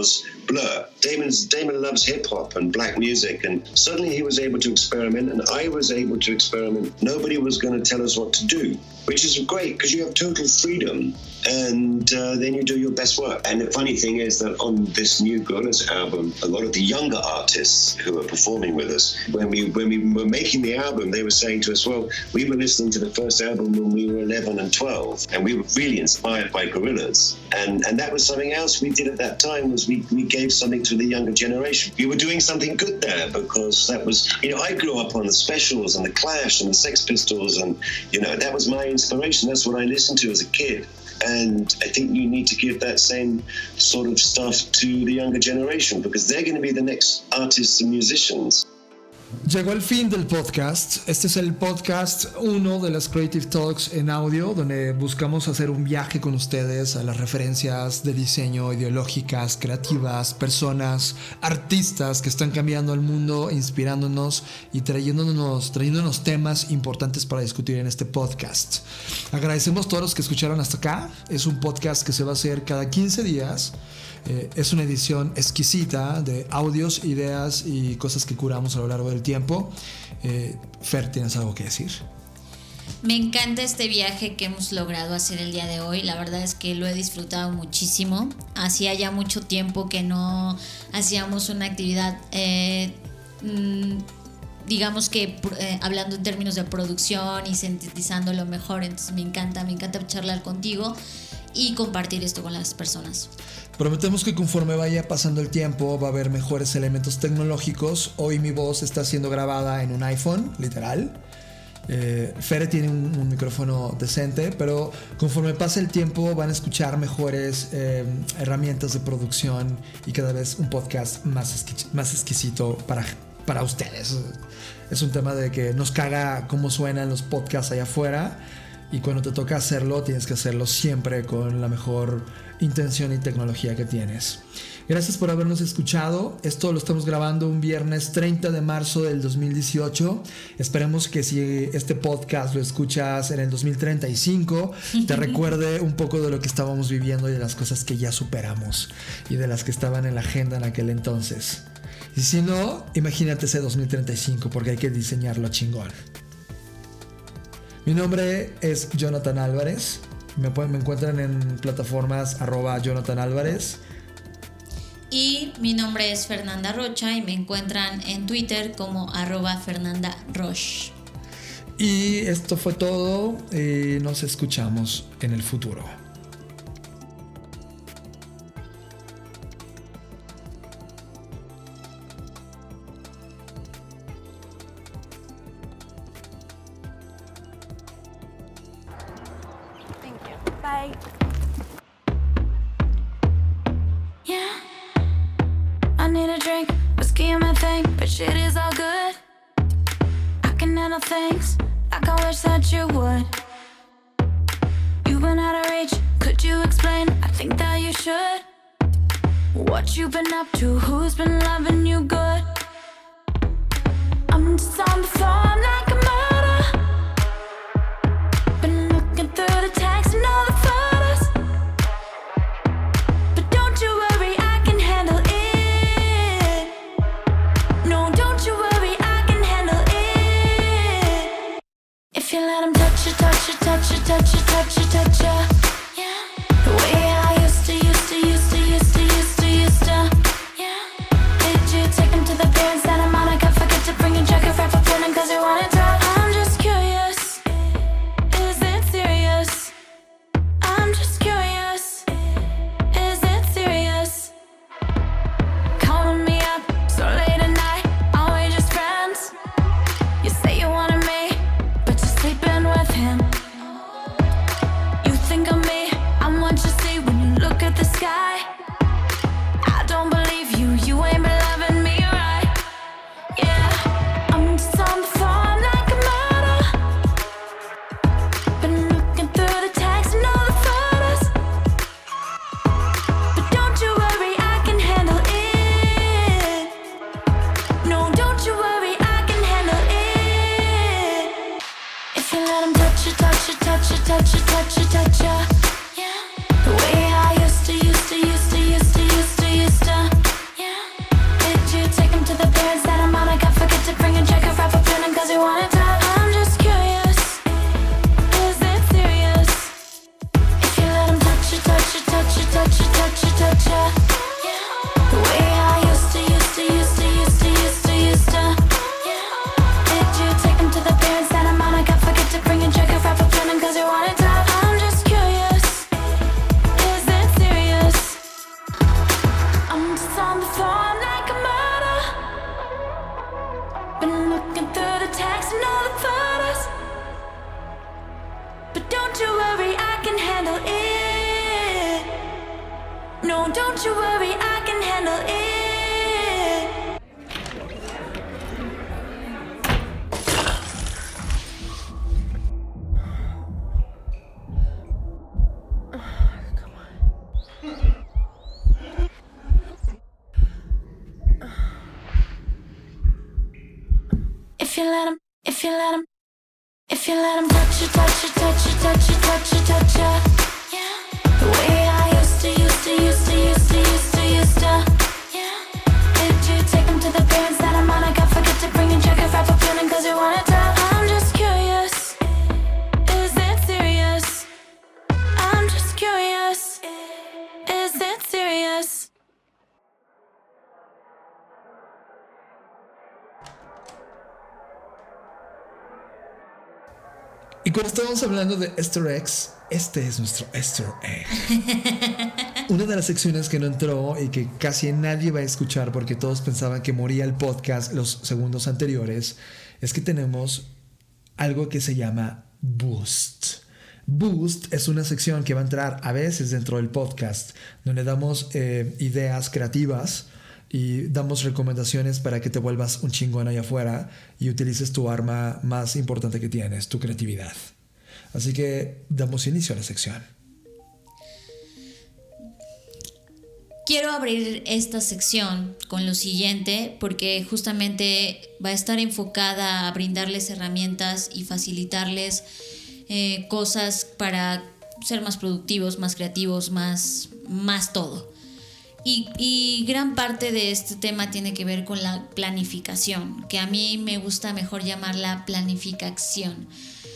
Blur. Damon loves hip hop and black music, and suddenly he was able to experiment, and I was able to experiment. Nobody was going to tell us what to do, which is great because you have total freedom, and then you do your best work. And the funny thing is that on this new Gorillaz album, a lot of the younger artists who are performing with us, when we were making the album, they were saying to us, well, we were listening to the first album when we were 11 and 12, and we were really inspired by Gorillaz. And that was something else we did at that time, was we gave something to the younger generation. We were doing something good there, because that was, I grew up on the Specials and the Clash and the Sex Pistols, and, that was my inspiration. That's what I listened to as a kid. And I think you need to give that same sort of stuff to the younger generation, because they're going to be the next artists and musicians. Llegó el fin del podcast. Este es el podcast 1 de las Creative Talks en audio, donde buscamos hacer un viaje con ustedes a las referencias de diseño ideológicas, creativas, personas, artistas que están cambiando el mundo, inspirándonos y trayéndonos temas importantes para discutir en este podcast. Agradecemos a todos los que escucharon hasta acá. Es un podcast que se va a hacer cada 15 días. Es una edición exquisita de audios, ideas y cosas que curamos a lo largo del tiempo. Fer, ¿tienes algo que decir? Me encanta este viaje que hemos logrado hacer el día de hoy. La verdad es que lo he disfrutado muchísimo. Hacía ya mucho tiempo que no hacíamos una actividad, digamos que hablando en términos de producción y sintetizando lo mejor. Entonces me encanta charlar contigo y compartir esto con las personas. Prometemos que conforme vaya pasando el tiempo va a haber mejores elementos tecnológicos. Hoy mi voz está siendo grabada en un iPhone, literal. Fere tiene un micrófono decente, pero conforme pase el tiempo van a escuchar mejores herramientas de producción y cada vez un podcast más exquisito para ustedes. Es un tema de que nos caga cómo suenan los podcasts allá afuera, y cuando te toca hacerlo tienes que hacerlo siempre con la mejor intención y tecnología que tienes. Gracias por habernos escuchado. Esto lo estamos grabando un viernes 30 de marzo del 2018. Esperemos que si este podcast lo escuchas en el 2035 te recuerde un poco de lo que estábamos viviendo y de las cosas que ya superamos y de las que estaban en la agenda en aquel entonces. Y si no, imagínate ese 2035, porque hay que diseñarlo chingón. Mi nombre es Jonathan Álvarez. Me encuentran en plataformas @JonathanAlvarez. Y mi nombre es Fernanda Rocha y me encuentran en Twitter como @FernandaRoche. Y esto fue todo y nos escuchamos en el futuro. Bye. Yeah, I need a drink, whiskey in my thing, but shit is all good. I can handle things like I wish that you would. You've been out of reach, could you explain? I think that you should. What you been up to, who's been loving you good? I'm just on the floor, I'm like a murder. Been looking through the text and all the photos, but don't you worry, I can handle it. No, don't you worry, I can handle it. If you let him touch you, touch you, touch you, touch you, touch you, touch you, yeah. The way I used to, yeah. Did you take him to the pier in Santa Monica? Forget to bring your jacket, right for feeling cause you wanted to. I'm just curious, is it serious? I'm just curious, is it serious? Calling me up so late at night, are we just friends? You say you wanted me, but you're sleeping with him. You think of me, I'm what you see when you look at the sky. I don't believe you, you ain't been loving me right. Yeah, I'm just on the floor, I'm like a murder. Been looking through the text and all the photos, but don't you worry, I can handle it. No, don't you worry, I can handle it. If you let him touch you, touch you, touch you, touch you, touch you, touch you, yeah. The way I used to, Don't you worry, I can handle it. If you let him, if you let him, if you let him touch you, touch you, touch you, touch you, touch you, touch you, yeah. The way I used to. Did you take him to the Grand Santa Monica? Forget to bring a jacket for feeling 'cause you wanna tell. I'm just curious, is it serious? I'm just curious, is it serious? Y cuando estábamos hablando de Easter eggs, este es nuestro Easter egg. Una de las secciones que no entró y que casi nadie va a escuchar porque todos pensaban que moría el podcast los segundos anteriores, es que tenemos algo que se llama Boost. Boost es una sección que va a entrar a veces dentro del podcast, donde damos ideas creativas y damos recomendaciones para que te vuelvas un chingón allá afuera y utilices tu arma más importante que tienes, tu creatividad. Así que damos inicio a la sección. Quiero abrir esta sección con lo siguiente porque justamente va a estar enfocada a brindarles herramientas y facilitarles cosas para ser más productivos, más creativos, más todo. Y gran parte de este tema tiene que ver con la planificación, que a mí me gusta mejor llamarla planificación.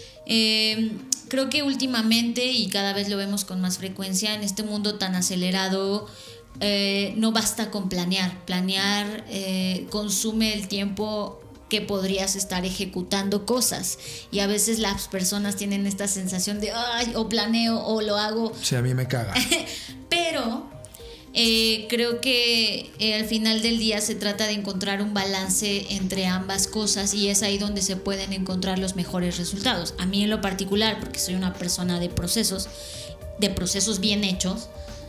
Creo que últimamente, y cada vez lo vemos con más frecuencia, en este mundo tan acelerado, no basta con planear. Planear consume el tiempo que podrías estar ejecutando cosas, y a veces las personas tienen esta sensación de ay, o planeo o lo hago. Sí, a mí me caga. Pero creo que al final del día se trata de encontrar un balance entre ambas cosas, y es ahí donde se pueden encontrar los mejores resultados. A mí en lo particular, porque soy una persona de procesos bien hechos,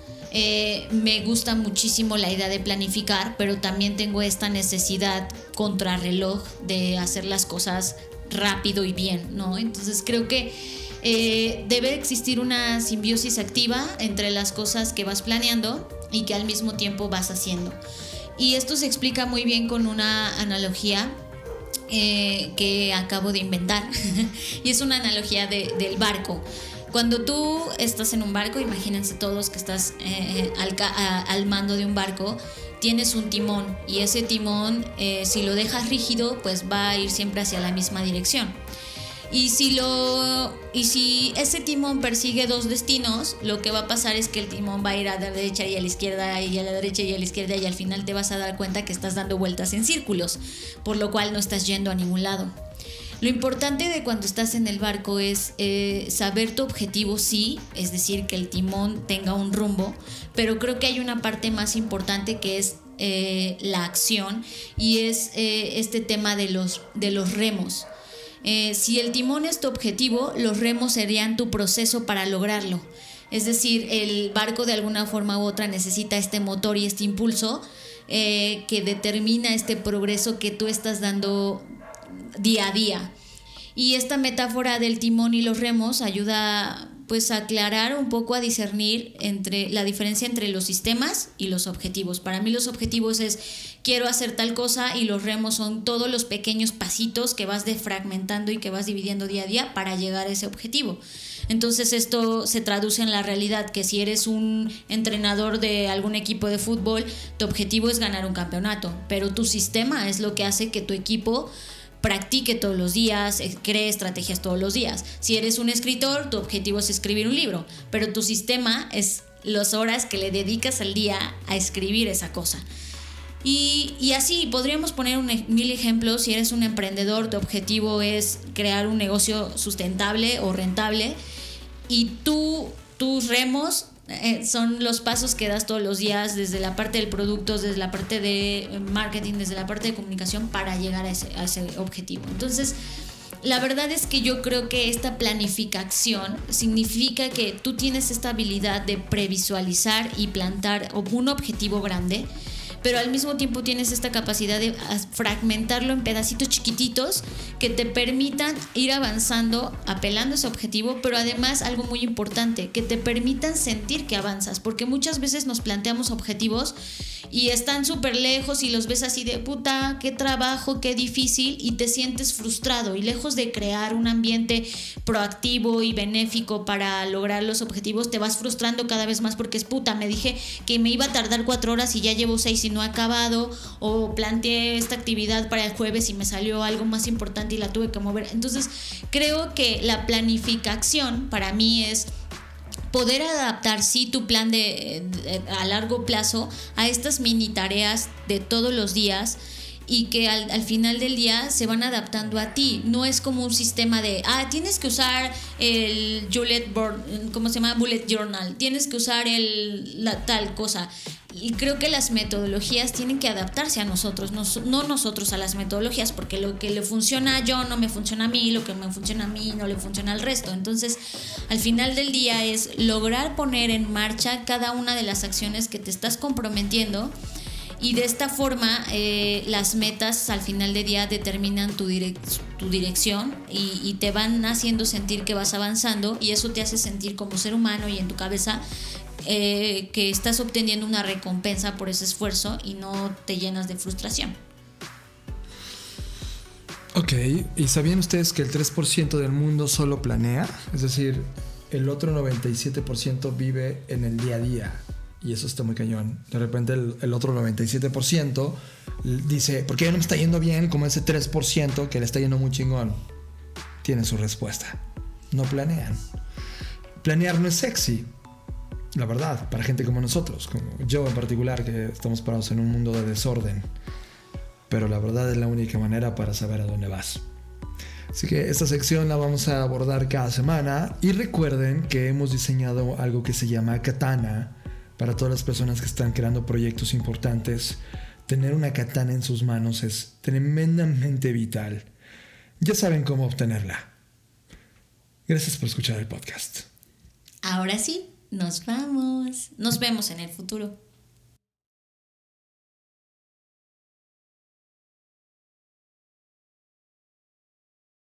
me gusta muchísimo la idea de planificar, pero también tengo esta necesidad contrarreloj de hacer las cosas rápido y bien, ¿no? Entonces creo que debe existir una simbiosis activa entre las cosas que vas planeando y que al mismo tiempo vas haciendo. Y esto se explica muy bien con una analogía que acabo de inventar y es una analogía del barco. Cuando tú estás en un barco, imagínense todos que estás al mando de un barco, tienes un timón, y ese timón, si lo dejas rígido, pues va a ir siempre hacia la misma dirección. Y si ese timón persigue dos destinos, lo que va a pasar es que el timón va a ir a la derecha y a la izquierda, y a la derecha y a la izquierda, y al final te vas a dar cuenta que estás dando vueltas en círculos, por lo cual no estás yendo a ningún lado. Lo importante de cuando estás en el barco es saber tu objetivo, sí, es decir, que el timón tenga un rumbo, pero creo que hay una parte más importante que es la acción, y es este tema de los remos. Si el timón es tu objetivo, los remos serían tu proceso para lograrlo. Es decir, el barco de alguna forma u otra necesita este motor y este impulso que determina este progreso que tú estás dando día a día. Y esta metáfora del timón y los remos ayuda pues a aclarar un poco, a discernir entre la diferencia entre los sistemas y los objetivos. Para mí los objetivos es quiero hacer tal cosa, y los remos son todos los pequeños pasitos que vas defragmentando y que vas dividiendo día a día para llegar a ese objetivo. Entonces esto se traduce en la realidad, que si eres un entrenador de algún equipo de fútbol, tu objetivo es ganar un campeonato, pero tu sistema es lo que hace que tu equipo practique todos los días, cree estrategias todos los días. Si eres un escritor, tu objetivo es escribir un libro, pero tu sistema es las horas que le dedicas al día a escribir esa cosa. Y así podríamos poner 1000 ejemplos. Si eres un emprendedor, tu objetivo es crear un negocio sustentable o rentable, y tus remos son los pasos que das todos los días, desde la parte del producto, desde la parte de marketing, desde la parte de comunicación, para llegar a ese objetivo. Entonces La verdad es que yo creo que esta planificación significa que tú tienes esta habilidad de previsualizar y plantar un objetivo grande, pero al mismo tiempo tienes esta capacidad de fragmentarlo en pedacitos chiquititos que te permitan ir avanzando, apelando a ese objetivo, pero además algo muy importante, que te permitan sentir que avanzas, porque muchas veces nos planteamos objetivos y están súper lejos y los ves así de puta, qué trabajo, qué difícil, y te sientes frustrado, y lejos de crear un ambiente proactivo y benéfico para lograr los objetivos, te vas frustrando cada vez más porque es puta, me dije que me iba a tardar 4 horas y ya llevo 6 y no he acabado, o planteé esta actividad para el jueves y me salió algo más importante y la tuve que mover. Entonces creo que la planificación para mí es poder adaptar tu plan a largo plazo a estas mini tareas de todos los días, y que al final del día se van adaptando a ti. No es como un sistema de tienes que usar el bullet journal, tienes que usar la tal cosa. Y creo que las metodologías tienen que adaptarse a nosotros, no nosotros a las metodologías, porque lo que le funciona a yo no me funciona a mí, lo que me funciona a mí no le funciona al resto. Entonces, al final del día es lograr poner en marcha cada una de las acciones que te estás comprometiendo, y de esta forma las metas al final del día determinan tu dirección y te van haciendo sentir que vas avanzando, y eso te hace sentir como ser humano y en tu cabeza que estás obteniendo una recompensa por ese esfuerzo y no te llenas de frustración. Ok, ¿y sabían ustedes que el 3% del mundo solo planea? Es decir, el otro 97% vive en el día a día. Y eso está muy cañón. De repente el otro 97% dice, ¿por qué no me está yendo bien como ese 3% que le está yendo muy chingón? Tiene su respuesta. No planean. Planear no es sexy, la verdad, para gente como nosotros, como yo en particular, que estamos parados en un mundo de desorden. Pero la verdad es la única manera para saber a dónde vas. Así que esta sección la vamos a abordar cada semana. Y recuerden que hemos diseñado algo que se llama Katana. Para todas las personas que están creando proyectos importantes, tener una katana en sus manos es tremendamente vital. Ya saben cómo obtenerla. Gracias por escuchar el podcast. Ahora sí, nos vamos. Nos vemos en el futuro.